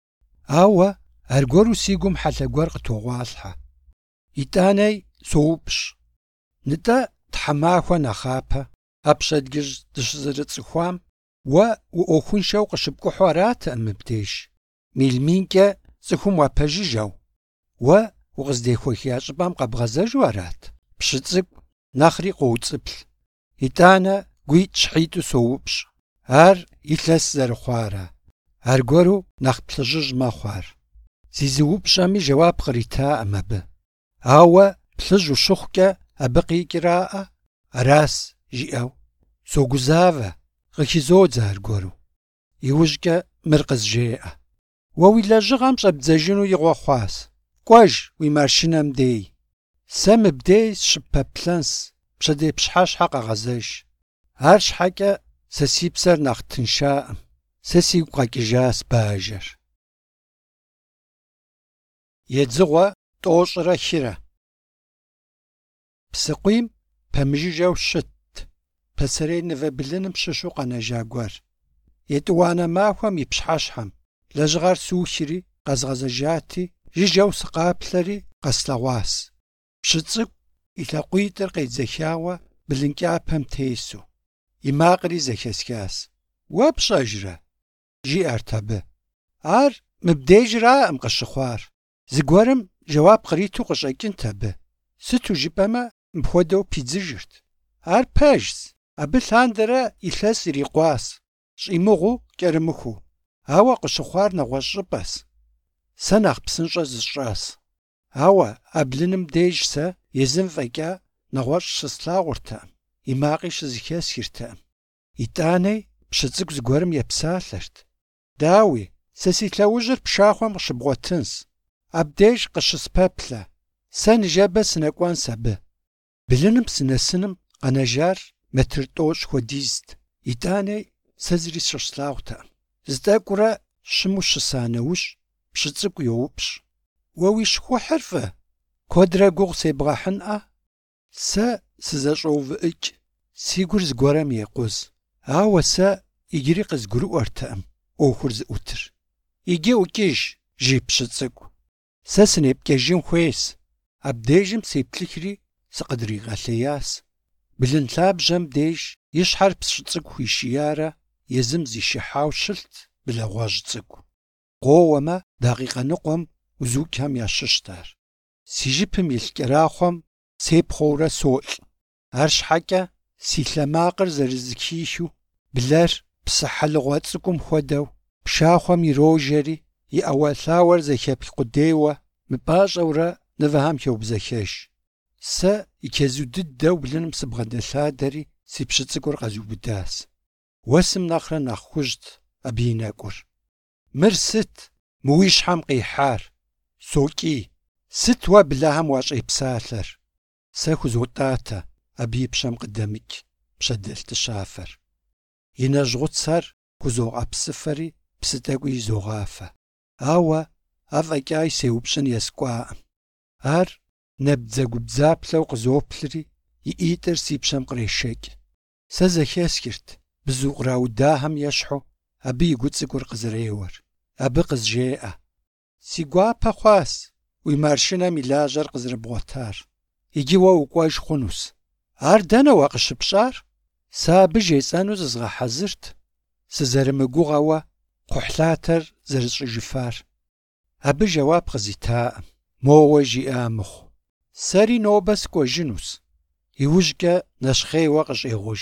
Aue argueru si gum helhe guer khıtoğualhhe. Yit'aney soupş'. Nıt'e themaxue nexhape. A pşedcıj dışızerıts'ıxuam vue vu'uoxunşşeu khışıpk'uhu aratıkhım mıbdêjj. Milminç'e ts'ıxum vuapejjıjeu. Vue vukhızdêxuexiya ş'ıp'em khebğezejju arat. Pşıts'ık'u nexhri khovuts'ıplh. Yit'ane guit' şhit'u soupş'. Ar yilhes zerıxhuare. Argueru nexh plhıjıj mexhu ar. Zizıupş'emi jewab khritakhım abı. Ауэ плъыжь ущыхъукӀэ абы къикӀраӀэ, арас жиӀэу. Согузавэ, къыхизодзэ аргуэру. ИужькӀэ мыр къызжеӀэ. Уэ уи лэжьыгъэм щӀэбдзэжыну игъуэ хъуащ. Кӏуэж уи машинэм дей. Сэ мыбдей сщыпэплъэнщ, пщэдей пщхьэщхьэ къэгъэзэж. Ар щхьэкӀэ сэ си псэр нэхъ тыншаӀым. Сэ сигу къэкӀыжащ бажэр. Едзыгъуэ тӀощӀрэ хирэ. Псыкъуийм пэмыжыжэу щытт пасэрей нывэ былыным щыщу къэнэжа гуэр. ЕтӀуанэ махуэм и пщхьэщхьэм лэжьыгъэр сухири къэзгъэзэжати, жыжьэу сыкъаплъэри къэслъэгъуащ. Пщы цӀыкӀу и лъакъуитӀыр къедзэхауэ былын кӀапэм тесу. И макъри зэхэсхащ. Уэ пщӀэжрэ? ЖиӀэрт абы. Ар мыбдежраӀым къыщыхъуар. Зыгуэрым жэуап къриту къыщӀэкӀынт абы. Сыту жыпӀэмэ, мыпхуэдэу пидзыжырт. Ар пэжщ. Абы лъандэрэ илъэс ирикъуащ, щӀимыгъуу кӀэрымыхуу. Ауэ къыщыхъуар нэгъуэщӀ щӀыпӀэщ. Сэ нэхъ псынщӀэ зысщӀащ. Ауэ Ӏэблыным деж сэ езым фӀэкӀа нэгъуэщӀ щыслъагъуртэкъым, и макъи щызэхэсхыртэкъым. ИтӀанэи пщы цӀыкӀу зыгуэрым епсалъэрт. Дауи, сэ си лъэужьыр пшахъуэм къыщыбгъуэтынщ. Абдеж къыщыспэплъэ. Сэ ныжэбэ сынэкӀуэнщ абы. Былыным сынэсыным къэнэжар метр тӀощӀ хуэдизт. ИтӀанэи сэ зыри сщыслъагъуртэкъым. ЗытӀэкӀурэ щыму щыса нэужь пщы цӀыкӀу йоупщӀ. Уэ уи щхъухьыр фӀы? Куэдрэ гугъу себгъэхьынӀэ? Сэ сызэщӀоувыӀыкӀ. Си гур зыгуэрэм екъуз. Ауэ сэ иджыри къызгурыӀуэртэкъым Ӏуэхур зыӀутыр. Иджы ӀукӀыж, жи пщы цӀыкӀу. Сэ сынепкӀэжын хуейщ. Абдежым сеплъыхри сыкъыдригъэлъеяс. Былын лъабжьэм деж и щхьэр пщы цӀыкӀу хуишиярэ езым зишыхьау щылът былэгъуэжь цӀыкӀу. Къоуэмэ, дакъикъэ ныкъуэм узукӀхэм ящыщт ар. Си жыпым илъ кӀэрахъуэм сепхъуэурэ солӀ. АрщхьэкӀэ си лъэ макъыр зэрызыхихыу, блэр псы хьэлыгъуэ цӀыкӀум хуэдэу пшахъуэм ирожэри, и Ӏэуэлъауэр зэхеплъ къудейуэ мыпӀащӀэурэ нывэхэм хеубзэхэж. Сэ и чэзу дыдэу блыным сыбгъэдэлъадэри си пщы цӀыкӀур къэзубыдащ. Уэсым нэхърэ нэхъ хужьт абы и нэкӀур. Мыр сыт мы уи щхьэм къихьар? СокӀий. Сыт уэ блэхэм уащӀепсалъэр? Сэ хузотӀатэ абы и пщэм къыдэмыкӀ пщэдэлътыщафэр. И нэжьгъуцэр хузогъэпсыфэри псы тӀэкӀуи зогъафэ. Ауэ афӀэкӀа сеупщӀын ескӀуаӀым. Ар нэбдзэгубдзаплъэу къызоплъри, и ӀитӀыр си пщэм кърешэкӀ. Сэ зэхесхырт бзу къраудахэм ещхьу абы и гу цӀыкӀур къызэреуэр. Абы къызжеӀэ: си гуапэ хъуащ уи маршынэм и лажьэр къызэрыбгъуэтар. Иджы уэ укӀуэж хъунущ. Ар дэнэ уэ къыщыпщӀар? Сэ абы жесӀэну зызгъэхьэзырт, сызэрымыгугъэуэ кхъухьлъатэр зэрысщӀыжыфар. Абы жэуап къызитаӀым. Моуэ жиӀа мыхъу. Сэри нобэ скӀуэжынущ. ИужькӀэ нэщхъейуэ къыщӀегъуж.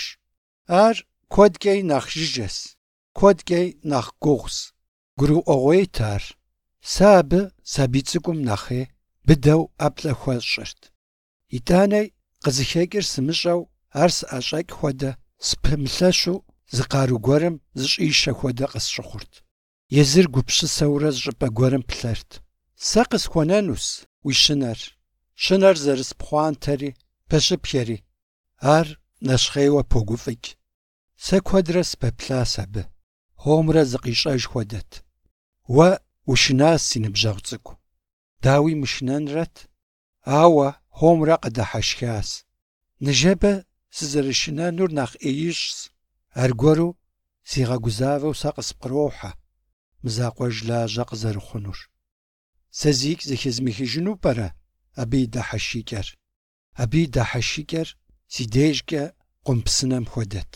Ар куэдкӀей нэхъ жыжьэщ, куэдкӀей нэхъ гугъущ. ГурыӀуэгъуейт ар. Сэ абы сабий цӀыкӀум нэхъей быдэу ӀэплӀэ хуэсщӀырт. ИтӀанэи къызыхекӀыр сымыщӀэу, ар сыӀэщӀэкӀ хуэдэ спымылъэщу зы къару гуэрым зыщӀишэ хуэдэ къысщыхъурт. Езыр гупщысэурэ зыщӀыпӀэ гуэрым плъэрт. Сэ къысхуэнэнущ уи щынэр. Щынэр зэрыспхъуантэри пэщыпхъэри. Ар нэщхъейуэ погуфӀыкӀ. Сэ куэдрэ спэплъащ абы. Хъомрэ зыкъищӀэж хуэдэт. Уэ ушынащ си ныбжьэгъу цӀыкӀу. Дауи мышынэнрэт? Ауэ хъомрэ къыдыхьэшхащ. Ныжэбэ сызэрышынэнур нэхъ ӀеищӀщ. Аргуэру зигъэгузавэу сэ къыспкърохьэ мы закъуэж лажьэ къызэрыхъунур. Сэ зигу зыхезмыхыжыну пӀэрэ абы и дыхьэшикӀэр? Абы и дыхьэшикӀэр си дежкӀэ къумпсынэм хуэдэт.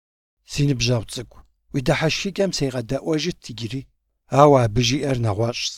Си ныбжьэгъу цӀыкӀу, уи дыхьэшикӀэм сегъэдэӀуэжыт иджыри, ауэ абы жиӀэр нэгъуэщӀщ.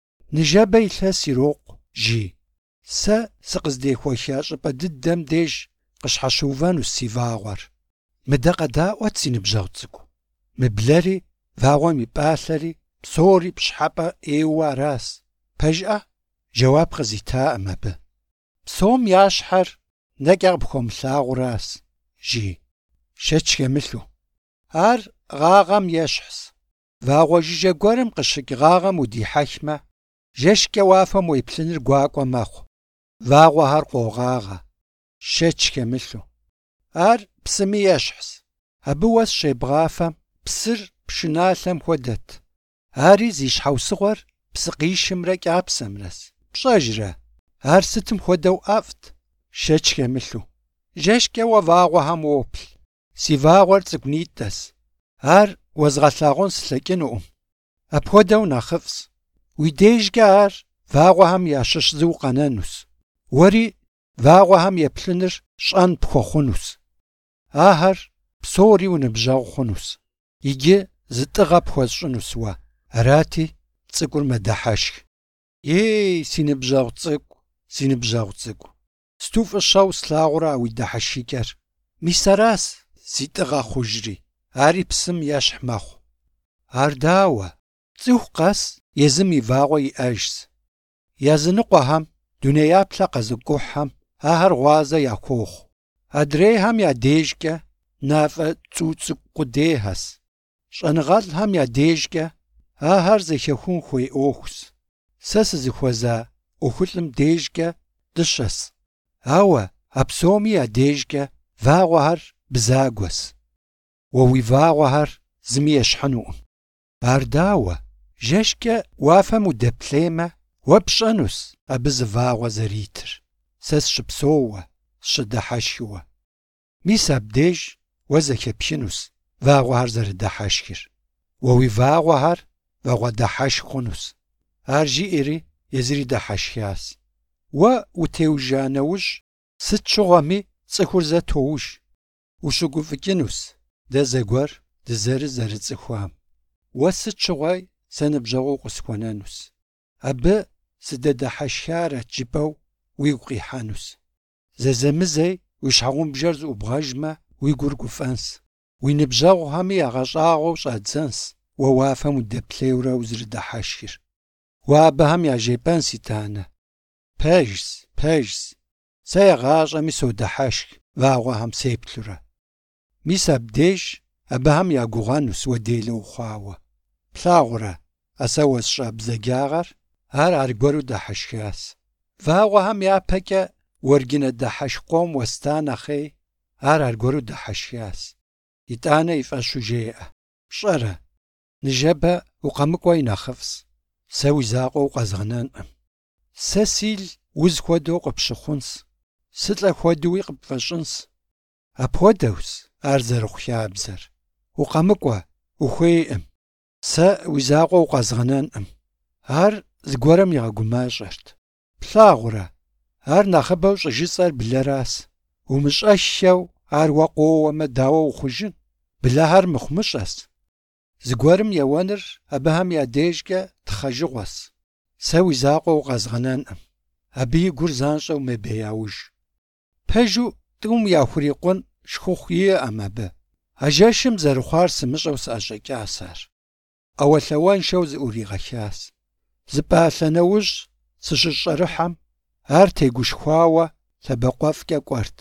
Ныжэбэ илъэс ирокъу, жи. Сэ сыкъыздехуэха щӀыпӀэ дыдэм деж къыщхьэщыувэнущ си вагъуэр. Мыдэ къэдаӀуэт си ныбжьэгъу цӀыкӀу. Мыблэри, вагъуэм и пӀалъэри, псори пщхьэпӀэ Ӏейуэ аращ. ПэжӀэ? Жэуап къызитаӀым абы. Псом ящхьэр нэкӏэ къыпхуэмылъагъуращ, жи. Шэч хемылъу. Ар гъагъэм ещхьщ. Вагъуэ жыжьэ гуэрым къыщыкӏ гъагъэм удихьэхмэ, жэщкӏэ уафэм уеплъыныр гуакӏуэ мэхъу. Вагъуэхэр къогъагъэ. Шэч хемылъу. Ар псыми ещхьщ. Абы уэс щебгъафэм псыр пшыналъэм хуэдэт. Ари зи щхьэусыгъуэр псыкъищымрэ кӏапсэмрэс. Пщӏэжрэ? Ар сытым хуэдэу ӏэфӏт. Шэч хемылъу. Жэщкӏэ уэ вагъуэхэм уоплъ. Си вагъуэр цӏыкӏунитӏэщ. Ар уэзгъэлъагъун слъэкӏынукъым. Апхуэдэу нэхъыфӏщ. Уи дежкӏэ ар вагъуэхэм ящыщ зы укъэнэнущ. Уэри вагъуэхэм еплъыныр щӏэн пхуэхъунущ. Ахэр псори уныбжьэгъу хъунущ. Иджы зы тӏыгъэ пхуэсщӏынущ уэ. Арати цӏыкӏур мэдыхьэшх. Ей, си ныбжьэгъу цӏыкӏу, си ныбжьэгъу цӏыкӏу. Сту фӏыщэу слъагъурэ уи дыхьэшхикӏэр. Мис аращ си тӏыгъэ хъужри. Ари псым ещхь мэхъу. Ар дауэ? Цӏыху къэс езым и вагъуэ иӏэжщ. Языныкъуэхэм, дунеяплъэ къэзыкӏухьхэм ахэр гъуазэ яхуохъу. Адрейхэм я дежкӏэ нафӏэ цӏу цӏыкӏу къудейхэс. Щӏэныгъэлӏхэм я дежкӏэ ахэр зэхехун хуей ӏуэхущ. Сэ сызыхуэза ӏуэхулӏым дежкӏэ дыщэс. Ауэ а псоми я дежкӏэ вагъуэхэр бзагуэс. Уэ уи вагъуэхэр зыми ещхьынукъым. Ар дауэ? Жэщкӏэ уафэм удэплъеймэ, уэ пщӏэнущ абы зы вагъуэ зэритыр. Сэ сщыпсэууэ, сщыдыхьэшхыуэ. Мис абдеж уэ зэхеплъынущ вагъуэхэр зэрыдыхьэшхыр. Уэ уи вагъуэхэр вагъуэдыхьэшх хъунущ. Ар жиӏэри езыри дыхьэшхащ. Уэ утеужа нэужь сыт щыгъуэми цӏыхур зэ тоуж. Ущыгуфӏыкӏынущ дэ зэгуэр дызэры зэрыцӏыхуам. Уэ сыт щыгъуи сэ ныбжьэгъуу къысхуэнэнущ. Абы сыдэдыхьэшхарэт жыпӏэу уигу къихьэнущ. Зэзэмызей уи щхьэгъубжэр зыӏубгъэжмэ, уи гур гуфӏэнщ. Уи ныбжьэгъухэми ягъэщӏагъуэу щӏадзэнщ уэ уафэм удэплъейуэрэ узэрыдыхьэшхыр. Уэ абыхэм яжепӏэн, си танэ. Пэжщ. Сэ ягъащӏэми содыхьэшх вагъуэхэм сеплъурэ. Мис абдеж абыхэм ягугъэнущ уэ делэ ухъуауэ. Плъагъурэ, сэ уэсщӏа бзэгагъэр, ар аргуэру дыхьэшхащ. Вагъуэхэм япэкӏэ уэргынэ дыхьэшх къуэм уэста нэхъей, ар аргуэру дыхьэшхащ. ИтӀанэ и фӀэщу жеӀэ. ПщӀэрэ? Ныжэбэ укъэмыкӀуэ и нэхъыфӀщ. Сэ уи закъуэ укъэзгъэнэнкъым. Сэ сил уз хуэдэу къыпщыхъунщ. Сылӏэ хуэдууи къыпфӀэщӀынщ. Апхуэдэущ ар зэрыхъу-хабзэр. УкъэмыкӀуэ, ухуейкъым. Сэ уи закъуэ укъэзгъэнэнкъым. Ар зыгуэрым игъэгумащӀэрт. Плъагъурэ, ар нэхъыбэу щӀыжыцӀэр блэращ. Умыщӏэшэу ар уэ къоуэмэ, дауэ ухъужын? Блэхэр мыхъумыщӏэщ. Зыгуэрым еуэныр абыхэм я дежкӏэ тхъэжыгъуэщ. Сэ уи закъуэ укъэзгъэнэнкъым. Абы и гур занщӏэу мебеяуж. Пэжу тӏум яхурикъун шхухъу иӏэм абы. Ажэшым зэрыхъуар сымыщӏэу сыӏэщӏэкӏащ ар. Ӏэуэлъауэншэу зыӏуригъэхащ. Зыпӏалъэ нэужь сыщыщӏэрыхьэм, ар тегушхуауэ лъэбакъуэфӏкӏэ кӏуэрт.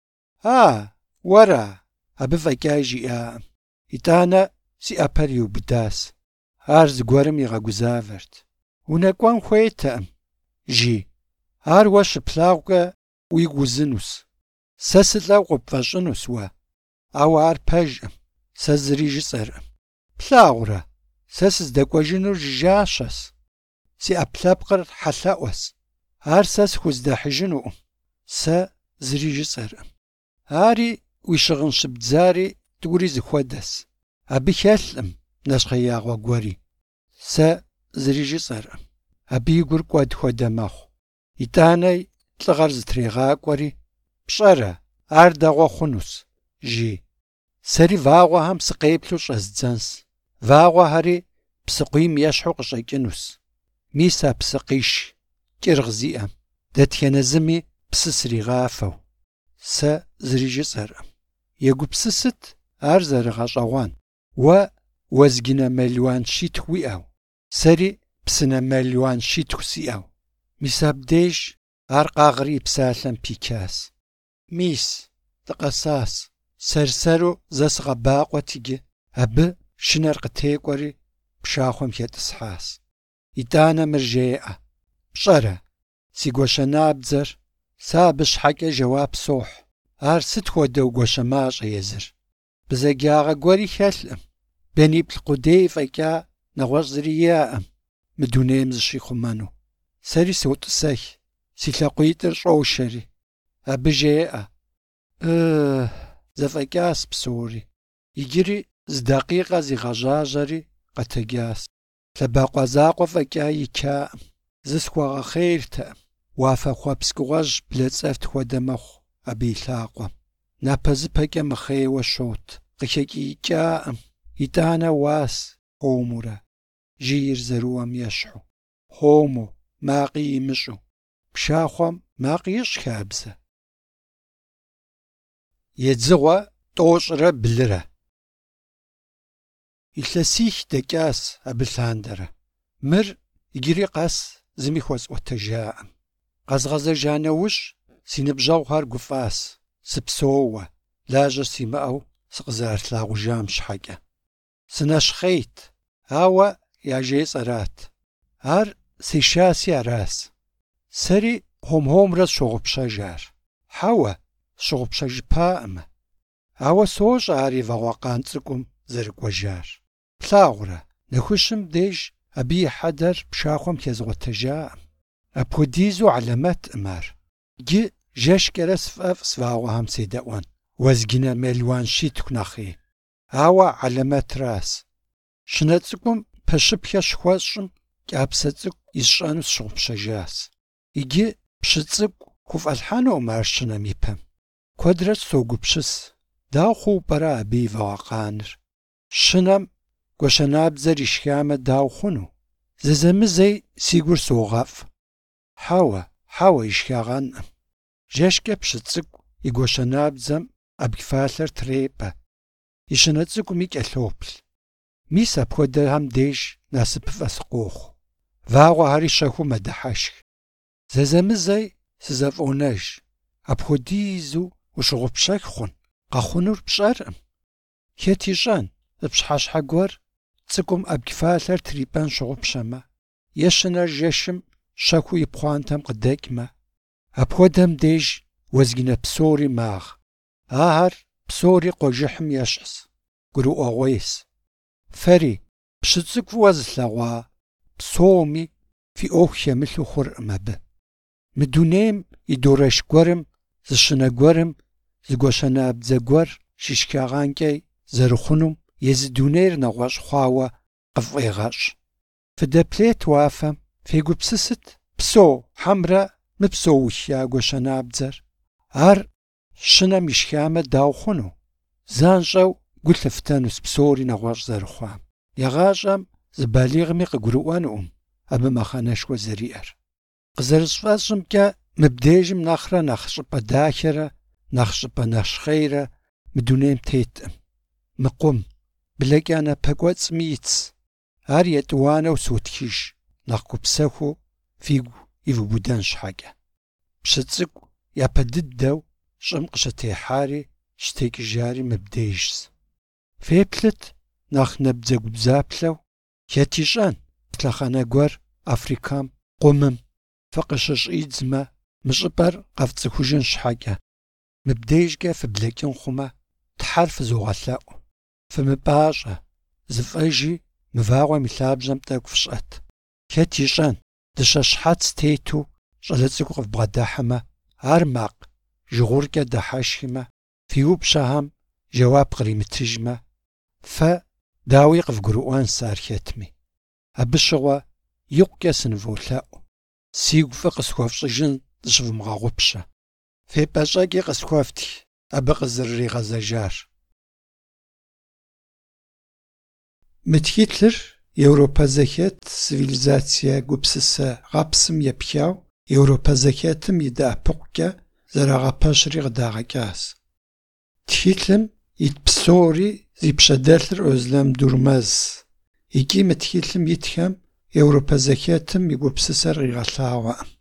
Уэра? Абы фӏэкӏа жиӏаӏым. ИтӀанэ си ӏэпэр иубыдащ. Ар зыгуэрым игъэгузавэрт. Унэкӏуэн хуейтэкъым, жи. Ар уэ щыплъагъукӏэ уигу узынущ. Сэ сылӏэу къыпфӏэщӏынущ уэ. Ауэ ар пэжкъым. Сэ зыри жысӏэркъым. Плъагъурэ, сэ сыздэкӏуэжынур жыжащэщ. Си ӏэпкълъэпкъыр хьэлъэӏуэщ. Ар сэ схуздахьыжынукъым. Сэ зыри жысӏэркъым. Ари уи щыгъын щыбдзари тӏури зыхуэдэщ. Абы хэлъкъым нэщхъеягъуэ гуэри. Сэ зыри жысӏэркъым. Абы и гур кӏуэд хуэдэ мэхъу. ИтӀанэ лӏыгъэр зытрегъакӏуэри, пщӏэрэ, ар дэгъуэ хъунущ, жи. Сэри вагъуэхэм сыкъеплъу щӏэздзэнщ. Вагъуэхэри псыкъуийм ещхьу къыщӏэкӏынущ. Мис а псы къиш, кӏыргъ зиӏэм, дэтхэнэ зыми псы сригъафэу. Сэ зыри жысӏэркъым. Егупсысыт ар зэрыгъэщӏэгъуэн. Уэ уэзгынэ мелуан щитху уиӏэу, сэри псынэ мелуан щитху сиӏэу. Мис абдеж ар къагъри псалъэм пикас. Мис, дыкъэсас, сэрсэру зэ сыкъэбакъуэт иджы. Абы шынэр къытекӏуэри пшахъуэм хетӏысхьащ. Итӏанэ мыр жеӏэ. Пщӏэрэ, си гуащэнабдзэр? Сэ абы щхьэкӏэ жэуап сохь. Ар сыт хуэдэу гуащэмащӏэ езыр? Бзэгягъэ гуэри хэлъкъым. Бениплӏ къудей фӏэкӏа нэгъуэщӏ зыри иӏэкъым мы дунейм зыщихъумэну. Сэри сотӏысэх, си лъакъуитӏыр щӏоушэри. Абы жеӏэ. Зэфӏэкӏащ псори. Иджыри зы дакъикъэ зигъэжьажьэри къэтэджащ. Лъэбакъуэ закъуэ фӏэкӏа икӏаӏым. Зысхуагъэхъейртэкъым. Уафэ хъуэпскӏыгъуэжь блэцӏэфт хуэдэ мэхъу абы и лъакъуэм. Напэзыпэкӏэ мыхъейуэ щот. Къыхекӏиикӏаӏым. Итӏанэ уас хъумурэ. Жийр зэрыуэм ещхьу. Хъуму, макъи имыщӏу. Пшахъуэм макъ ищӏ хабзэ. Едзыгъуэ тӏощӏрэ блырэ. Илъэсих дэкӏащ абы лъандэрэ. Мыр иджыри къэс зыми хуэсӏуэтэжаӏым. Къэзгъэзэжа нэужь си ныбжьэгъухэр гуфӏащ. Сыпсоуэ, лажьэ симыӏэу сыкъызэралъагъужам щхьэкӏэ. Сынэщхъейт, ауэ я жесӏэрат. Ар сешаси аращ. Сэри хъум-хъумрэ сщогъупщэжар. Хьэуэ, сщогъупщэжыпаӏэмэ. Ауэ сощӏэ ар и вагъуэкъан цӏыкӏум зэрыкӏуэжар. Плъагъурэ, нэхущым деж абы и хьэдэр пшахъуэм хезгъуэтэжаӏым. Апхуэдизу алэмэтӏым ар. Иджы жэщкӏэрэ сфӏэфӏ свагъуэхэм седэӏуэн. Уэзгынэ мелуан щитху нэхъей. Ауэ алэмэтращ. Щынэ цӏыкӏум пэщыпхэ щыхуэщӏым кӏапсэ цӏыкӏу исщӏэну сщогъупщэжащ. Иджы пщы цӏыкӏу хуфӏэлъхьэнукъым ар щынэм ипэм. Куэдрэ согупщыс. Дауэ хъуу пӏэрэ абы и вагъуэкъаныр? Щынэм гуащэнабдзэр ишхамэ дауэ хъуну? Зэзэмызэи си гур согъэфӏ. Хьэуэ ишхагъэнӏым. Жэщкӏэ пщы цӏыкӏу и гуащэнабдзэм ӏэбгфалъэр трепӏэ. И щынэ цӏыкӏуми кӏэлъоплъ. Мис апхуэдэхэм деж насыпыфӏэ сыкъохъу. Вагъуэхэри щэхуу мэдыхьэшх. Зэзэмызэи сызэфӏонэж. Апхуэдизу ущыгъупщэх хъун? Къэхъунур пщӏэркъым. Хэт ищӏэн, пщхьэщхьэ гуэр цӏыкӏум ӏэбгфалъэр трипӏэн щыгъупщэмэ, е щынэр жэщым щэхуу и пхъуантэм къыдэкӏмэ, апхуэдэм деж уэзгынэ псори магъ. Ахэр псори къуэжыхьым ещхьщ, гурыӏуэгъуейщ. Фэри пщы цӏыкӏу фӏыуэ зылъэгъуа псоми фи ӏуэху хемылъу хъуркъым абы. Мы дунейм и дорэш гуэрым, зы щынэ гуэрым, зы гуащэнабдзэ гуэр щишхагъэнкӏэ зэрыхъунум езы дунейр нэгъуэщӏ хъуауэ къыфӏегъэщӏ. Фыдэплъейт уафэм, фегупсысыт псо хьэмрэ мыпсоухя гуащэнабдзэр. Ар щынэм ишхамэ дауэ хъуну? Занщӏэу гу лъыфтэнущ псори нэгъуэщӏ зэрыхъуам. ЕгъащӀэм зы балигъми къыгурыӏуэнукъым абы мыхьэнэшхуэ зэриӏэр. Къызэрысфӏэщӏымкӏэ мыбдежым нэхърэ нэхъ щӏыпӏэ дахэрэ, нэхъ щӏыпӏэ нэщхъейрэ мы дунейм теткъым. Мыкъум, блэкӏа напэкӏуэцӏми итщ. Ар етӏуанэу сотхыж, нэхъ гупсэхуу фигу ивубыдэн щхьэкӏэ. Пщы цӏыкӏу япэ дыдэу щӏым къыщытехьари щытекӏыжари мыбдежщ. Феплъыт нэхъ набдзэгубдзаплъэу, хэт ищӏэн лъэхъэнэ гуэр Африкэм, къумым фыкъыщыщӏидзмэ, мы щӏыпӏэр къэфцӏыхужын щхьэкӏэ. Мыбдежкӏэ фыблэкӏын хъумэ, тхьэр фызогъэлъэӏу. Фымыпӏащӏэ, зыфӏэжи мы вагъуэм и лъабжьэм тӏэкӏу фщӏэт. Хэт ищӏэн дыщэ щхьэц тету щӏалэ цӏыкӏу къыфбгъэдыхьымэ, ар макъ жыгъуркӏэ дыхьэшхымэ, фи упщӏэхэм жэуап къримытыжмэ, фэ дауи къывгурыӏуэн сэ ар хэтми. Абы щыгъуэ икъукӏэ сыныволъэӏу. Сигу фӏы къысхуэфщӏыжын зыщывмыгъэгъупщэ. Фепӏэщӏэкӏи къысхуэфтх абы къызэрыригъэзэжар. Мы тхылъыр Европэ зэхэт цивилизацие гупсысэ гъэпсым епхауэ Европэ зэхэтым и дэӏэпыкъукӏэ зэрагъэпэщри къыдагъэкӏащ. Тхылъым ит псори зи пщэдэлъыр Özlem Durmaz. Икӏи мы тхылъым итхэм Европэ зэхэтым и гупсысэр къигъэлъагъуэӏым.